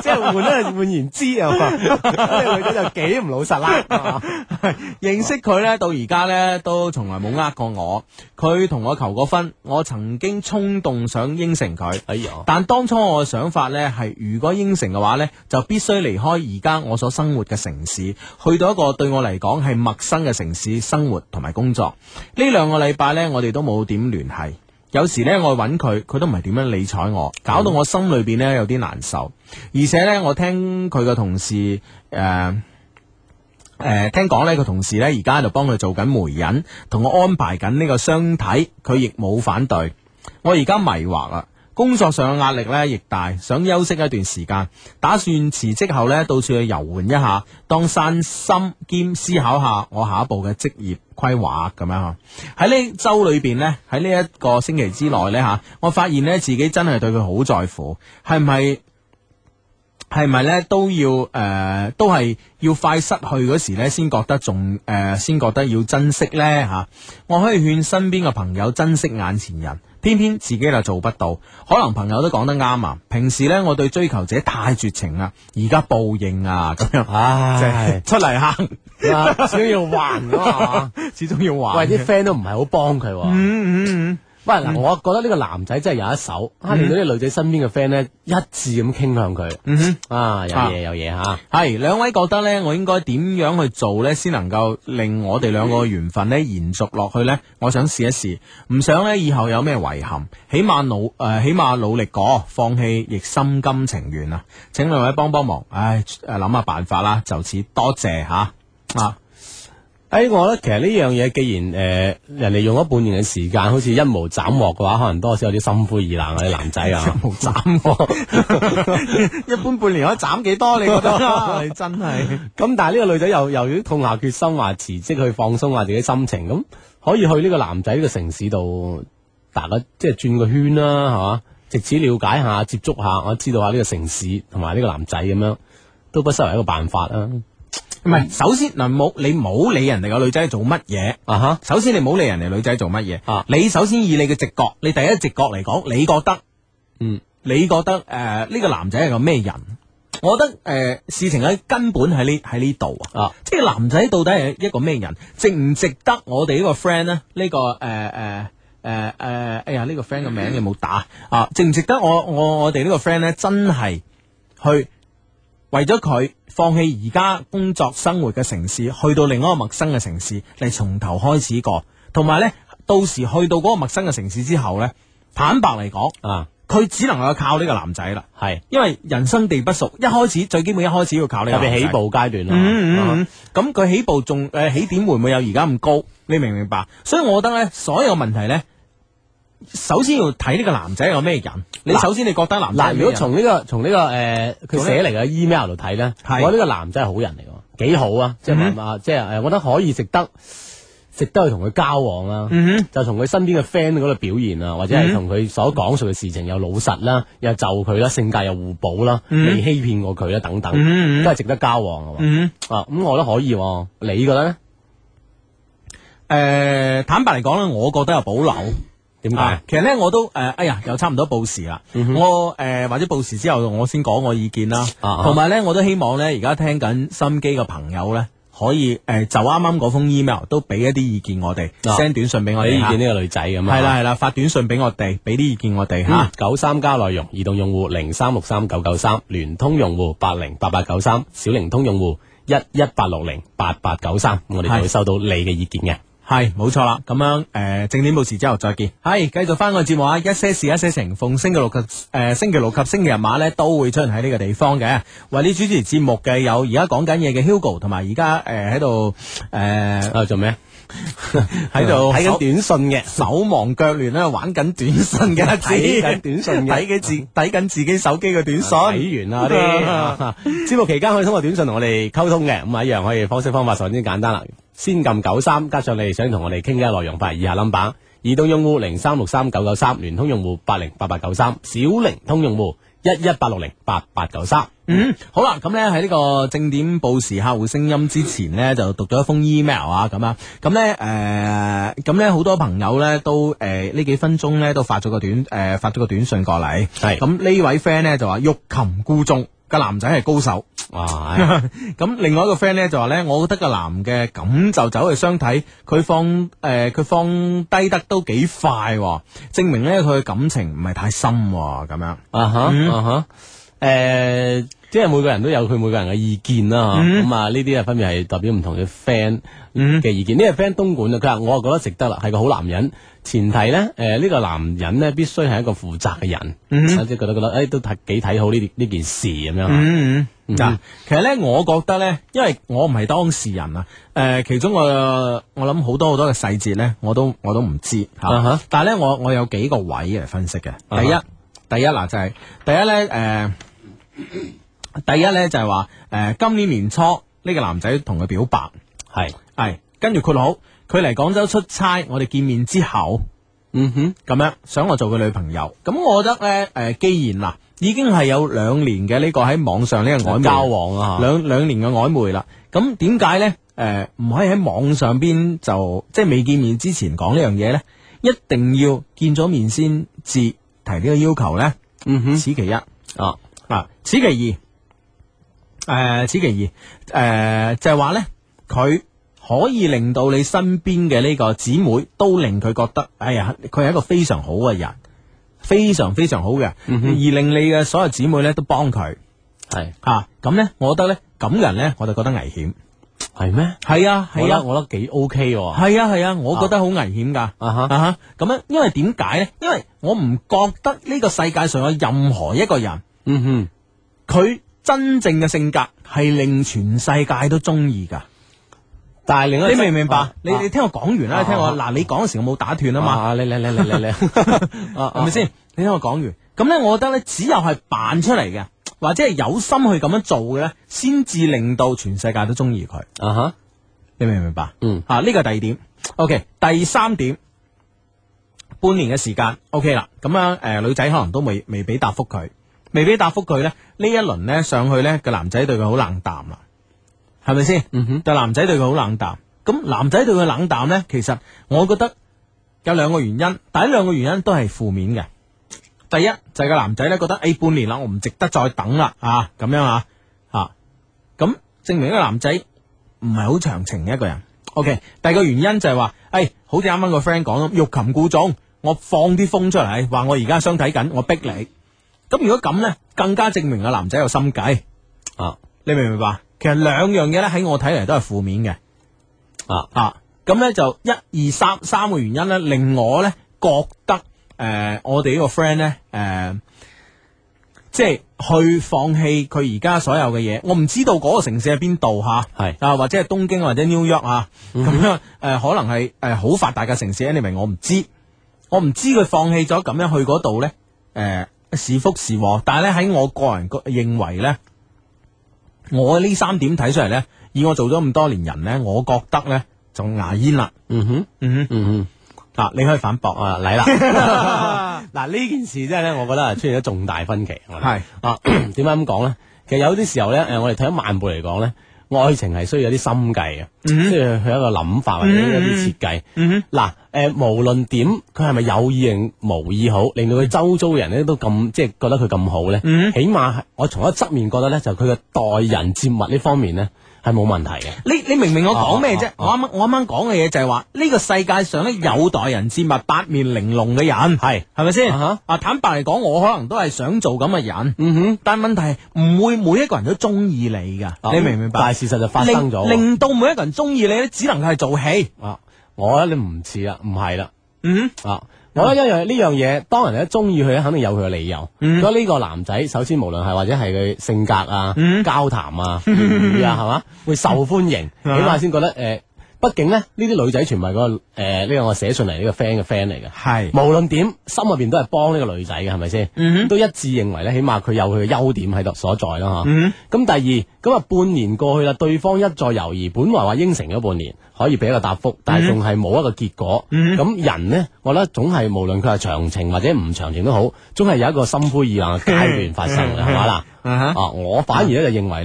D: 即係換咧換言之啊，呢個女仔就幾唔老實啦。
C: 認識佢咧到而家咧都從來冇呃過我，佢同我求過婚，我曾經衝動想應承佢，
D: 哎呀！
C: 但當初我嘅想法咧係，如果應承嘅話咧，就必須離開而家我所生活嘅城市，去到一個對我嚟講係陌生嘅城市生活同埋工作。呢兩個禮拜咧，我哋都冇點聯繫。有時咧，我揾佢，佢都唔係點樣理睬我，搞到我心裏邊咧有啲難受。而且咧，我聽佢嘅同事誒。呃誒、呃，聽講呢個同事呢，而家喺度幫佢做緊媒人，同我安排緊呢個相睇，佢亦冇反對。我而家迷惑啦，工作上嘅壓力呢亦大，想休息一段時間，打算辭職後呢，到處去遊玩一下，當散心兼思考下我下一步嘅職業規劃咁樣吓。喺呢周裏邊呢，喺呢一個星期之內呢，吓，我發現呢，自己真係對佢好在乎，係唔係？係咪咧都要誒、呃，都係要快失去嗰時咧，先覺得仲誒，先、呃、覺得要珍惜咧吓、啊。我可以勸身邊嘅朋友珍惜眼前人，偏偏自己就做不到。可能朋友都講得啱啊。平時咧，我對追求者太絕情啦，而家報應啊咁樣，唉，出嚟行，
D: 始終要還噶嘛，
C: 始終要還。
D: 喂，啲 friend 都唔係好幫佢。嗯
C: 嗯嗯。
D: 喂，嗱，我覺得呢個男仔真係有一手，啊，令到啲女仔身邊嘅 friend 咧一致咁傾向佢。嗯哼，啊，有嘢有嘢吓。係
C: 兩位覺得咧，我應該點樣去做咧，先能夠令我哋兩個嘅緣分咧延續落去咧？我想試一試，唔想咧以後有咩遺憾，起碼努誒、呃，起碼努力過，放棄亦心甘情願啊！請兩位幫幫忙，唉，誒諗下辦法啦。就此多謝吓啊！
D: 誒、哎，我覺得其實呢樣嘢，既然誒、呃、人哋用咗半年嘅時間，好似一無斬獲嘅話，可能多少有啲心灰意冷啊啲男仔啊，
C: 一無斬獲，一般半年可以斬幾多？你覺得？你真係
D: 咁，但係呢個女仔又又要痛下決心，話辭職去放鬆下自己心情，咁可以去呢個男仔呢個城市度，大家即係轉個圈啦，係嘛？藉此了解下、接觸下，我知道下呢個城市同埋呢個男仔咁樣，都不失為一個辦法啦。
C: 唔係，首先嗱，冇你冇理人哋個女仔做乜嘢啊哈！首先你冇理人哋女仔做乜嘢啊！你首先以你嘅直覺，你第一直覺嚟講，你覺得嗯，你覺得誒呢、呃這個男仔係個咩人？我覺得誒、呃、事情嘅根本喺呢喺呢度啊！即係男仔到底係一個咩人？值唔值得我哋呢個 friend 咧？呢、這個誒誒誒誒，哎呀呢、這個 friend 嘅名你冇打啊！值唔值得我我我哋呢個 friend 咧？真係去為咗佢放棄而家工作生活嘅城市，去到另一個陌生嘅城市嚟從頭開始過，同埋呢，到時去到嗰個陌生嘅城市之後呢，坦白嚟講啊，佢只能夠靠呢個男仔啦，係，因為人生地不熟，一開始最基本一開始要靠呢個男仔，
D: 特別起步階段啦，
C: 咁佢起步仲誒起點會唔會有而家咁高？你明唔明白？所以我覺得呢，所有問題呢，首先要睇呢個男仔係個咩人。你首先你覺得男仔
D: 嗱，如果從呢、這個從呢、這個誒佢寫嚟嘅 email 度睇咧，我覺得呢個男仔係好人嚟嘅，幾好啊！即係話、嗯、即係誒，我覺得可以值得值得去同佢交往啦。嗯、就從佢身邊嘅 friend 嗰度表現啊，或者係同佢所講述嘅事情又老實啦，又就佢啦，性格又互補啦，未、嗯、欺騙過佢啦，等等，嗯、都係值得交往嘅。嗯、啊，咁我覺得可以。你覺得咧？誒、
C: 呃，坦白嚟講咧，我覺得有保留。
D: 點解、啊？
C: 其實咧，我都誒、呃，哎呀，又差唔多報時啦。嗯、我誒、呃，或者報時之後，我先講我意見啦。同埋咧，我都希望咧，而家聽緊心機嘅朋友咧，可以誒、呃，就啱啱嗰封 email 都俾一啲意見我哋 ，send、啊、短信俾我哋。俾意見呢個女仔咁啊。係啦係啦，發短信俾我哋，俾啲意見我哋吓。
D: 九三加內容，移動用戶零三六三九九三，聯通用戶八零八八九三，小靈通用戶一一八六零八八九三，我哋就會收到你嘅意見嘅。
C: 係冇錯啦，咁樣誒、呃，正點報時之後再見。係繼續翻個節目啊，一些事一些情，逢星期六及誒、呃、星期六及星期日晚咧都會出現喺呢個地方嘅。為你主持節目嘅有而家講緊嘢嘅 Hugo，同埋而家誒喺度誒做咩？喺度睇緊短信嘅，手忙腳亂咧玩緊短信嘅，睇緊短信嘅，睇緊自睇緊自己手機嘅短信。
D: 睇完啦啲節目期間可以通過短信同我哋溝通嘅，咁啊一樣可以方式方法十分之簡單啦。先撳九三，加上你哋想同我哋傾嘅內容，發以下 number： 移動用戶零三六三九九三，聯通用戶八零八八九三，小靈通用戶一一八六零八八九三。
C: 嗯，好啦，咁咧喺呢個正點報時客戶聲音之前呢，就讀咗一封 email 啊，咁啊，咁咧誒，咁咧好多朋友咧都誒呢、呃、幾分鐘咧都發咗個短誒、呃、發咗個短信過嚟，係咁呢位 friend 咧就話欲擒故縱。 個男仔係高手。
D: 哇！
C: 咁另外一個 friend 咧就話咧，我覺得個男嘅咁就走去相睇，佢放誒佢、呃、放低得都幾快、哦，證明咧佢嘅感情唔係太深咁、哦、樣。
D: 啊哈、嗯、啊哈，誒、呃，即係每個人都有佢每個人嘅意見啦，咁啊呢啲啊分別係代表唔同嘅 friend 嘅意見。呢、嗯、個 friend 東莞啊，佢話我啊覺得值得啦，係個好男人。前提咧，誒、呃、呢、這個男人咧必須係一個負責嘅人，
C: 嗯、
D: 即係覺得覺得誒、哎、都睇幾睇好呢呢件事咁樣。
C: 嗯嗯，嗱、嗯，其實咧，我覺得咧，因為我唔係當事人啊，誒、呃，其中我我諗好多好多嘅細節咧，我都我都唔知吓。Uh huh. 但係咧，我我有幾個位嚟分析嘅。第一，uh huh. 第一嗱就係、是、第一咧，誒、呃，第一咧就係話，誒、呃，今年年初呢、這個男仔同佢表白，係係，跟住括號。佢嚟廣州出差，我哋見面之後，嗯哼，咁樣想我做佢女朋友。咁我覺得咧，誒、呃，既然嗱已經係有兩年嘅呢個喺網上呢個曖昧交往啊，兩兩年嘅曖昧啦。咁點解咧？誒、呃，唔可以喺網上邊就即係未見面之前講呢樣嘢咧？一定要見咗面先至提呢個要求咧？嗯哼，此其一啊。嗱，此其二，誒、呃，此其二，誒、呃，就係話咧，佢。可以令到你身邊嘅呢個姊妹都令佢覺得，哎呀，佢係一個非常好嘅人，非常非常好嘅，嗯、哼而令你嘅所有姊妹咧都幫佢，係吓咁咧，我覺得咧咁人咧，我就覺得危險，係咩？係啊係啊，我覺得幾 OK 喎，係啊係啊，我覺得好危險噶，啊哈啊哈，咁樣，因為點解咧？因為我唔覺得呢個世界上有任何一個人，嗯哼，佢真正嘅性格係令全世界都中意噶。但係另外，你明唔明白？啊、你你聽我講完啦，啊、你聽我嗱，啊、你講嘅時候我冇打斷啊嘛。你你你你你你，係咪先？你聽我講完，咁咧，我覺得咧，只有係扮出嚟嘅，或者係有心去咁樣做嘅咧，先至令到全世界都中意佢。啊哈，你明唔明白？嗯，啊，呢個係第二點。OK，第三點，半年嘅時間 OK 啦。咁樣誒，女仔可能都未未俾答覆佢，未俾答覆佢咧，呢一輪咧上去咧，個男仔對佢好冷淡啦。係咪先？嗯哼，但男仔對佢好冷淡。咁男仔對佢冷淡咧，其實我覺得有兩個原因。第一兩個原因都係負面嘅。第一就係、是、個男仔咧覺得，誒、欸、半年啦，我唔值得再等啦，啊咁樣啊，啊咁證明呢個男仔唔係好長情嘅一個人。OK，第二個原因就係話，誒、欸、好似啱啱個 friend 講咁，欲擒故縱，我放啲風出嚟，話我而家相睇緊，我逼你。咁如果咁咧，更加證明個男仔有心計。啊，你明唔明白？其實兩樣嘢咧喺我睇嚟都係負面嘅，啊啊，咁咧就一二三三個原因咧令我咧覺得誒、呃，我哋呢個 friend 咧誒，即係去放棄佢而家所有嘅嘢。我唔知道嗰個城市喺邊度吓，係是啊或者係東京或者 New York 啊，咁、嗯、哼樣誒、呃、可能係誒好發達嘅城市，你明我唔知，我唔知佢放棄咗咁樣去嗰度咧誒是福是禍，但係咧喺我個人個認為咧。我呢三點睇出嚟咧，以我做咗咁多年人咧，我覺得咧就牙煙啦。嗯哼，嗯哼，嗯哼。嗱，你可以反駁啊，嚟啦。嗱，呢件事真係咧，我覺得係出現咗重大分歧。係啊，點解咁講咧？其實有啲時候咧，誒，我哋睇咗萬步嚟講咧，愛情係需要有啲心計嘅，即係佢有一個諗法或者一啲設計。嗱，誒，無論點，佢係咪有意定無意好，令到佢周遭嘅人咧都咁即係覺得佢咁好咧，起碼我從一側面覺得咧，就佢嘅待人接物呢方面咧係冇問題嘅。你你明唔明我講咩啫？我啱啱我啱啱講嘅嘢就係話呢個世界上咧有待人接物、八面玲瓏嘅人，係係咪先？啊，坦白嚟講，我可能都係想做咁嘅人。嗯哼，但係問題係唔會每一個人都中意你噶，你明唔明白？但係事實就發生咗，令到每一個人中意你咧，只能係做戲。啊，我覺得你唔似啦，唔係啦。嗯啊，我覺得一樣呢樣嘢，當人哋一中意佢咧，肯定有佢嘅理由。如果呢個男仔，首先無論係或者係佢性格啊、交談啊、言語啊，係嘛，會受歡迎，起碼先覺得誒。畢竟咧，呢啲女仔全部係嗰個誒呢個我寫信嚟呢個 friend 嘅 friend 嚟嘅，係無論點心入邊都係幫呢個女仔嘅，係咪先？嗯，都一致認為咧，起碼佢有佢嘅優點喺度所在啦，吓。嗯，咁第二咁啊，半年過去啦，對方一再猶豫，本來話應承咗半年可以俾一個答覆，但係仲係冇一個結果。嗯，咁人呢，我覺得總係無論佢係長情或者唔長情都好，總係有一個心灰意冷嘅階段發生嘅，係嘛啦？啊，我反而咧就認為咧。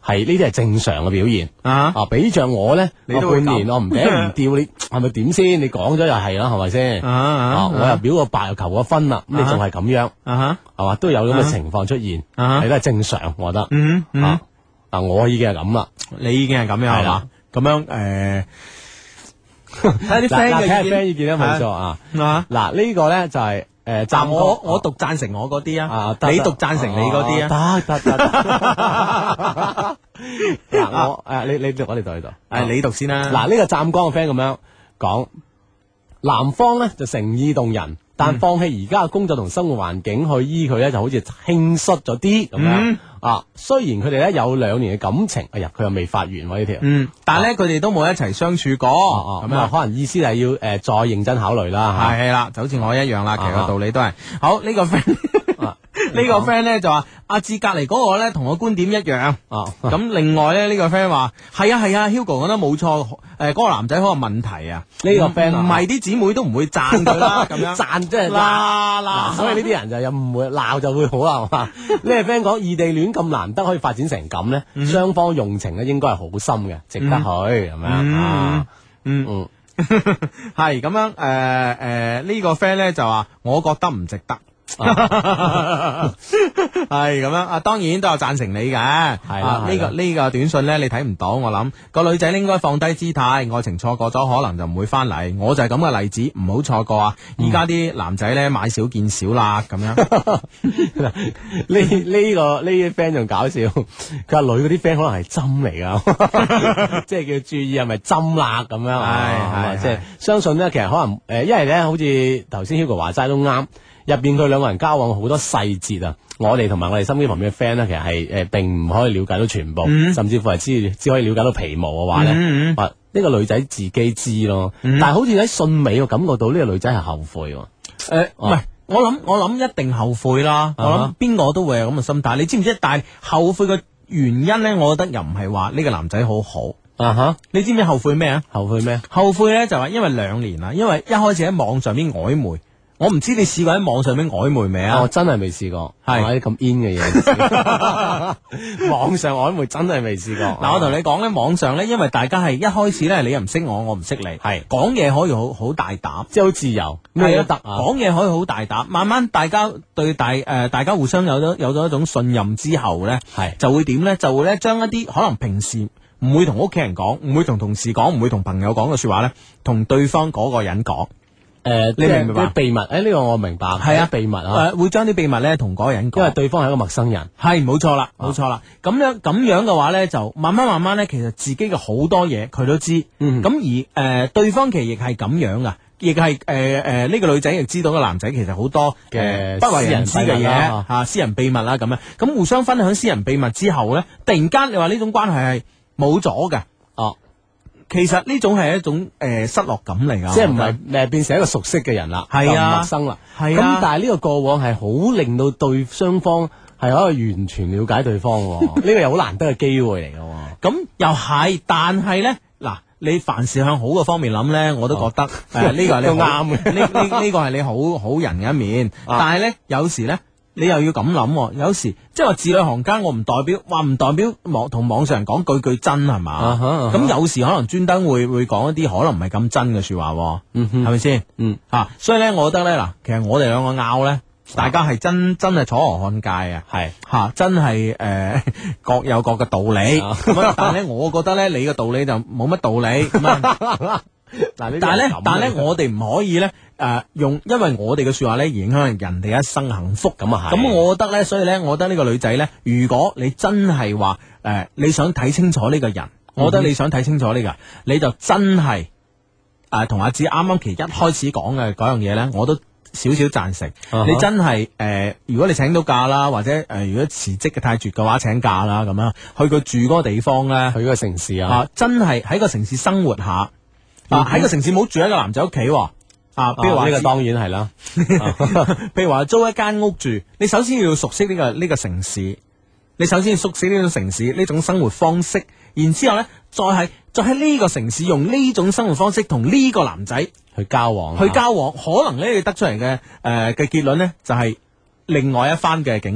D: 係呢啲係正常嘅表現
C: 啊！
D: 啊，比着我咧，
C: 你都會
D: 半年我唔嗲唔吊，你係咪點先？你講咗又係啦，係咪先？啊，我又表個白又求個分啦，咁你仲係咁樣啊？係嘛，都有咁嘅情況出現，係都係正常，我覺得。嗯嗯，啊，我已經係咁啦，
C: 你已經係咁樣係嘛？咁樣誒，睇下啲 friend 嘅意見，
D: 睇下 friend 意見咧，冇錯啊。嗱，呢個咧就係。誒，
C: 暫我我讀贊成我嗰啲啊，你讀贊成你嗰啲
D: 啊，得得得。嗱，我誒，你你讀我哋讀呢度，
C: 誒，你讀先啦。
D: 嗱，呢個湛江嘅 friend 咁樣講，男方咧就誠意動人，但放棄而家嘅工作同生活環境去醫佢咧，就好似輕率咗啲咁樣啊。雖然佢哋咧有兩年嘅感情，哎呀，佢又未發完喎呢條，
C: 嗯，但係咧佢哋都冇一齊相處過，
D: 咁啊，可能意思係要誒再認真考慮啦。
C: 係啦，就好似我一樣啦，其實個道理都係好。呢個 friend 呢個 friend 咧就話阿志隔籬嗰個咧同我觀點一樣。哦，咁另外咧呢個 friend 話係啊係啊 Hugo 講得冇錯，誒嗰個男仔好有問題啊。呢個 friend 唔係啲姊妹都唔會讚佢啦，咁樣讚即係啦啦，所以呢啲人就又唔會鬧就會好啦，係嘛？呢個 friend 講異地戀咁難得可以發展成咁咧，雙方用情咧應該係好深嘅，值得去係咪啊？嗯嗯， 係咁樣誒誒呢個 friend 咧就話我覺得唔值得。係咁樣啊，當然都有贊成你嘅。係啦，呢個呢個短信呢，你睇唔到。我諗個女仔應該放低姿態，愛情錯過咗可能就唔會翻嚟。我就係咁嘅例子，唔好錯過啊！而家啲男仔呢，買少見少啦，咁樣。
D: 呢呢個呢啲 friend 仲搞笑，佢話女嗰啲 friend 可能係針嚟噶，即係叫注意係咪針啦咁樣。係即係相信呢，其實可能誒，因為呢，好似頭先 Hugo 話齋都啱。入邊佢兩個人交往好多細節啊，我哋同埋我哋身邊旁邊嘅 friend 咧，其實係誒、呃、並唔可以了解到全部，嗯、甚至乎係只只可以了解到皮毛嘅話咧，話呢、嗯嗯呢個女仔自己知咯，嗯、但係好似喺信尾我感覺到呢個女仔係後悔喎。誒、
C: 呃，唔係、啊，我諗我諗一定後悔啦，我諗邊個都會有咁嘅心態，你知唔知？但係後悔嘅原因咧，我覺得又唔係話呢個男仔好好啊哈，你知唔知後悔咩啊？
D: 後悔咩？
C: 後悔咧就話因為兩年啦，因為一開始喺網上邊曖昧。我唔知你試過喺網上面曖昧未啊？
D: 我真係未試過，
C: 係
D: 啲咁 in 嘅嘢。網上曖昧真係未試過。
C: 嗱，我同你講咧，網上咧，因為大家係一開始咧，你又唔識我，我唔識你，係講嘢可以好好大膽，
D: 即係好自由，咩都得。
C: 講嘢可以好大膽，慢慢大家對大誒、呃，大家互相有咗有咗一種信任之後咧，係就會點咧？就會咧將一啲可能平時唔會同屋企人講，唔會同同事講，唔會同朋友講嘅說話咧，同對方嗰個人講。
D: 誒，呃、你明唔明白？秘密，誒、欸，呢、這個我明白。係啊，秘密啊，誒、
C: 呃，會將啲秘密咧同嗰個人講，
D: 因為對方係一個陌生人。
C: 係，冇錯啦，冇錯啦。咁樣咁樣嘅話咧，就慢慢慢慢咧，其實自己嘅好多嘢佢都知。咁、嗯、而誒、呃，對方其實亦係咁樣噶，亦係誒誒呢個女仔亦知道個男仔其實好多嘅不為人知嘅嘢吓，私人秘密啦咁樣。咁互相分享私人秘密之後咧，突然間你話呢種關係係冇咗嘅。哦。其實呢種係一種誒、呃、失落感嚟噶，
D: 即係唔係誒變成一個熟悉嘅人啦，
C: 係啊，
D: 陌生啦，
C: 係
D: 啊。咁但係呢個過往係好令到對雙方係可以完全了解對方，呢個又好難得嘅機會嚟噶。
C: 咁又係，但係咧嗱，你凡事向好嘅方面諗咧，我都覺得誒呢、哦呃這個係你啱嘅，呢呢呢個係你好好人嘅一面。啊、但係咧有時咧。你又要咁諗，有時即係話字裏行間，我唔代表話唔代表網同網上人講句句真係嘛？咁、uh huh, uh huh. 有時可能專登會會講一啲可能唔係咁真嘅說話，係咪先？嗯，吓、啊，所以咧，我覺得咧，嗱，其實我哋兩個拗咧，大家係真真係楚河漢界啊，係吓、啊，真係誒、呃、各有各嘅道理。咁、uh huh. 但係咧，我覺得咧，你嘅道理就冇乜道理咁啊。但係咧，但係咧，我哋唔可以咧，誒、呃，用因為我哋嘅說話咧，而影響人哋一生幸福咁啊係。咁我覺得咧，所以咧，我覺得呢個女仔咧，如果你真係話誒，你想睇清楚呢個人，我覺得你想睇清楚呢個人，你就真係誒，同、呃、阿子啱啱其一開始講嘅嗰樣嘢咧，我都少少贊成。Uh huh. 你真係誒、呃，如果你請到假啦，或者誒、呃，如果辭職嘅太絕嘅話，請假啦咁樣，去佢住嗰個地方咧，
D: 去嗰個城市啊，
C: 啊真係喺個城市生活下。啊！喺個城市冇住喺個男仔屋企，啊，比如話呢個當然係啦。譬如話租一間屋住，你首先要熟悉呢個呢個城市，你首先要熟悉呢種城市呢種生活方式，然之後咧，再係再喺呢個城市用呢種生活方式同呢個男仔
D: 去交往，
C: 去交往，可能咧你得出嚟嘅誒嘅結論咧就係另外一番嘅境界，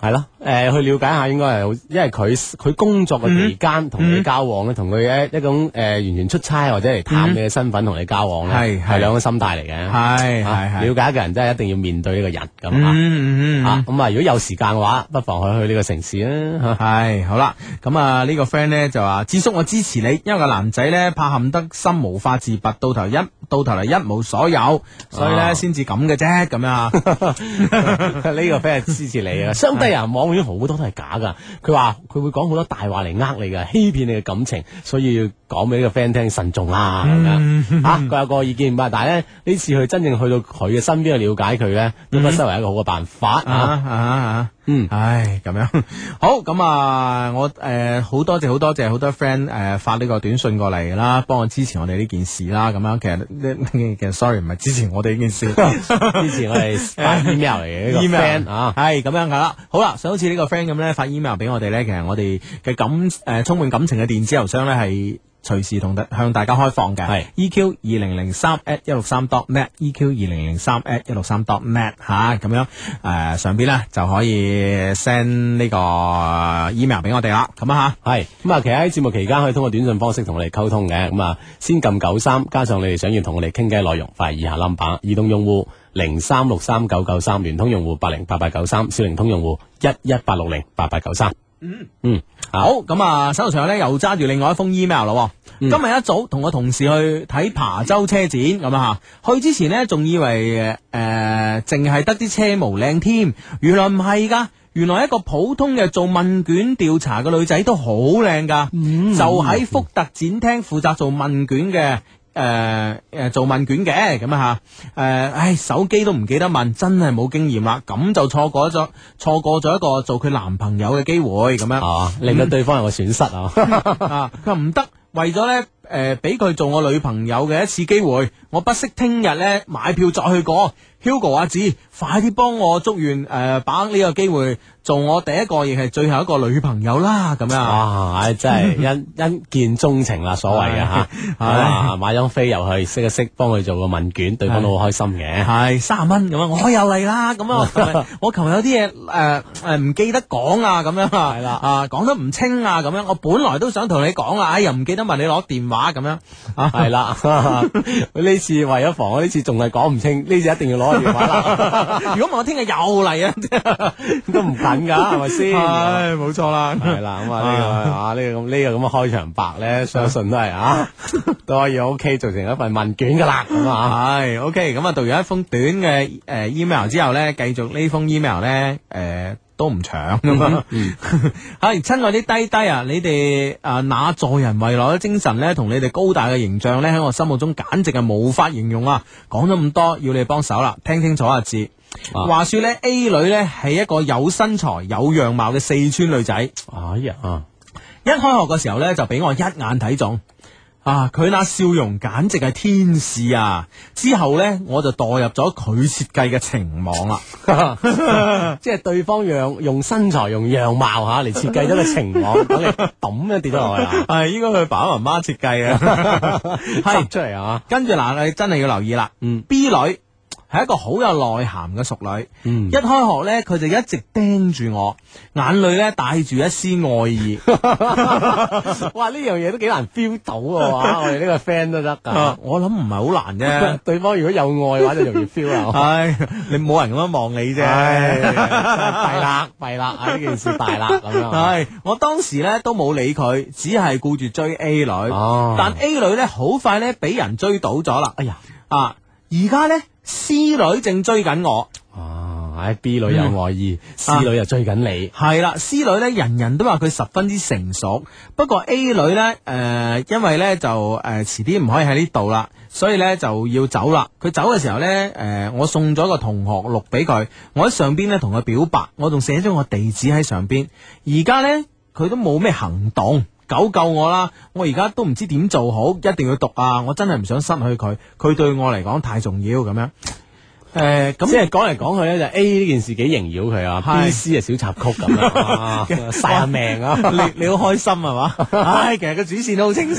D: 係咯，誒、呃，去了解下應該係好，因為佢佢工作嘅期間同你交往咧，同佢一一種誒、呃、完全出差或者嚟探你嘅身份同你交往咧，係係兩個心態嚟嘅，
C: 係係係，
D: 了解一個人真係一定要面對呢個人咁、
C: 嗯、
D: 啊，
C: 嗯嗯
D: 啊咁啊，如果有時間嘅話，不妨去去呢個城市啊，
C: 係好啦，咁啊呢個 friend 咧就話，智叔我支持你，因為個男仔咧怕陷得深無法自拔，到頭一到頭嚟一無所有，所以咧先至咁嘅啫，咁樣啊，呢
D: 個 friend 係支持你啊，相低人網好多都係假噶，佢話佢會講好多大話嚟呃你噶，欺騙你嘅感情，所以要講俾呢個 friend 聽慎重啊咁樣。吓佢有個意見，但係咧呢次去真正去到佢嘅身邊去了解佢咧，都不失為一個好嘅辦法啊啊啊！嗯，唉，咁樣好咁啊！我誒好多謝好多謝好多 friend 誒發呢個短信過嚟啦，幫我支持我哋呢件事啦。咁樣其實其實 sorry 唔係支持我哋呢件事，支持我哋發 email 嚟嘅呢個 friend 啊，係咁樣噶啦。好啦，就好似呢個 friend 咁咧，發 email 俾我哋咧，其實我哋嘅感誒充滿感情嘅電子郵箱咧係隨時同向大家開放嘅，係 E Q 二零零三 at 一六三 dot net E Q 二零零三 at 一六三 dot net 吓，咁樣誒上邊咧就可以 send 呢個 email 俾我哋啦，咁啊吓，係咁啊，其實喺節目期間可以通過短信方式同我哋溝通嘅，咁啊先撳九三，加上你哋想要同我哋傾偈內容，發以下 number， 移動用戶零三六三九九三，聯通用戶八零八八九三，小靈通用戶一一八六零八八九三。嗯嗯，好，咁啊，手頭上咧又揸住另外一封 email 咯。嗯、今日一早同我同事去睇琶洲車展，咁啊吓，去之前呢，仲以為誒淨係得啲車模靚添，原來唔係噶，原來一個普通嘅做問卷調查嘅女仔都好靚噶，嗯、就喺福特展廳負責做問卷嘅。誒誒、呃，做問卷嘅咁啊吓，誒，唉，手機都唔記得問，真係冇經驗啦，咁就錯過咗，錯過咗一個做佢男朋友嘅機會，咁樣，啊，令到對方有個損失啊，啊，佢話唔得，為咗咧，誒，俾佢做我女朋友嘅一次機會，我不惜聽日咧買票再去過。Hugo 阿子，快啲幫我祝願誒，把握呢個機會做我第一個亦係最後一個女朋友啦，咁樣。哇，唉，真係一一見鍾情啦，所謂嘅吓，啊，買張飛入去，識一識，幫佢做個問卷，對方都好開心嘅。係三十蚊咁樣，我又嚟啦，咁樣，我琴日有啲嘢誒誒唔記得講啊，咁樣係啦，啊，講得唔清啊，咁樣，我本來都想同你講啊，哎又唔記得問你攞電話咁樣，係啦，呢次為咗防我呢次仲係講唔清，呢次一定要攞。如果唔係我聽日又嚟啊，都唔緊噶，係咪先？唉，冇錯啦，係啦，咁啊呢個啊呢個咁呢個咁嘅開場白咧，相信都係啊都可以 OK 做成一份問卷噶啦，咁啊係 OK，咁啊讀完一封短嘅誒 email 之後咧，繼續呢封 email 咧誒都唔長咁啊，係親愛啲低低啊，你哋啊那助人為樂嘅精神咧，同你哋高大嘅形象咧，喺我心目中簡直係無法形容啊！講咗咁多，要你幫手啦，聽清楚啊字。啊、話說咧 A 女咧係一個有身材有樣貌嘅四川女仔。哎呀，啊、一開學嘅時候咧就俾我一眼睇中。啊！佢那笑容簡直係天使啊！之後呢，我就墮入咗佢設計嘅情網啦，即係對方用用身材、用樣貌吓嚟設計咗個情網，等你抌一跌咗落去啊！係應該佢爸爸媽媽設計啊，係出嚟啊！跟住嗱，你真係要留意啦。嗯 ，B 女。係一個好有內涵嘅淑女，嗯、一開學咧，佢就一直盯住我，眼裏咧帶住一絲愛意。哇！呢樣嘢都幾難 feel 到嘅話，我哋呢個 friend 都得噶。我諗唔係好難啫，對方如果有愛嘅話，就容易 feel 啊。係你冇人咁樣望你啫，弊啦弊啦，啊呢件事大啦咁樣。係我當時咧都冇理佢，只係顧住追 A 女。哦、但 A 女咧好快咧俾人追倒咗啦。哎呀啊！而家咧。C 女正追緊我，啊！唉 ，B 女有愛意、嗯、，C 女又追緊你，係啦、啊。C 女咧，人人都話佢十分之成熟，不過 A 女咧，誒、呃，因為咧就誒遲啲唔可以喺呢度啦，所以咧就要走啦。佢走嘅時候咧，誒、呃，我送咗個同學錄俾佢，我喺上邊咧同佢表白，我仲寫咗我地址喺上邊。而家咧佢都冇咩行動。救救我啦！我而家都唔知點做好，一定要讀啊！我真係唔想失去佢，佢對我嚟講太重要咁樣。
C: 誒，咁
D: 即係講嚟講去咧，就 A 呢件事幾縈繞佢啊，B、C 係小插曲咁啊，晒下命啊！
C: 你你好開心係嘛？唉，其實個主線都好清晰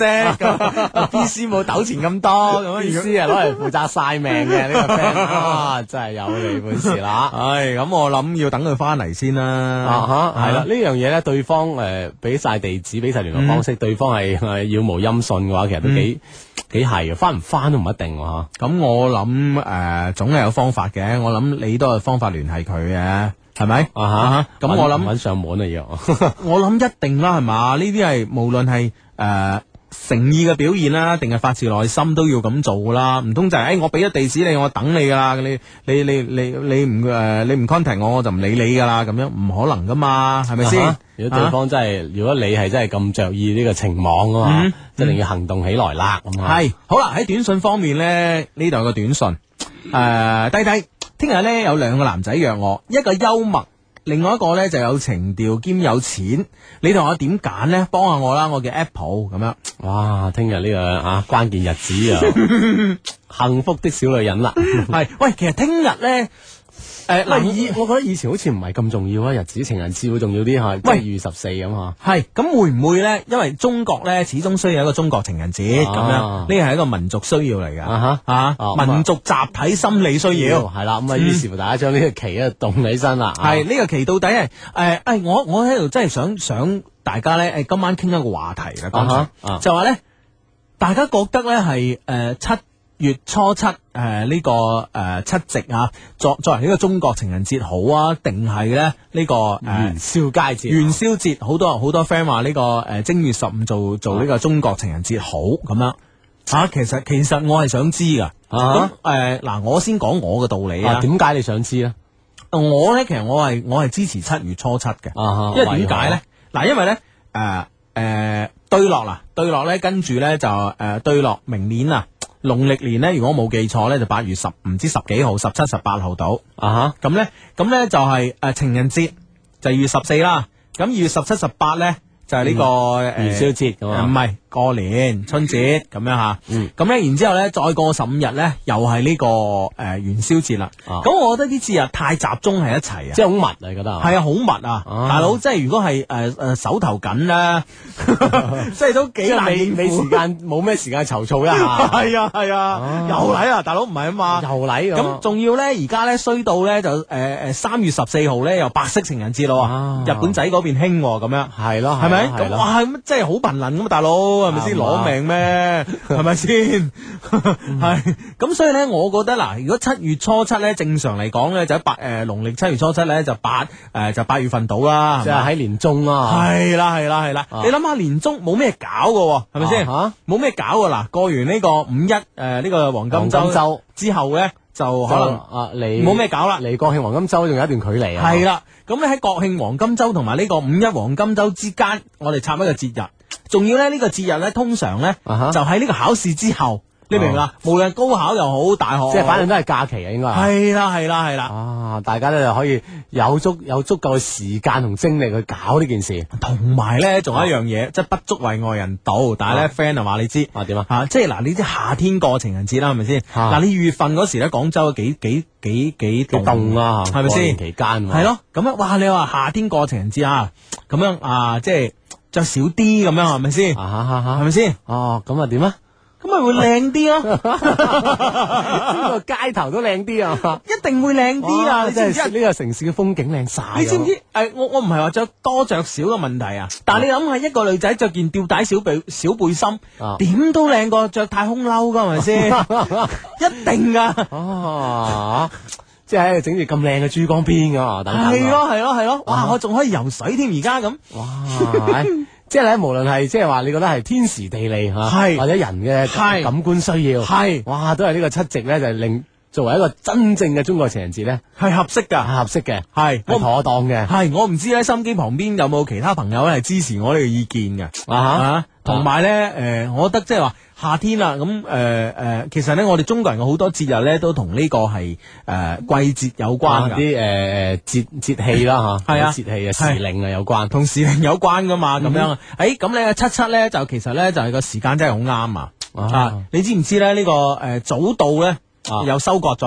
C: ，B、C 冇糾纏咁多咁
D: ，B、C 係攞嚟負責晒命嘅呢個 friend 啊，真係有你本事啦！
C: 唉，咁我諗要等佢翻嚟先啦。
D: 啊哈，係啦，呢樣嘢咧，對方誒俾晒地址，俾晒聯絡方式，對方係係杳無音訊嘅話，其實都幾幾係嘅，翻唔翻都唔一定喎。
C: 咁我諗誒，總係有方法嘅。我諗你都有方法聯繫佢嘅，係咪？啊哈，咁我諗
D: 搵上門啊要。
C: 我諗一定啦，係嘛？呢啲係無論係誒誠意嘅表現啦，定係發自內心都要咁做啦。唔通就係誒我俾咗地址你，我等你噶啦。你你你你你唔誒你唔 contact 我，我就唔理你噶啦。咁樣唔可能噶嘛，係咪先？
D: 如果對方真係，如果你係真係咁着意呢個情網啊嘛，一定要行動起來啦。咁啊，
C: 係好啦。喺短信方面咧，呢度有個短信誒，弟弟。聽日咧有兩個男仔約我，一個幽默，另外一個咧就有情調兼有錢。你同我點揀咧？幫下我啦，我叫 Apple 咁樣。
D: 哇！聽日呢個啊關鍵日子啊，幸福的小女人啦。
C: 係喂，其實聽日咧。誒，嗱，
D: 以我覺得以前好似唔係咁重要啊，日子情人節會重要啲吓，即係二月十四咁吓。
C: 係，咁會唔會咧？因為中國咧始終需要一個中國情人節咁樣，呢係一個民族需要嚟噶。啊哈，啊，民族集體心理需要
D: 係啦。咁啊，於是乎大家將呢個旗啊動起身啦。
C: 係呢個旗到底係誒誒，我我喺度真係想想大家咧，誒今晚傾一個話題啦。剛才就話咧，大家覺得咧係誒七月初七誒呢、呃這個誒、呃、七夕啊，作作為呢個中國情人節好啊，定係咧呢個誒、呃、
D: 元宵佳節？
C: 元宵節好多好多 friend 話呢個誒、呃、正月十五做做呢個中國情人節好咁樣啊。其實其實我係想知噶。咁誒嗱，我先講我嘅道理啊。
D: 點解你想知咧？
C: 我咧其實我係我係支持七月初七嘅。啊、因為點解咧？嗱，因為咧誒誒對落啦，對落咧跟住咧就誒、呃、對落明年啊。農曆年咧，如果冇記錯咧，就八月十唔知十幾號，十七、十八號到啊吓。咁咧，咁咧就係誒情人節就二月十四啦。咁二月十七、十八咧就係呢個誒
D: 元宵節咁啊，
C: 唔係過年春節咁樣吓。咁咧，然之後咧再過十五日咧，又係呢個誒元宵節啦。咁我覺得啲節日太集中喺一齊啊，
D: 即係好密啊，你覺得
C: 係啊，好密啊，大佬。即係如果係誒誒手頭緊咧，即係都幾難應付。
D: 你時間冇咩時間籌措一下。
C: 係啊係啊，又嚟啊，大佬唔係啊嘛，
D: 又嚟
C: 咁。仲要咧，而家咧衰到咧就誒誒三月十四號咧又白色情人節咯，日本仔嗰邊興咁樣。
D: 係咯，
C: 係咪？咁哇，咁真係好頻能咁啊，大佬係咪先攞命咩？係咪先？係咁，所以咧，我覺得嗱，如果七月初七咧，正常嚟講咧就喺八誒農曆七月初七咧就八誒就八月份到啦，
D: 即係喺年中啦。
C: 係啦係啦係啦，你諗下年中冇咩搞㗎，係咪先？吓，冇咩搞㗎嗱，過完呢個五一誒呢個黃金周之後咧，就可能
D: 啊你
C: 冇咩搞啦，
D: 離國慶黃金周仲有一段距離啊。
C: 係啦，咁咧喺國慶黃金周同埋呢個五一黃金周之間，我哋插一個節日，仲要咧呢個節日咧，通常咧就喺呢個考試之後。你明唔明啊？無論高考又好，大學
D: 即係反正都係假期啊，應該
C: 係啦，係啦，係啦。
D: 啊，大家咧就可以有足有足夠嘅時間同精力去搞呢件事。
C: 同埋咧，仲有一樣嘢，即係不足為外人道。但係咧，friend 啊話你知
D: 啊點啊？
C: 吓，即係嗱，你知夏天過情人節啦，係咪先？嗱，你二月份嗰時咧，廣州幾幾幾幾
D: 凍啊，
C: 係咪先？
D: 期間
C: 係咯，咁樣哇！你話夏天過情人節啊，咁樣啊，即係着少啲咁樣，係咪先？係咪先？
D: 哦，咁啊點啊？
C: 咁咪會靚啲咯，
D: 呢個街頭都靚啲啊，
C: 一定會靚啲啊！你知唔知
D: 呢個城市嘅風景靚晒？
C: 你知唔知？誒、呃，我我唔係話着多着少嘅問題啊，但係你諗下，一個女仔着件吊帶小背小背心，點、啊、都靚過着太空褸噶，係咪先？一定噶，
D: 哦，即係整住咁靚嘅珠江邊噶，等等。
C: 係咯係咯係咯，哇！啊、我仲可以游水添，而家咁，
D: 哇！即係咧，無論係即係話，你覺得係天時地利吓，係或者人嘅感官需要，係哇，都係呢個七夕咧，就令作為一個真正嘅中國情人節咧，
C: 係合適噶，
D: 係合適嘅，
C: 係
D: 係妥當嘅。
C: 係我唔知咧，心機旁邊有冇其他朋友咧係支持我呢個意見嘅啊？同埋咧，誒，我覺得即係話夏天啦，咁誒誒，其實咧，我哋中國人嘅好多節日咧，都同呢個係誒季節有關噶，
D: 啲誒誒節節氣啦吓，
C: 係啊，
D: 節氣啊時令啊有關，
C: 同時令有關噶嘛，咁樣。誒，咁你七七咧就其實咧就係個時間真係好啱啊！啊，你知唔知咧呢個誒早稻咧又收割咗啦？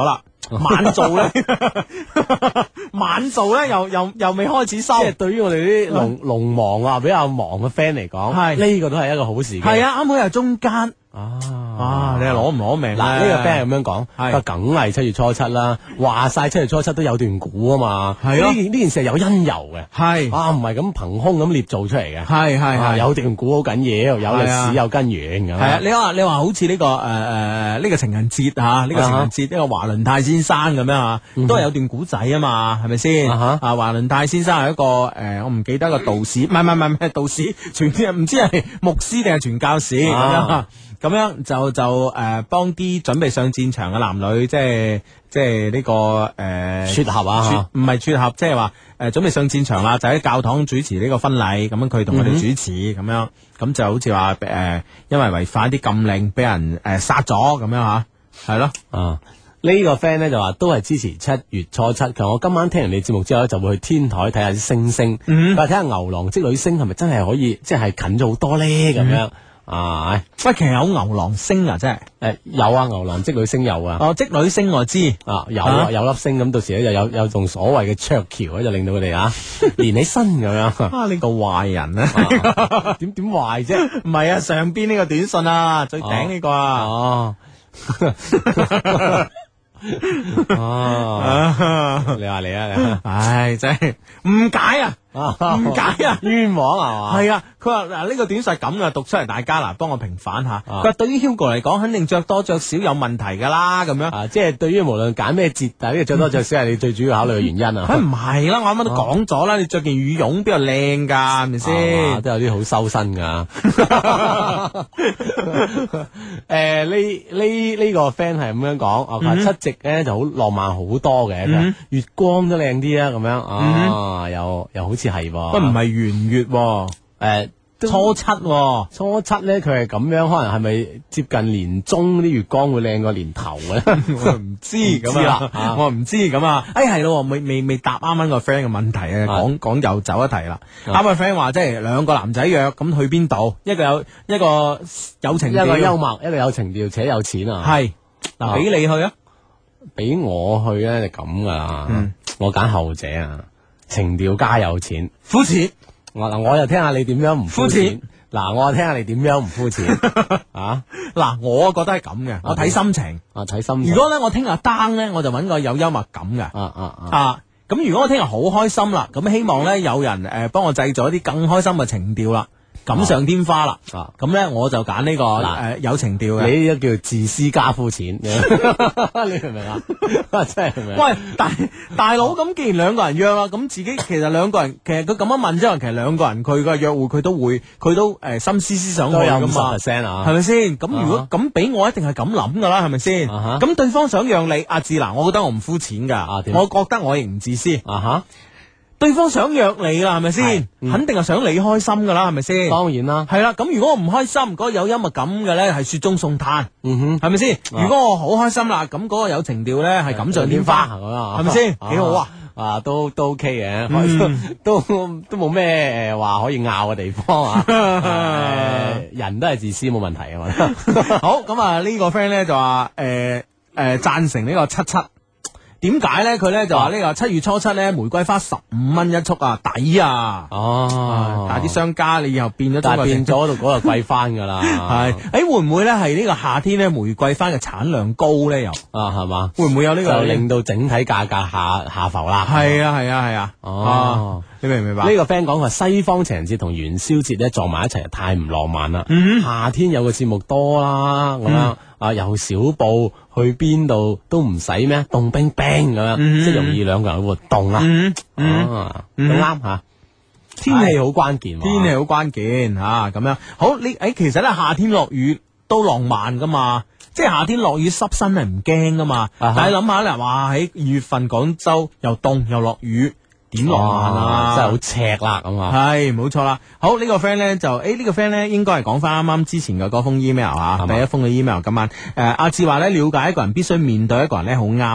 C: 晚做咧，晚做咧又又又未開始收。
D: 即係對於我哋啲農農忙啊比較忙嘅 friend 嚟講，係呢個都係一個好時機。
C: 係啊，啱好又中間。
D: 啊！
C: 啊！你係攞唔攞命？
D: 嗱，呢個 friend 係咁樣講，佢梗係七月初七啦。話晒七月初七都有段估啊嘛。係咯，呢件呢件事係有因由嘅。係啊，唔係咁憑空咁捏造出嚟嘅。係係係，有段估好緊要，有歷史有根源咁。係啊，你話你話好似呢個誒誒呢個情人節啊，呢個情人節呢個華倫泰先生咁樣啊，都係有段古仔啊嘛，係咪先？啊華倫泰先生係一個誒，我唔記得個道士，唔係唔係唔係道士，傳唔知係牧師定係傳教士咁樣。咁樣就就誒幫啲準備上戰場嘅男女，即係即係呢個誒撮合啊，唔係撮合，即係話誒準備上戰場啦，就喺教堂主持呢個婚禮，咁樣佢同我哋主持咁樣，咁就好似話誒因為違反啲禁令，俾人誒殺咗咁樣吓，係咯啊。呢個 friend 咧就話都係支持七月初七，其實我今晚聽完你節目之後咧，就會去天台睇下啲星星，但係睇下牛郎織女星係咪真係可以即係近咗好多咧咁樣。啊！喂，其實有牛郎星啊，真係誒有啊，牛郎織女星有啊。哦，織女星我知啊，有啊，有粒星咁，到時咧就有有種所謂嘅鵲橋咧，就令到佢哋啊連起身咁樣。啊，你個壞人啊！點點壞啫？唔係啊，上邊呢個短信啊，最頂呢個啊。哦。哦，你話你啊，你唉，真係誤解啊！誤解啊！冤枉係嘛？係啊，佢話嗱呢個短信係咁啊，讀出嚟大家嗱，幫我平反下。佢話對於 Hugo 嚟講，肯定着多着少有問題噶啦，咁樣啊，即係對於無論揀咩節，但係呢個着多着少係你最主要考慮嘅原因啊。佢唔係啦，我啱啱都講咗啦，你着件羽絨邊度靚噶，係咪先？都有啲好修身噶。誒，呢呢呢個 friend 係咁樣講，啊，佢話七夕咧就好浪漫好多嘅，月光都靚啲啊，咁樣啊，又又好。似係喎，不唔係圓月喎，誒初七喎，初七咧佢係咁樣，可能係咪接近年中啲月光會靚過年頭咧？我唔知咁啊，我唔知咁啊，誒係咯，未未未答啱啱個 friend 嘅問題啊，講講又走一題啦。啱個 friend 話即係兩個男仔約咁去邊度？一個有一個有情調，一個幽默，一個有情調且有錢啊。係嗱，俾你去啊，俾我去咧就咁噶啦，我揀後者啊。情調加有錢，膚淺。我嗱，我又聽下你點樣唔膚淺。嗱，我又聽下你點樣唔膚淺。啊，嗱，我覺得係咁嘅，我睇心情。啊，睇心情。如果咧我聽日 down 咧，我就揾個有幽默感嘅。啊啊啊！啊，咁如果我聽日好開心啦，咁希望咧有人誒幫我製造一啲更開心嘅情調啦。錦上添花啦，咁咧我就揀呢個誒有情調嘅，你呢個叫自私加膚淺，你明唔明啊？真係明。喂，大大佬，咁既然兩個人約啦，咁自己其實兩個人，其實佢咁樣問之後，其實兩個人佢嘅約會佢都會，佢都誒心思思想去噶嘛，係咪先？咁如果咁俾我，一定係咁諗噶啦，係咪先？咁對方想讓你，阿志嗱，我覺得我唔膚淺噶，我覺得我亦唔自私。啊哈。對方想約你啦，係咪先？嗯、肯定係想你開心噶啦，係咪先？當然啦，係啦。咁如果我唔開心，嗰、嗰個有幽默感嘅咧，係雪中送炭，嗯哼，係咪先？啊、如果我好開心啦，咁、嗰、嗰個有情調咧，係錦上添花，係咪先？幾好啊！啊，都都 OK 嘅，嗯、都都冇咩誒話可以拗嘅地方啊。呃、人都係自私，冇問題啊嘛。好，咁啊呢個 friend 咧就話誒誒贊成呢個七七。點解咧？佢咧就話呢個七月初七咧，玫瑰花十五蚊一束啊，抵啊！哦，但係啲商家你以後變咗，但係變咗度嗰度貴翻噶啦。係，誒會唔會咧係呢個夏天咧玫瑰花嘅產量高咧？又啊係嘛？會唔會有呢個就令到整體價格下下浮啦？係啊係啊係啊！哦，你明唔明白？呢個 friend 講話西方情人節同元宵節咧撞埋一齊，太唔浪漫啦。嗯，夏天有個節目多啦，咁樣啊由小布去邊度都唔使咩，凍冰冰咁樣，即係容易兩個人去活動啦。啊，都啱吓。天氣好關鍵，天氣好關鍵吓，咁樣好。你誒，其實咧夏天落雨都浪漫噶嘛，即係夏天落雨濕身係唔驚噶嘛。但係諗下咧，哇喺二月份廣州又凍又落雨。點浪漫啊！真係好赤啦咁啊！係冇錯啦。好、這個、呢個 friend 咧就誒、欸這個、呢個 friend 咧應該係講翻啱啱之前嘅嗰封 email 啊，吧第一封嘅 email 今晚誒阿志話咧了解一個人必須面對一個人咧好啱。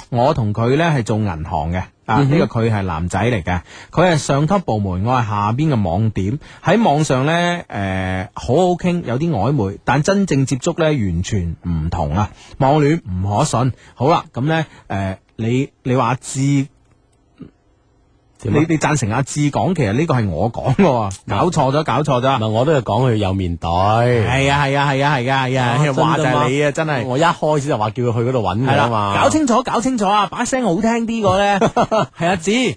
C: 我同佢呢係做銀行嘅。啊！呢、這個佢係男仔嚟嘅，佢係上級部門，我係下邊嘅網點。喺網上呢，誒、呃、好好傾，有啲曖昧，但真正接觸呢，完全唔同啊！網戀唔可信。好啦，咁呢，誒、呃，你你話知？你你贊成阿志講，其實呢個係我講嘅，搞錯咗，搞錯咗。
D: 唔係，我都係講佢有面對。
C: 係啊，係啊，係啊，係啊，係啊，話就係你啊，真係。
D: 我一開始就話叫佢去嗰度揾佢啊嘛。
C: 搞清楚，搞清楚啊！把聲好聽啲個咧，係阿志。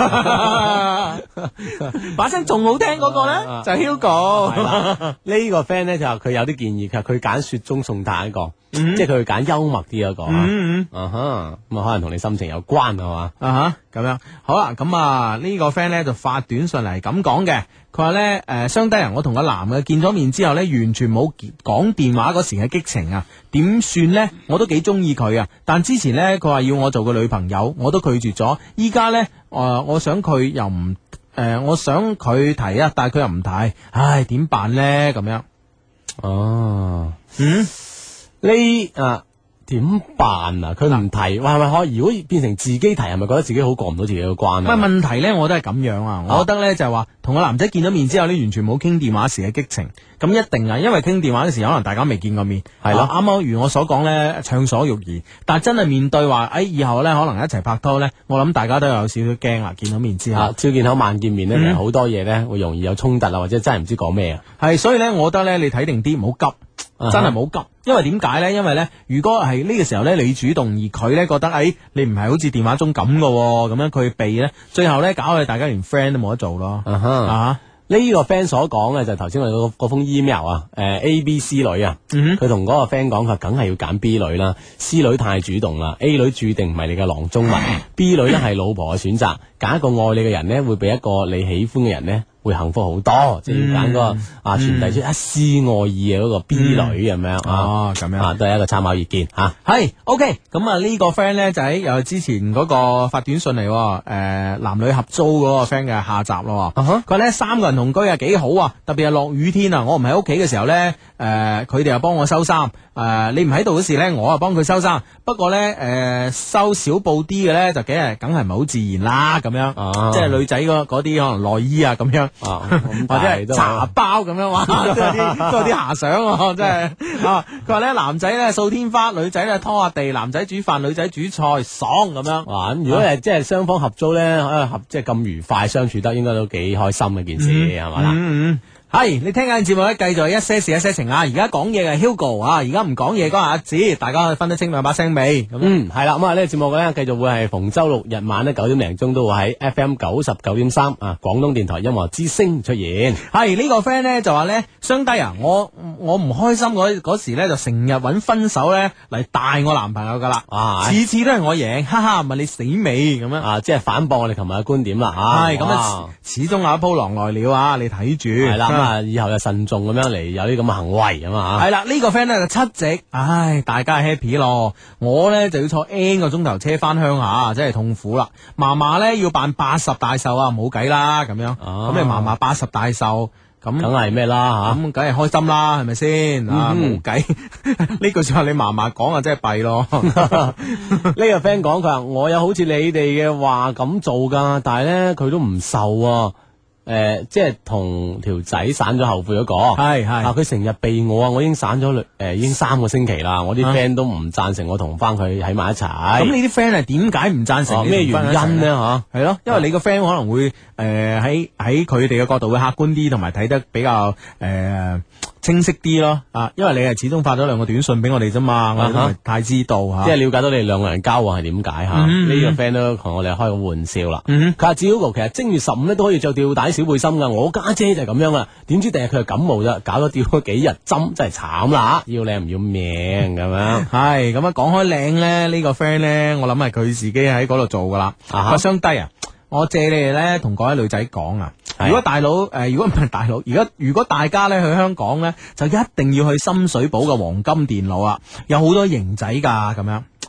C: 把聲仲好聽嗰個咧，就係 Hugo。
D: 呢個 friend 咧就話佢有啲建議，佢佢揀雪中送炭一個。嗯、即係佢揀幽默啲嗰、那個，嗯嗯、啊哈，咁啊可能同你心情有關係嘛，
C: 啊哈，咁樣好啦，咁啊呢個 friend 咧就發短信嚟咁講嘅，佢話咧誒，相低人我同個男嘅見咗面之後咧，完全冇講電話嗰時嘅激情啊，點算咧？我都幾中意佢啊，但之前咧佢話要我做個女朋友，我都拒絕咗，依家咧誒，我想佢又唔誒、呃，我想佢提啊，但係佢又唔提，唉，點辦咧？咁樣，
D: 哦，
C: 嗯。
D: 呢啊點辦啊？佢唔提，哇係咪可以？如果變成自己提，係咪覺得自己好過唔到自己嘅關啊？
C: 唔係問題咧，我都係咁樣啊！我覺得咧就係話，同個男仔見咗面之後咧，完全冇傾電話時嘅激情。咁一定啊，因為傾電話嘅時候，可能大家未見過面，係咯。啱啱如我所講咧，暢所欲言。但係真係面對話，誒以後咧可能一齊拍拖咧，我諗大家都有少少驚啦。見到面之後，
D: 朝見口晚見面咧，其實好多嘢咧會容易有衝突啊，或者真係唔知講咩啊。
C: 係，所以咧，我覺得咧，你睇定啲，唔好急。真係冇急，因為點解咧？因為咧，如果係呢個時候咧，你主動而佢咧覺得，誒、哎，你唔係好似電話中咁噶，咁樣佢避咧，最後咧搞到大家連 friend 都冇得做咯。啊哈，啊
D: 呢個 friend 所講嘅就係頭先我哋嗰封 email 啊，誒 A B C 女啊，佢同嗰個 friend 講，佢梗係要揀 B 女啦 ，C 女太主動啦 ，A 女注定唔係你嘅囊中物，B 女咧係老婆嘅選擇，揀一個愛你嘅人咧，會比一個你喜歡嘅人咧。會幸福好多，即係要揀嗰個啊傳遞出一絲愛意嘅嗰個 B 女咁樣
C: 哦，咁樣
D: 啊，都係一個參考意見吓。
C: 係 OK，咁啊呢個 friend 咧就喺又係之前嗰個發短信嚟，誒男女合租嗰個 friend 嘅下集咯。佢話咧三個人同居啊幾好啊，特別係落雨天啊，我唔喺屋企嘅時候咧，誒佢哋又幫我收衫，誒你唔喺度嗰時咧，我啊幫佢收衫。不過咧誒收少布啲嘅咧就梗係梗係唔係好自然啦，咁樣，即係女仔嗰嗰啲可能內衣啊咁樣。啊，或者係茶包咁樣，哇，都有啲都有啲遐想，真係啊！佢話咧男仔咧掃天花，女仔咧拖下地，男仔煮飯，女仔煮菜，爽咁樣。
D: 哇！如果係即係雙方合租咧，合即係咁愉快相處得，應該都幾開心嘅件事，係嘛啦？
C: 嗯嗯。係，你聽緊節目咧，繼續一些事一些情啊！而家講嘢嘅 Hugo 啊，而家唔講嘢嗰個阿子，大家可以分得清兩把聲未？咁
D: 嗯，係啦，咁啊呢個節目咧，繼續會係逢周六日晚咧九點零鐘都會喺 F M 九十九點三啊，廣東電台音樂之聲出現。
C: 係、這個、呢個 friend 咧就話咧，雙低啊，我我唔開心嗰嗰時咧就成日揾分手咧嚟帶我男朋友噶啦，啊，次次都係我贏，哈哈，問你死未咁樣
D: 啊，即係反駁我哋琴日嘅觀點啦，吓
C: 係咁啊，始終有一鋪狼來了啊，你睇住
D: 係啦。啊！以後就慎重咁樣嚟有啲咁嘅行為咁啊！
C: 係啦，呢個 friend 咧就七夕，唉，大家 happy 咯。我咧就要坐 N 個鐘頭車翻鄉下，真係痛苦啦。嫲嫲咧要辦八十大壽啊，冇計啦咁樣。咁你嫲嫲八十大壽，咁梗
D: 係咩啦吓？
C: 咁梗係開心啦，係咪先？啊，冇計。呢句說話你嫲嫲講啊，真係弊咯。
D: 呢個 friend 講佢話我有好似你哋嘅話咁做噶，但係咧佢都唔受啊。誒、呃，即係同條仔散咗後悔嗰、那個，係係啊，佢成日避我啊，我已經散咗誒、呃，已經三個星期啦，我啲 friend 都唔贊成我同翻佢喺埋一齊。咁
C: 你啲 friend 係點解唔贊成？咩、啊、原因呢？吓係咯，因為你個 friend 可能會誒喺喺佢哋嘅角度會客觀啲，同埋睇得比較誒。呃清晰啲咯，啊，因為你係始終發咗兩個短信俾我哋啫嘛，我哋都唔係太知道吓，
D: 即係了解到你哋兩個人交往係點解吓。呢個 friend 都同我哋開個玩笑啦。佢話子 Hugo 其實正月十五咧都可以着吊帶小背心噶，我家姐就係咁樣啦。點知第日佢係感冒啫，搞咗吊咗幾日針，真係慘啦！要靚唔要命咁樣。係咁啊，講開靚咧，呢個 friend 咧，我諗係佢自己喺嗰度做噶啦。發雙低啊！我借你哋咧同嗰位女仔講啊，如果大佬誒、呃，如果唔係大佬，如果如果大家咧去香港咧，就一定要去深水埗嘅黃金電腦啊，有好多型仔噶咁樣。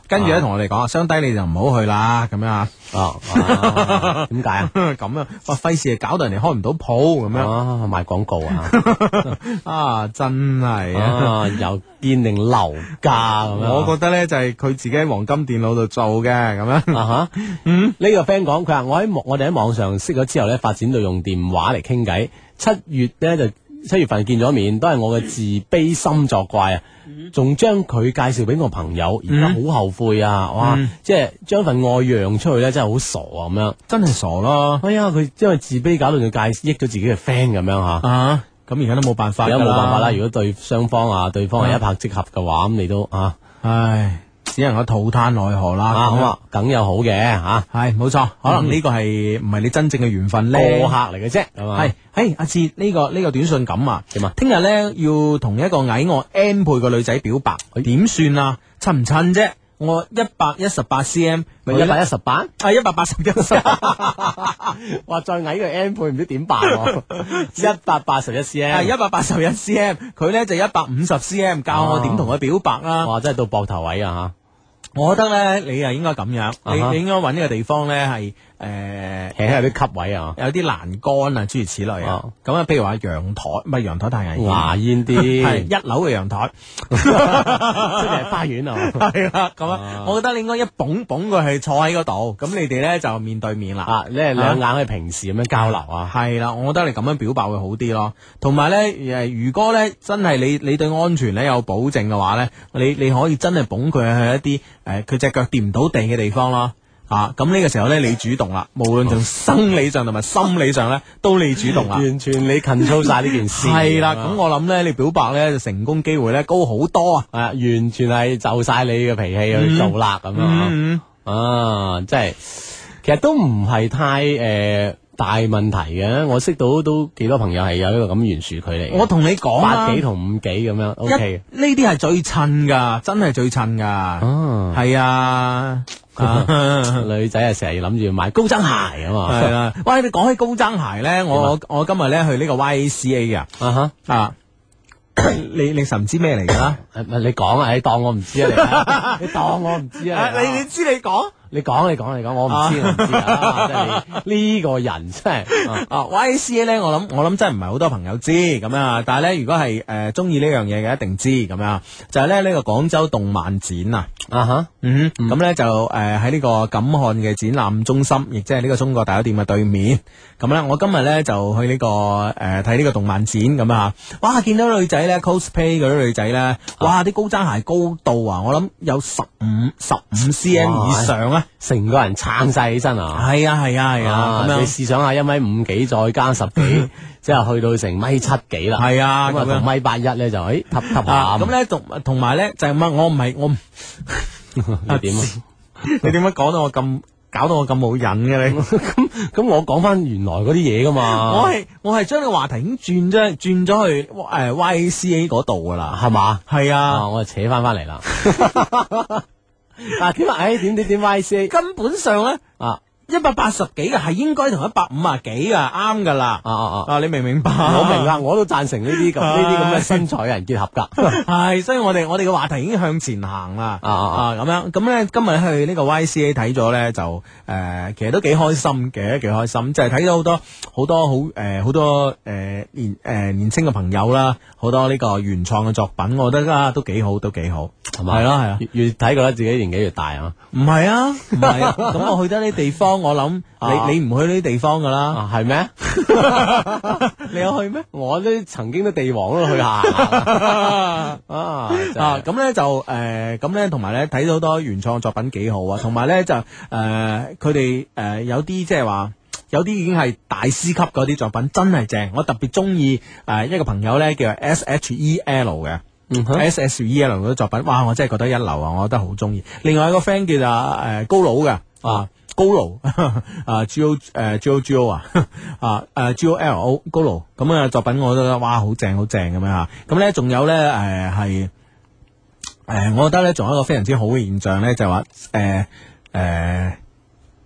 C: 跟住咧同我哋講，相低你就唔好去啦，咁樣啊。
D: 哦，點解啊？
C: 咁啊，哇，費事搞到人哋開唔到鋪咁樣
D: 啊，賣廣告啊！
C: 啊，真係
D: 啊，又堅定樓價咁樣。
C: 我覺得咧就係佢自己喺黃金電腦度做嘅咁樣。
D: 啊哈，嗯，呢個 friend 講，佢話我喺我哋喺網上識咗之後咧，發展到用電話嚟傾偈。七月咧就七月份見咗面，都係我嘅自卑心作怪啊！仲將佢介紹俾我朋友，而家好後悔啊！哇，
C: 嗯、
D: 即係將份愛讓出去咧，真係好傻啊！咁樣
C: 真係傻咯。
D: 哎呀，佢因為自卑搞到佢介益咗自己嘅 friend 咁樣吓。
C: 啊，咁而家都冇辦法，
D: 而家冇辦法啦。如果對雙方啊，對方係一拍即合嘅話，咁你都啊，
C: 唉。只能夠吐嘆奈何啦，
D: 啊好啊，梗有好嘅吓，
C: 係冇錯，可能呢個係唔係你真正嘅緣分咧，
D: 過客嚟嘅啫，係嘛？
C: 係，誒阿志呢個呢個短信咁啊，
D: 點啊？
C: 聽日咧要同一個矮我 N 倍嘅女仔表白，點算啊？襯唔襯啫？我一百一十八 cm，
D: 咪一百一十八，
C: 啊一百八十一，
D: 哇再矮個 N 倍唔知點辦喎？一百八十一 cm，
C: 係一百八十一 cm， 佢咧就一百五十 cm， 教我點同佢表白啦。
D: 哇，真係到膊頭位啊吓！
C: 我覺得咧，你又應該咁樣，你、uh huh. 你應該揾呢個地方咧係誒，
D: 其實有啲吸位啊，
C: 有啲欄杆啊，諸如此類啊。咁啊，譬如話陽台，唔係陽台太危險，
D: 牙煙啲，
C: 係一樓嘅陽台，
D: 即係花園啊。
C: 係啦，咁啊，我覺得你應該一捧捧佢係坐喺嗰度，咁你哋咧就面對面啦。
D: 啊，你係兩眼係平時咁樣交流啊。
C: 係啦，我覺得你咁樣表白會好啲咯。同埋咧，誒，如果咧真係你你對安全咧有保證嘅話咧，你你可以真係捧佢去一啲。誒，佢隻腳掂唔到地嘅地方咯，啊，咁呢個時候咧，你主動啦，無論從生理上同埋心理上咧，都你主動啦，
D: 完全你 control 晒呢件事。
C: 係啦，咁我諗咧，你表白咧，就成功機會咧高好多啊，
D: 係啊，完全係就晒你嘅脾氣去做啦，咁、嗯、樣啊，即係其實都唔係太誒。呃大問題嘅，我識到都幾多朋友係有一個咁懸殊距離。
C: 我同你講
D: 八幾同五幾咁樣 ，O K。
C: 呢啲係最襯噶，真係最襯噶。哦，係啊，
D: 女仔啊，成日諗住買高踭鞋啊嘛。
C: 係啊，喂，你講起高踭鞋咧，我我今日咧去呢個 Y A C A 噶。啊哈啊，你你實唔知咩嚟噶啦？
D: 你講啊，你當我唔知啊，你當我唔知啊。
C: 你你知你講。
D: 你講你講你講，我唔知我唔知啊！即係你呢個人真係
C: 啊 Y A C A 咧，我諗我諗真係唔係好多朋友知咁樣，但係咧如果係誒中意呢樣嘢嘅一定知咁樣，就係咧呢個廣州動漫展啊啊哈嗯咁咧就誒喺呢個錦漢嘅展覽中心，亦即係呢個中國大酒店嘅對面。咁咧我今日咧就去呢個誒睇呢個動漫展咁啊！哇，見到女仔咧 cosplay 嗰啲女仔咧，哇啲高踭鞋高度啊，我諗有十五十五 cm 以上啊！
D: 成個人撐晒起身啊！
C: 係啊係啊係啊！咁樣
D: 你試想下，一米五幾再加十幾，即係去到成米七幾啦。
C: 係啊，
D: 咁啊同米八一咧就誒吸吸下。
C: 咁咧同同埋咧就係乜？我唔係我
D: 你點啊？
C: 你點解講到我咁搞到我咁冇癮嘅你？
D: 咁咁我講翻原來嗰啲嘢噶嘛？
C: 我係我係將個話題已經轉咗轉咗去誒 Y A C A 嗰度噶啦，
D: 係嘛？
C: 係啊，
D: 我就扯翻翻嚟啦。啊點啊？誒點點點 Y C A
C: 根本上咧啊一百八十幾嘅係應該同一百五啊幾啊啱噶啦。啊啊啊！你明唔明白？
D: 我明啦，我都贊成呢啲咁呢啲咁嘅身材嘅人結合噶。
C: 係，所以我哋我哋嘅話題已經向前行啦。啊啊啊！咁樣咁咧，今日去呢個 Y C A 睇咗咧，就誒、呃、其實都幾開心嘅，幾開心，就係、是、睇到好多好多好誒好多誒、呃、年誒、呃、年輕嘅朋友啦，好多呢個原創嘅作品，我覺得啊都幾好，都幾好，係嘛？係咯係啊，
D: 越睇覺得自己年紀越大啊。
C: 唔係啊，唔係啊，咁我去得呢啲地方，我諗你你唔去呢啲地方噶啦，
D: 係咩？
C: 你有去咩？
D: 我都曾經都地王都去下啊
C: 啊！咁咧就誒，咁咧同埋咧睇到好多原創作品幾好啊，同埋咧就誒，佢哋誒有啲即係話有啲已經係大師級嗰啲作品，真係正。我特別中意誒一個朋友咧叫 S H E L 嘅。嗯、S S E L 嗰啲作品，哇！我真係覺得一流啊，我覺得好中意。另外一個 friend 叫做誒、呃、高佬嘅啊，高佬啊 G O 誒 G O G O 啊啊誒 G O L O 高佬咁嘅作品，我覺得哇好正好正咁樣吓。咁咧仲有咧誒係誒，我覺得咧仲有一個非常之好嘅現象咧，就係話誒誒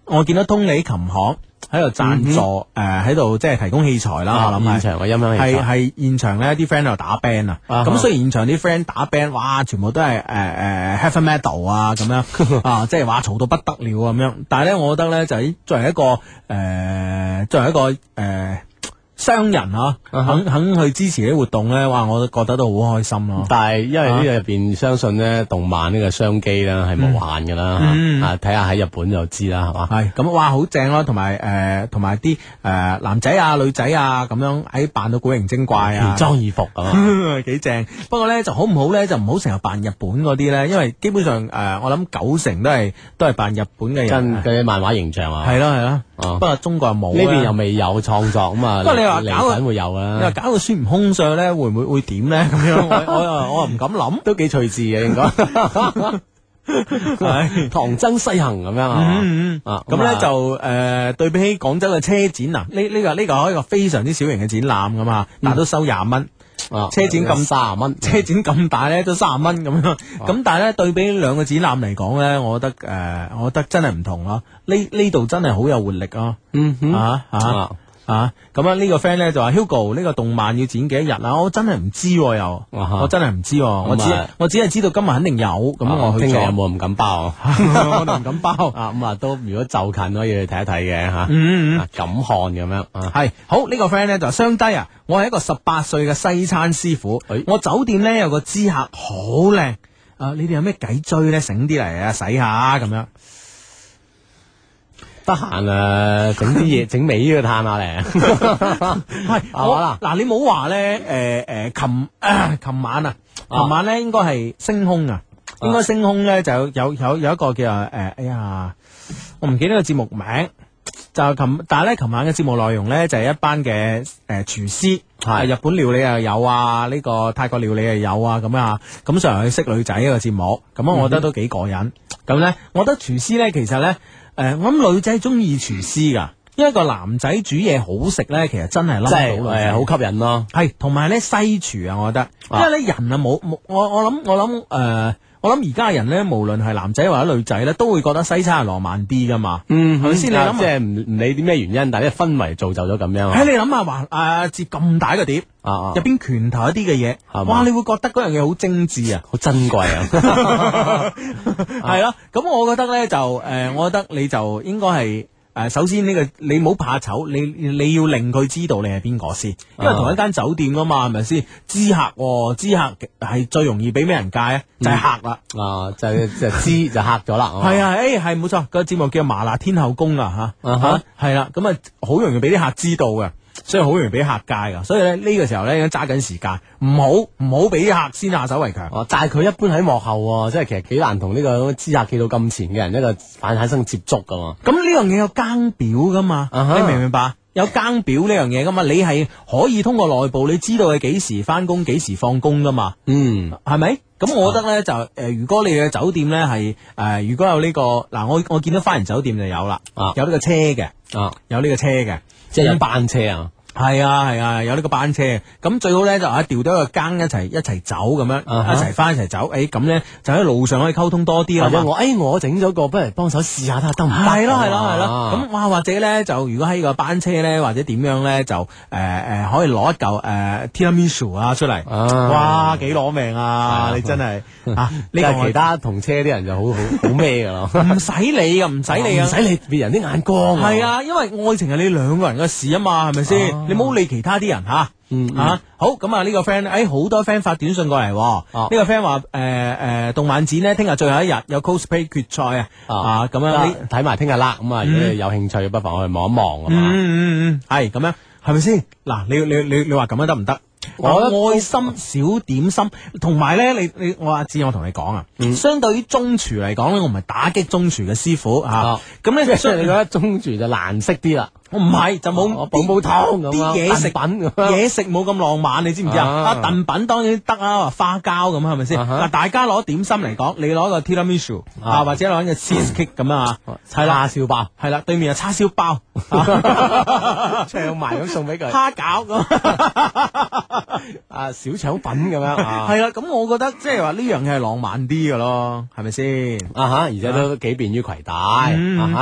C: 我見到通利琴行喺度贊助，誒喺度即係提供器材啦。我諗
D: 現場嘅音響器材
C: 係係現場咧啲 friend 喺度打 band 啊。咁雖然現場啲 friend 打 band，哇，全部都係誒誒 heavy metal 啊咁樣啊，即係話嘈到不得了咁樣。但係咧，我覺得咧就係作為一個誒作為一個誒。商人啊，肯肯去支持啲活動咧，哇！我都覺得都好開心咯。
D: 但係因為呢個入邊相信咧，動漫呢個商機咧係無限噶啦，啊睇下喺日本就知啦，係嘛？
C: 係咁哇，好正咯，同埋誒，同埋啲誒男仔啊、女仔啊咁樣喺扮到古靈精怪啊，
D: 奇裝異服咁
C: 幾正。不過咧就好唔好咧，就唔好成日扮日本嗰啲咧，因為基本上誒，我諗九成都係都係扮日本嘅人，
D: 跟嗰啲漫畫形象啊。
C: 係咯係咯，不過中國又冇，
D: 呢邊又未有創作咁啊。
C: 不過你話
D: 嚟緊會有啦。
C: 你話搞到孫悟空上咧，會唔會會點咧？咁樣我我又我又唔敢諗，
D: 都幾趣致嘅應該。係唐僧西行咁樣啊，
C: 啊咁咧就誒對比起廣州嘅車展啊，呢呢個呢個係一個非常之小型嘅展覽噶嘛，但係都收廿蚊。
D: 啊，
C: 車展咁
D: 三十蚊，
C: 車展咁大咧都三十蚊咁樣，咁但係咧對比兩個展覽嚟講咧，我覺得誒，我覺得真係唔同咯。呢呢度真係好有活力啊！
D: 嗯哼，
C: 啊啊啊！咁啊呢個 friend 咧就話 Hugo 呢個動漫要展幾多日啊？我真係唔知又，我真係唔知，我只我只係知道今日肯定有，咁我
D: 聽日有冇唔敢包？
C: 我都唔敢包
D: 啊！咁啊都如果就近可以去睇一睇嘅吓，嗯嗯，敢看咁樣啊。
C: 係好呢個 friend 咧就話雙低啊！我係一個十八歲嘅西餐師傅，我酒店咧有個知客好靚啊！你哋有咩計追咧？醒啲嚟啊，洗下咁樣。
D: 得閒啊，整啲嘢整尾嘅嘆下嚟。
C: 係我嗱，你冇話咧，誒誒，琴琴晚啊，琴晚咧應該係星空啊，應該星空咧就有有有有一個叫誒，哎呀，我唔記得個節目名，就琴，但係咧琴晚嘅節目內容咧就係一班嘅誒廚師，係日本料理又有啊，呢個泰國料理又有啊，咁樣啊，咁上去識女仔一個節目，咁我覺得都幾過癮。咁咧，我覺得廚師咧其實咧。誒，我諗女仔中意廚師噶，因為個男仔煮嘢好食咧，其實真係冧到女仔，
D: 好吸引咯。
C: 係，同埋咧西廚啊，我覺得，因為咧人啊冇冇，我我諗我諗誒，我諗而家嘅人咧，無論係男仔或者女仔咧，都會覺得西餐係浪漫啲噶嘛。嗯，係咪先？你諗，
D: 即係唔唔理啲咩原因，但係氛圍造就咗咁樣。
C: 喺你諗下，話誒接咁大個碟，入邊拳頭一啲嘅嘢，哇！你會覺得嗰樣嘢好精緻啊，
D: 好珍貴啊。
C: 係咯，咁我覺得咧就誒，我覺得你就應該係誒，首先呢個你唔好怕醜，你你要令佢知道你係邊個先，因為同一間酒店噶嘛，係咪先？知客，知客係最容易俾咩人戒啊？就係客啦，
D: 啊，就就知就客咗啦。
C: 係啊，誒係冇錯，個節目叫麻辣天后宮啊吓，吓係啦，咁啊好容易俾啲客知道嘅。所以好容易俾客戒噶，所以咧呢個時候咧應該揸緊時間，唔好唔好俾客先下手為強。
D: 哦，但係佢一般喺幕後，即係其實幾難同呢個知客企到咁前嘅人一個反產生接觸噶嘛。
C: 咁呢樣嘢有更表噶嘛？Uh-huh. 你明唔明白？有更表呢樣嘢噶嘛？你係可以通過內部，你知道佢幾時翻工，幾時放工噶嘛？嗯，係咪？咁我覺得咧就誒、呃，如果你嘅酒店咧係誒，如果有呢、這個嗱，我我見到花園酒店就有啦，啊，有呢個車嘅，啊，有呢個車嘅。
D: 即係有班車啊，
C: 係啊係啊，有呢個班車，咁最好咧就啊調到一個更一齊一齊走咁樣，uh-huh. 一齊翻一齊走，誒咁咧就喺路上可以溝通多啲啦。或者我誒我整咗個，不如幫手試下睇下得唔得？係咯係咯係咯，咁哇或者咧就如果喺個班車咧或者點樣咧就誒誒、呃、可以攞一嚿誒、呃、tiramisu 啊出嚟，uh-huh. 哇幾攞命啊！ uh-huh. 你真係啊呢個其他同車啲人就好好好咩噶咯，唔使理噶，唔使理啊，唔使理別人啲眼光。係啊，因為愛情係你兩個人嘅事啊嘛，係咪先？你冇理其他啲人吓，嗯吓、啊、好咁啊！呢個 friend 誒好多 friend 發短信過嚟，呢、啊這個 friend 話誒誒動漫展呢，聽日最後一日有 cosplay 決賽啊，啊咁樣你睇埋聽日啦，咁啊如果你有興趣，不妨去望一望啊嘛，嗯嗯嗯，係咁樣係咪先？嗱，你你你你話咁樣得唔得？我愛心小點心，同埋咧，你你我阿志，我同你講啊、嗯，相對於中廚嚟講咧，我唔係打擊中廚嘅師傅吓，咁咧即係你覺得中廚就難識啲啦。我唔係就冇煲煲湯咁啲嘢食品，嘢食冇咁浪漫，你知唔知啊？啊燉品當然得啊，花膠咁係咪先？嗱、啊，大家攞點心嚟講，你攞個 tiramisu 啊，啊或者攞個 cheese cake 咁啊，係啦，叉燒包係啦，對面係叉燒包，唱埋咁送俾佢，蝦餃咁，啊小腸粉咁樣，係啦，咁我覺得即係話呢樣嘢係浪漫啲嘅咯，係咪先？啊吓，而且都幾便於攜帶、嗯、啊吓。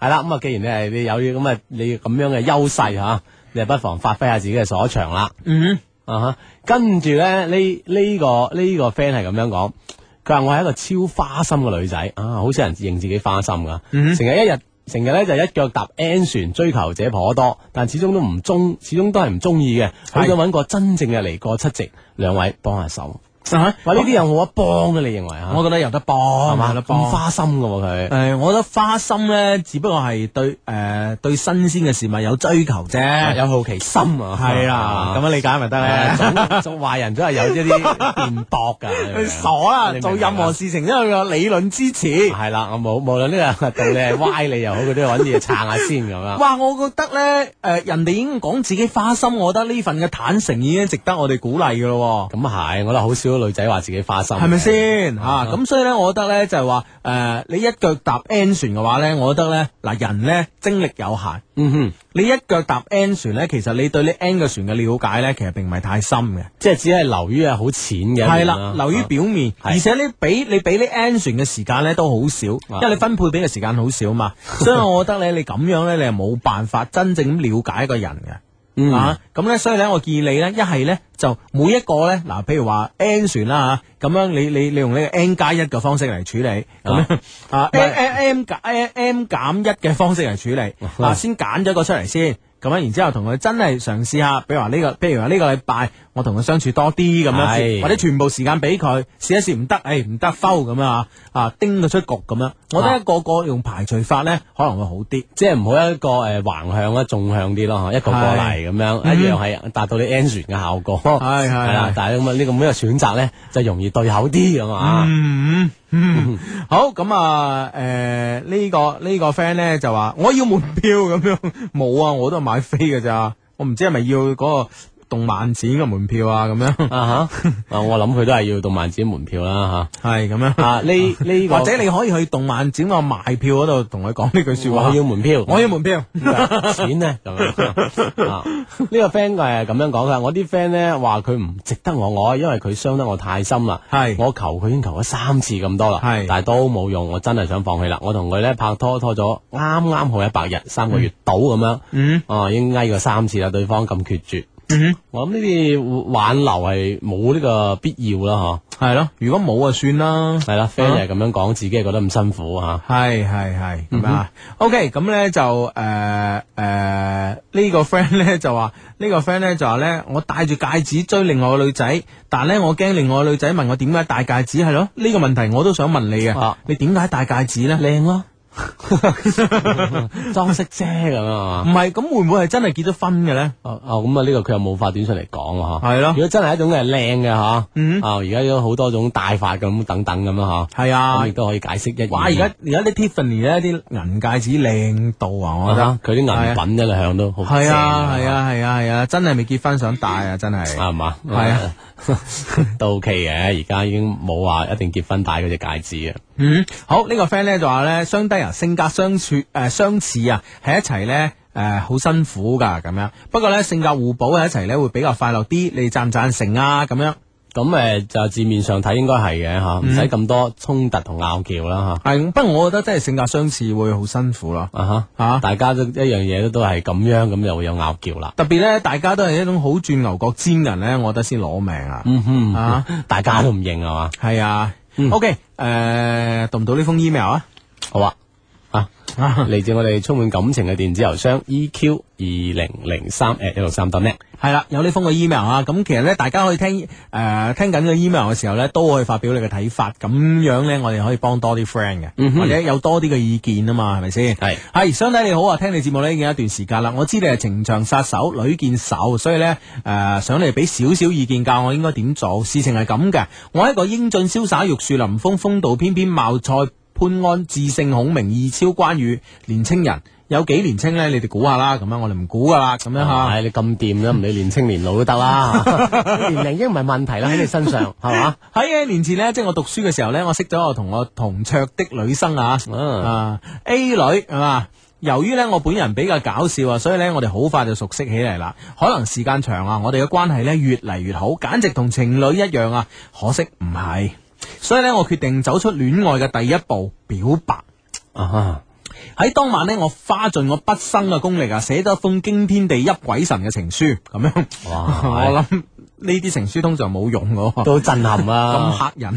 D: 係啦，咁啊，既然你係你有咁啊，你咁樣嘅優勢吓，你就不妨發揮下自己嘅所長啦。
C: 嗯
D: 啊哈，跟住咧呢呢個呢個 friend 係咁樣講，佢話我係一個超花心嘅女仔啊，好少人認自己花心噶，
C: 嗯
D: 成日一日成日咧就一腳踏 N 船，追求者頗多，但始終都唔中，始終都係唔中意嘅，好想揾個真正嘅嚟過七夕，兩位幫下手。
C: 啊！
D: 話呢啲有冇得幫嘅？你認為啊？
C: 我覺得有得幫，
D: 係嘛？咁
C: 有得幫。
D: 花心嘅喎佢。
C: 誒，我覺得花心咧，只不過係對誒對新鮮嘅事物有追求啫，
D: 有好奇心啊。
C: 係啦，咁樣理解咪得咧。
D: 做做壞人都係有一啲辯駁㗎。
C: 你傻啦！做任何事情都有個理論支持。
D: 係啦，我冇無論呢個道理係歪理又好，佢都要揾啲嘢撐下先咁樣。
C: 哇！我覺得咧，誒人哋已經講自己花心，我覺得呢份嘅坦誠已經值得我哋鼓勵㗎咯。
D: 咁啊係，我覺得好少女仔話自己花心，
C: 係咪先嚇？咁所以咧，我覺得咧就係話誒，你一腳踏 N 船嘅話咧，我覺得咧嗱，人咧精力有限。
D: 嗯哼，
C: 你一腳踏 N 船咧，其實你對呢 N 個船嘅了解咧，其實並唔係太深嘅，
D: 即係只係流於係好淺嘅。
C: 係啦，流於表面，而且你俾你俾呢 N 船嘅時間咧都好少，因為你分配俾嘅時間好少嘛。所以我覺得咧，你咁樣咧，你係冇辦法真正咁了解一個人嘅。
D: 嗯、
C: 啊，咁咧，所以咧，我建議你咧，一係咧就每一個咧，嗱，譬如話 N 船啦吓，咁樣你你你用呢個 N 加一嘅方式嚟處理，咁樣啊 M M M 減 M M 減一嘅方式嚟處理，啊，先揀咗個出嚟先。咁樣，然之後同佢真係嘗試下，比如話呢個，譬如話呢個禮拜，我同佢相處多啲咁樣，或者全部時間俾佢試一試，唔得，誒唔得，foul咁啊，啊叮佢出局咁樣。我覺得一個個用排除法咧，可能會好啲，
D: 即係唔好一個誒橫向啦，縱向啲咯，一個過嚟咁樣，一樣係達到你 N 船嘅效果。
C: 係係
D: 啦，但係咁啊呢個每一個選擇咧，就容易對口啲咁啊。
C: 嗯嗯，好咁啊，誒呢個呢個 friend 咧就話我要門票咁樣，冇啊，我都係買飛㗎咋，我唔知係咪要嗰個動漫展嘅門票啊咁樣
D: 啊吓，啊我諗佢都係要動漫展門票啦吓，
C: 係咁樣
D: 啊呢呢
C: 或者你可以去動漫展個賣票嗰度同佢講呢句說話，
D: 我要門票，
C: 我要門票，
D: 錢呢咁樣啊呢個 friend 係咁樣講噶，我啲 friend 咧話佢唔值得我愛，因為佢傷得我太深啦，係我求佢已經求咗三次咁多啦，係但係都冇用，我真係想放棄啦，我同佢咧拍拖拖咗啱啱好一百日，三個月到咁樣，嗯，哦已經嗌過三次啦，對方咁決絕。嗯、我諗呢啲挽留係冇呢個必要啦，嗬。
C: 係咯，如果冇就算啦。
D: 係啦 friend 係咁樣講，自己係覺得咁辛苦吓。
C: 係係係咁啊。OK，咁咧就誒誒呢個 friend 咧就話呢個 friend 咧就話咧，我戴住戒指追另外個女仔，但咧我驚另外個女仔問我點解戴戒指，係咯？呢個問題我都想問你嘅。啊、你點解戴戒指咧？靚咯。
D: 裝飾啫咁啊，
C: 唔係咁會唔會係真係結咗婚嘅咧？
D: 哦哦，咁啊呢個佢又冇發短信嚟講啊，
C: 係咯。
D: 如果真係一種係靚嘅吓，嗯啊而家有好多種戴法咁等等咁啊吓，係啊，咁亦都可以解釋一。
C: 哇！而家而家啲 Tiffany 咧啲銀戒指靚到啊，我覺得
D: 佢啲銀品一向都好
C: 係啊係啊係啊係啊，真係未結婚想戴啊，真係
D: 係嘛，
C: 係啊
D: 都 OK 嘅，而家已經冇話一定結婚戴嗰隻戒指啊。
C: 嗯，好、這個、呢個 friend 咧就話咧，相低啊，性格相處誒、呃、相似啊，喺一齊咧誒好辛苦噶咁樣。不過咧性格互補喺一齊咧會比較快樂啲。你贊唔贊成啊？咁樣
D: 咁誒、呃、就字面上睇應該係嘅吓，唔使咁多衝突同拗撬啦吓。
C: 係，不過我覺得真係性格相似會好辛苦咯。啊哈吓，
D: 大家都一樣嘢都係咁樣，咁就會有拗撬啦。
C: 特別咧，大家都係一種好轉牛角尖人咧，我覺得先攞命啊。
D: 嗯哼，
C: 啊，
D: 大家都唔認係嘛？
C: 係啊。O K，誒，讀唔到呢封 email 啊？
D: 好啊，啊，嚟自我哋充滿感情嘅電子郵箱 E Q 二零零三 at 一六三 dot net。係
C: 啦，有呢封嘅 email 啊，咁其實咧，大家可以聽誒、呃、聽緊嘅 email 嘅時候咧，都可以發表你嘅睇法，咁樣咧，我哋可以幫多啲 friend 嘅，嗯、或者有多啲嘅意見啊嘛，係咪先？係係，相弟你好啊，聽你節目咧已經一段時間啦，我知你係情場殺手，屢見手，所以咧誒、呃、想你俾少少意見教我應該點做。事情係咁嘅，我係一個英俊瀟灑、玉樹臨風、風度翩翩、貌賽潘安、智勝孔明、義超關羽年青人。有幾年青咧？你哋估下啦，咁樣我哋唔估噶啦，咁樣吓。
D: 唉，你咁掂啦，唔理年青年老都得啦，年齡已經唔係問題啦，喺你身上係嘛？
C: 喺幾年前呢，即係我讀書嘅時候呢，我識咗我同我同桌的女生啊，啊 A 女係嘛？由於呢，我本人比較搞笑啊，所以呢，我哋好快就熟悉起嚟啦。可能時間長啊，我哋嘅關係呢越嚟越好，簡直同情侶一樣啊。可惜唔係，所以呢，我決定走出戀愛嘅第一步，表白啊。 喺當晚呢，我花盡我畢生嘅功力啊，寫咗一封驚天地泣鬼神嘅情書，咁樣。哇！我諗呢啲情書通常冇用嘅，
D: 都震撼啊，
C: 咁嚇人。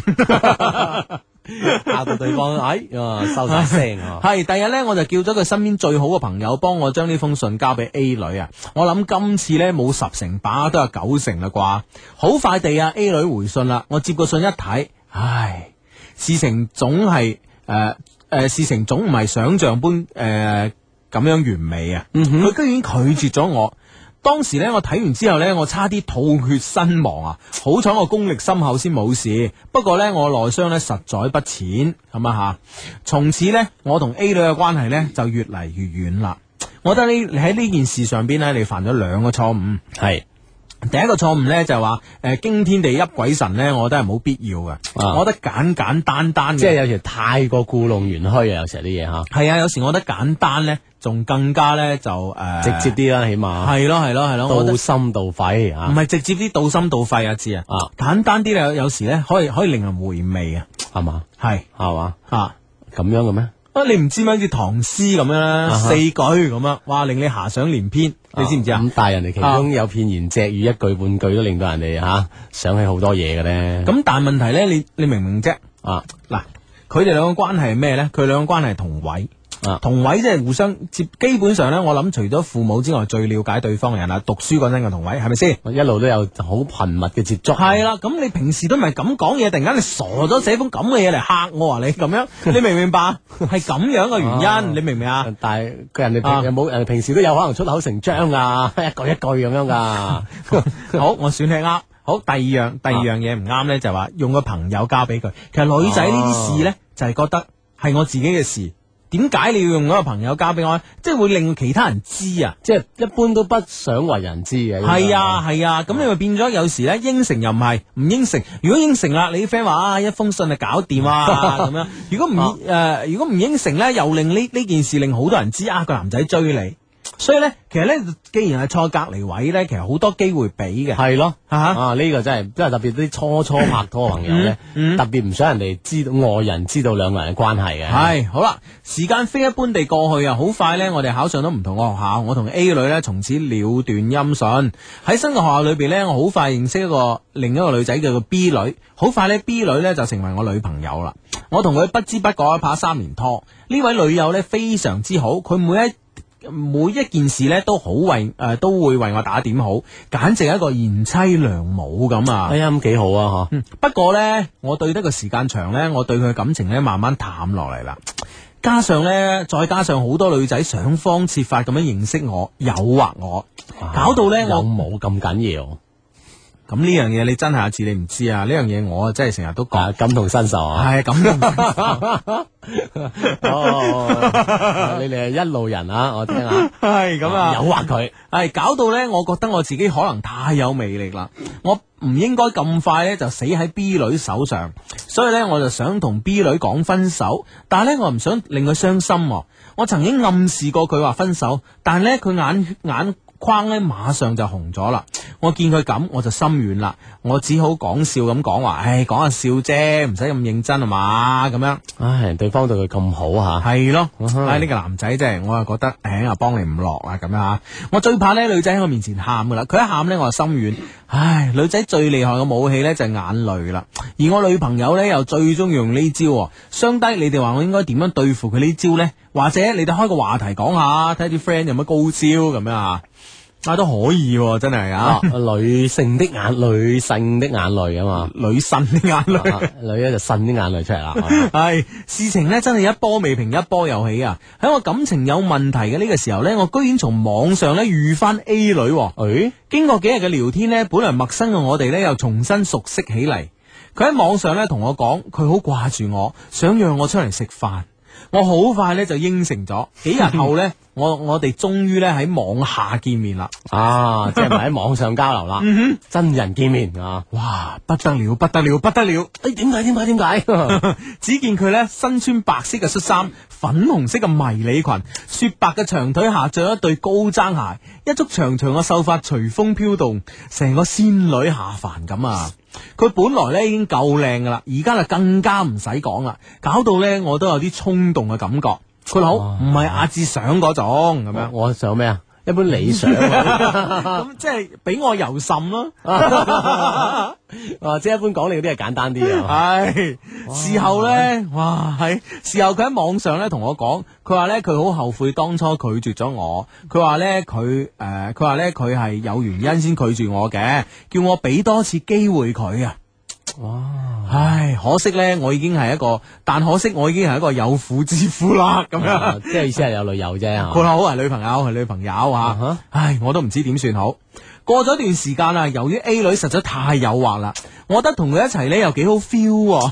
D: 嚇到對方，哎，收晒聲啊！
C: 係第日呢，我就叫咗佢身邊最好嘅朋友幫我將呢封信交俾 A 女啊！我諗今次呢，冇十成把，都有九成啦啩。好快地啊 A 女回信啦，我接個信一睇，唉，事情總係誒誒，事情總唔係想象般誒咁、呃、樣完美啊！佢、嗯、居然拒絕咗我。當時咧，我睇完之後咧，我差啲吐血身亡啊！好彩我功力深厚先冇事，不過咧我內傷咧實在不淺咁啊吓。從此咧，我同 A 女嘅關係咧就越嚟越遠啦。我覺得呢，你喺呢件事上邊咧，你犯咗兩個錯誤。係第一個錯誤咧就係話誒驚天地泣鬼神咧，我覺得係冇必要嘅。啊、我覺得簡簡單單嘅，
D: 即係有時太過故弄玄虛啊！有時啲嘢吓
C: 係啊，有時我覺得簡單咧。仲更加咧就誒、呃、
D: 直接啲啦，起碼
C: 係咯係咯係咯，
D: 到心到肺啊！
C: 唔係直接啲到心到肺啊，知啊！啊，簡單啲咧，有時咧可以可以令人回味啊，
D: 係嘛？
C: 係
D: 係嘛？
C: 啊
D: 咁樣嘅咩？
C: 啊，你唔知咩？好似唐詩咁樣啦，啊、四句咁樣，哇，令你遐想連篇，啊、你知唔知啊？咁
D: 但係人哋其中有片言隻語，一句半句都令到人哋吓、啊、想起好多嘢嘅咧。
C: 咁但係問題咧，你你明唔明啫？啊，嗱，佢哋兩個關係係咩咧？佢兩個關係係同位。啊、同位即係互相接，基本上咧，我諗除咗父母之外，最了解對方嘅人啦。讀書嗰陣嘅同位係咪先？
D: 一路都有好頻密嘅接觸。
C: 係啦，咁你平時都唔係咁講嘢，突然間你傻咗寫封咁嘅嘢嚟嚇我啊！你咁樣，你明唔明白？係咁樣嘅原因，啊、你明唔明啊？
D: 但係佢人哋平有冇人哋平時都有可能出口成章噶，一句一句咁樣噶。
C: 好，我選係啱。好，第二樣第二樣嘢唔啱咧，就係話用個朋友交俾佢。其實女仔呢啲事咧，就係覺得係我自己嘅事。點解你要用嗰個朋友交俾我？即係會令其他人知啊！
D: 即係一般都不想為人知嘅。
C: 係啊係啊，咁、啊、你咪變咗有時咧應承又唔係，唔應承。如果應承啦，你啲 friend 話啊一封信就搞掂啊咁樣。如果唔誒、呃，如果唔應承咧，又令呢呢件事令好多人知啊個男仔追你。所以咧，其實咧，既然係坐隔離位咧，其實好多機會俾嘅。
D: 係咯，
C: 啊呢、
D: 啊呢個真係，真係特別啲初初拍拖嘅朋友咧，嗯嗯、特別唔想人哋知道外人知道兩個人嘅關係嘅。係好啦，時間飛一般地過去啊，好快咧，我哋考上咗唔同嘅學校，我同 A 女咧從此了斷音訊。喺新嘅學校裏邊咧，我好快認識一個另一個女仔叫做 B 女，好快咧 B 女咧就成為我女朋友啦。我同佢不知不覺拍三年拖，呢位女友咧非常之好，佢每一每一件事咧都好為誒、呃、都會為我打點好，簡直係一個賢妻良母咁啊！ 哎呀，咁幾好啊！嗬、
C: 嗯，不過咧，我對得個時間長咧，我對佢嘅感情咧慢慢淡落嚟啦。加上咧，再加上好多女仔想方設法咁樣認識我，誘惑我，搞到咧我
D: 冇咁緊要。
C: 咁呢樣嘢你真係阿志你唔知啊！呢樣嘢我真係成日都講
D: 感同身受啊！
C: 係感同身受。
D: 哦，你哋係一路人啊！我聽下，
C: 係咁啊，
D: 誘惑佢，
C: 係搞到咧，我覺得我自己可能太有魅力啦，我唔應該咁快咧就死喺 B 女手上，所以咧我就想同 B 女講分手，但係咧我唔想令佢傷心。我曾經暗示過佢話分手，但係咧佢眼眼框咧馬上就紅咗啦。我見佢咁，我就心軟啦。我只好講笑咁講話，唉，講下笑啫，唔使咁認真啊嘛，咁樣。
D: 唉，對方對佢咁好吓，
C: 係咯。唉，呢個男仔真係，我又覺得，唉，啊，幫你唔落啦，咁樣吓。我最怕呢女仔喺我面前喊噶啦，佢一喊呢，我就心軟。唉，女仔最厲害嘅武器呢，就係眼淚啦，而我女朋友呢，又最中意用呢招。相低，你哋話我應該點樣對付佢呢招呢？或者你哋開個話題講下，睇啲 friend 有乜高招咁樣啊？啊，都可以、啊，真係啊！
D: 女性的眼，女性的眼淚啊嘛，
C: 女神的眼淚、啊，
D: 女咧就呻啲眼淚出嚟啦。
C: 係事情呢，真係一波未平一波又起啊！喺我感情有問題嘅呢個時候呢，我居然從網上呢遇翻 A 女。誒、欸，經過幾日嘅聊天呢，本來陌生嘅我哋呢又重新熟悉起嚟。佢喺網上呢同我講，佢好掛住我，想約我出嚟食飯。我好快咧就應承咗，幾日後咧，我我哋終於咧喺網下見面啦，
D: 啊，即係咪喺網上交流啦？嗯哼，真人見面啊，
C: 哇，不得了，不得了，不得了！
D: 誒，點解？點解？點解？
C: 只見佢咧身穿白色嘅恤衫，粉紅色嘅迷你裙，雪白嘅長腿下着一對高踭鞋，一束長長嘅秀髮隨風飄動，成個仙女下凡咁啊！佢本來咧已經夠靚噶啦，而家就更加唔使講啦，搞到咧我都有啲衝動嘅感覺。 佢好唔係阿志想嗰種咁樣。
D: 我想咩啊？一般理想
C: 咁即係俾我游滲咯。
D: 啊，即係一般講你嗰啲係簡單啲啊。
C: 係事後咧，哇係事後佢喺網上咧同我講，佢話咧佢好後悔當初拒絕咗我。佢話咧佢誒，佢話咧佢係有原因先拒絕我嘅，叫我俾多次機會佢啊。
D: 哇！
C: 唉，可惜咧，我已經係一個，但可惜我已經係一個有婦之夫啦，咁樣，
D: 啊、即係意思係有女友啫。
C: 佢好係女朋友，係女朋友啊。Uh-huh. 唉，我都唔知點算好。過咗一段時間啦，由於 A 女實在太誘惑啦，我覺得同佢一齊咧又幾好 feel，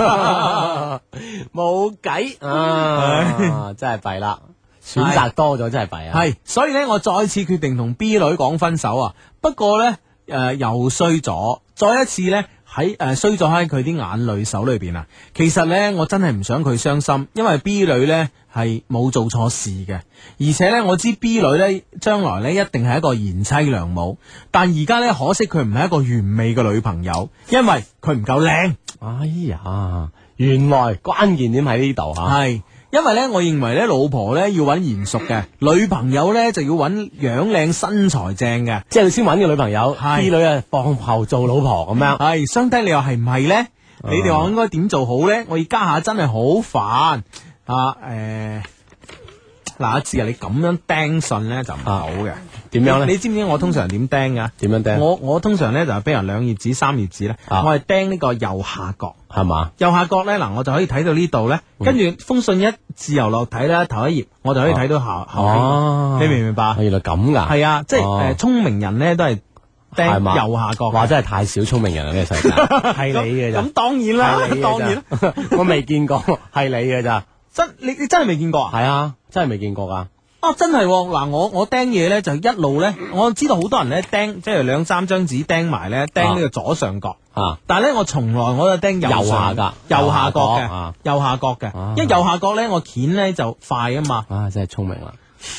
D: 冇計啊！真係弊啦，選擇多咗真係弊啊。
C: 係，所以咧我再次決定同 B 女講分手啊。不過咧，誒、呃、又衰咗，再一次咧。喺誒衰咗喺佢啲眼淚手裏邊啊！其實呢，我真係唔想佢傷心，因為 B 女呢係冇做錯事嘅，而且呢，我知 B 女呢將來呢一定係一個賢妻良母，但而家呢，可惜佢唔係一個完美嘅女朋友，因為佢唔夠靚。
D: 哎呀，原來關鍵點喺呢度吓。
C: 係。因為咧，我認為咧，老婆咧要揾賢淑嘅，女朋友咧就要揾樣靚身材正嘅，
D: 即係你先揾個女朋友，B 女啊放後做老婆咁樣。
C: 係，相低你又係唔係咧？你哋話應該點做好咧？我而家下真係好煩啊！誒，嗱，阿志啊，你咁樣釘信咧就唔好嘅。
D: 點樣咧？
C: 你知唔知我通常點釘噶？
D: 點樣釘？
C: 我我通常咧就係俾人兩頁紙、三頁紙咧，我係釘呢個右下角，
D: 係嘛？
C: 右下角咧嗱，我就可以睇到呢度咧，跟住封信一自由落睇咧，頭一頁我就可以睇到下後邊，你明唔明白？
D: 原來咁噶？
C: 係啊，即係誒，聰明人咧都係釘右下角。
D: 哇，真係太少聰明人啦！呢個世界係你嘅咋？
C: 咁當然啦，當然啦，
D: 我未見過，係你嘅咋？
C: 真你你真係未見過啊？
D: 係啊，真係未見過噶。
C: 哦，真係嗱，我我釘嘢咧就一路咧，我知道好多人咧釘，即係兩三張紙釘埋咧，釘呢個左上角啊。但係咧，我從來我就釘右下噶，右下角嘅，右下角嘅，因為右下角咧我鉗咧就快啊嘛。
D: 啊，真係聰明啦，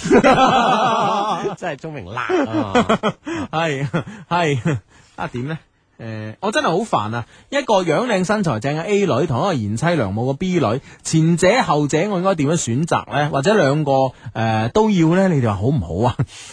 D: 真係聰明啦啊！
C: 係係啊，點咧？誒、呃，我真係好煩啊！一個樣靚身材正嘅 A 女，同一個賢妻良母嘅 B 女，前者後者，我應該點樣選擇呢？或者兩個誒、呃、都要呢？你哋話好唔好啊？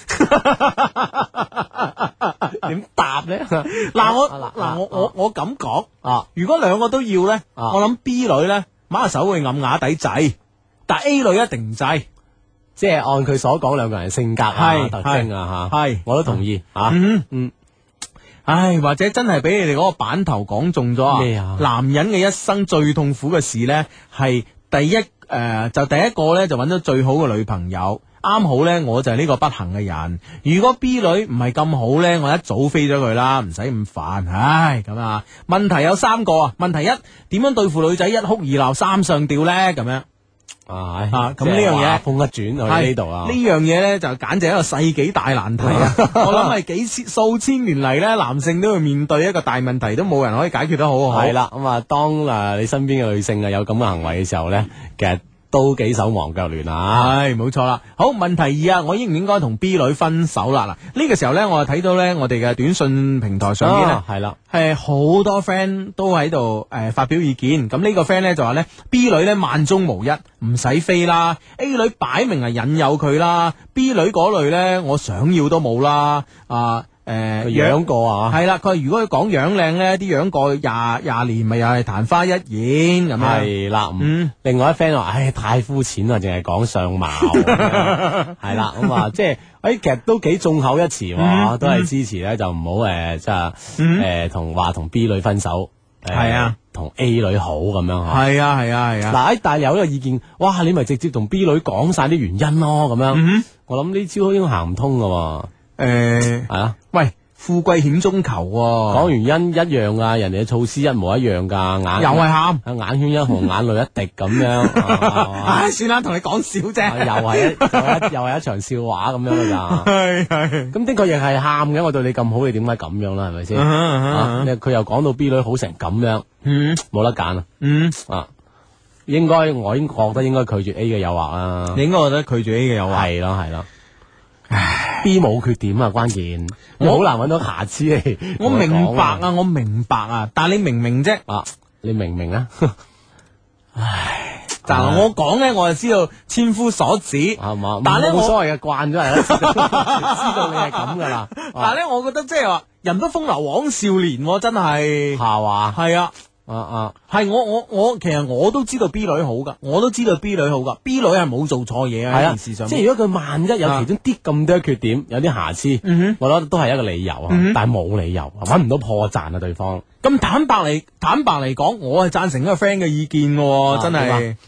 C: 點答呢？嗱我嗱我我我咁講啊，如果兩個都要呢，啊、我諗 B 女呢，馬下手會暗啞底制，但 A 女一定唔制。
D: 即係按佢所講，兩個人性格啊、特徵啊吓，係我都同意啊。嗯嗯。
C: 唉，或者真係俾你哋嗰個版頭講中咗啊！咩啊？男人嘅一生最痛苦嘅事呢，係第一誒、呃，就第一個呢，就揾到最好嘅女朋友，啱好呢，我就係呢個不幸嘅人。如果 B 女唔係咁好呢，我一早飛咗佢啦，唔使咁煩。唉，咁啊，問題有三個啊。問題一，點樣對付女仔一哭二鬧三上吊呢？咁樣。
D: 啊，
C: 咁呢樣嘢
D: 風一轉去呢度啊，
C: 呢樣嘢咧就簡直係一個世紀大難題啊！我諗係幾千數千年嚟咧，男性都會面對一個大問題，都冇人可以解決得好好。
D: 係啦，咁啊，當誒你身邊嘅女性啊有咁嘅行為嘅時候咧，其實都幾手忙腳亂啊！
C: 係冇錯啦。好，問題二啊，我應唔應該同 B 女分手啦？嗱，呢個時候咧，我就睇到咧，我哋嘅短信平台上邊咧，
D: 係啦，
C: 係好多 friend 都喺度誒發表意見。咁呢個 friend 咧就話咧 ，B 女咧萬中無一，唔使飛啦。A 女擺明係引誘佢啦 ，B 女嗰類咧，我想要都冇啦。啊！誒、呃，
D: 養過啊，
C: 係啦。佢話如果佢講樣靚咧，啲養過廿廿年，咪又係曇花一現咁樣。
D: 係啦，嗯。另外一 friend 話，唉，太膚淺啦，淨係講相貌。係啦，咁啊，即係，誒，其實都幾眾口一詞，嗯、都係支持咧，就唔好誒，即係誒，同話同 B 女分手。
C: 係啊，
D: 同 A 女好咁樣嗬。
C: 係啊，係啊，係啊。
D: 嗱，但係有一個意見，哇，你咪直接同 B 女講晒啲原因咯，咁樣。嗯、我諗呢招應該行唔通噶。
C: 誒，係啊，喂，富貴險中求，
D: 講原因一樣啊，人哋嘅措施一模一樣噶，眼
C: 又係喊，
D: 眼圈一紅，眼淚一滴咁樣。
C: 唉，算啦，同你講笑啫，
D: 又係一又係一場笑話咁樣噶咋。係係，咁的確亦係喊嘅，我對你咁好，你點解咁樣啦？係咪先？佢又講到 B 女好成咁樣，嗯，冇得揀啊，嗯啊，應該我應覺得應該拒絕 A 嘅誘惑啦。
C: 你應該覺得拒絕 A 嘅誘惑，
D: 係咯係咯。B 冇缺點啊，關鍵我好難揾到瑕疵嚟。
C: 我明白啊，我明白啊，但係你明唔明啫？
D: 啊，你明唔明啊？唉，
C: 嗱，我講咧，我就知道千夫所指，
D: 係嘛？
C: 但係咧，
D: 冇所謂嘅，慣咗係啦，知道你係咁噶啦。
C: 但係咧，我覺得即係話，人不風流枉少年，真係
D: 係嘛？
C: 係啊。
D: 啊啊，
C: 係我我我其實我都知道 B 女好噶，我都知道 B 女好噶 ，B 女係冇做錯嘢啊，件事上。
D: 即係如果佢萬一有其中啲咁多缺點，有啲瑕疵，嗯、我覺得都係一個理由啊，嗯、但係冇理由，揾唔到破綻啊，對方。
C: 咁坦白嚟坦白嚟講，我係贊成呢個 friend 嘅意見嘅，真係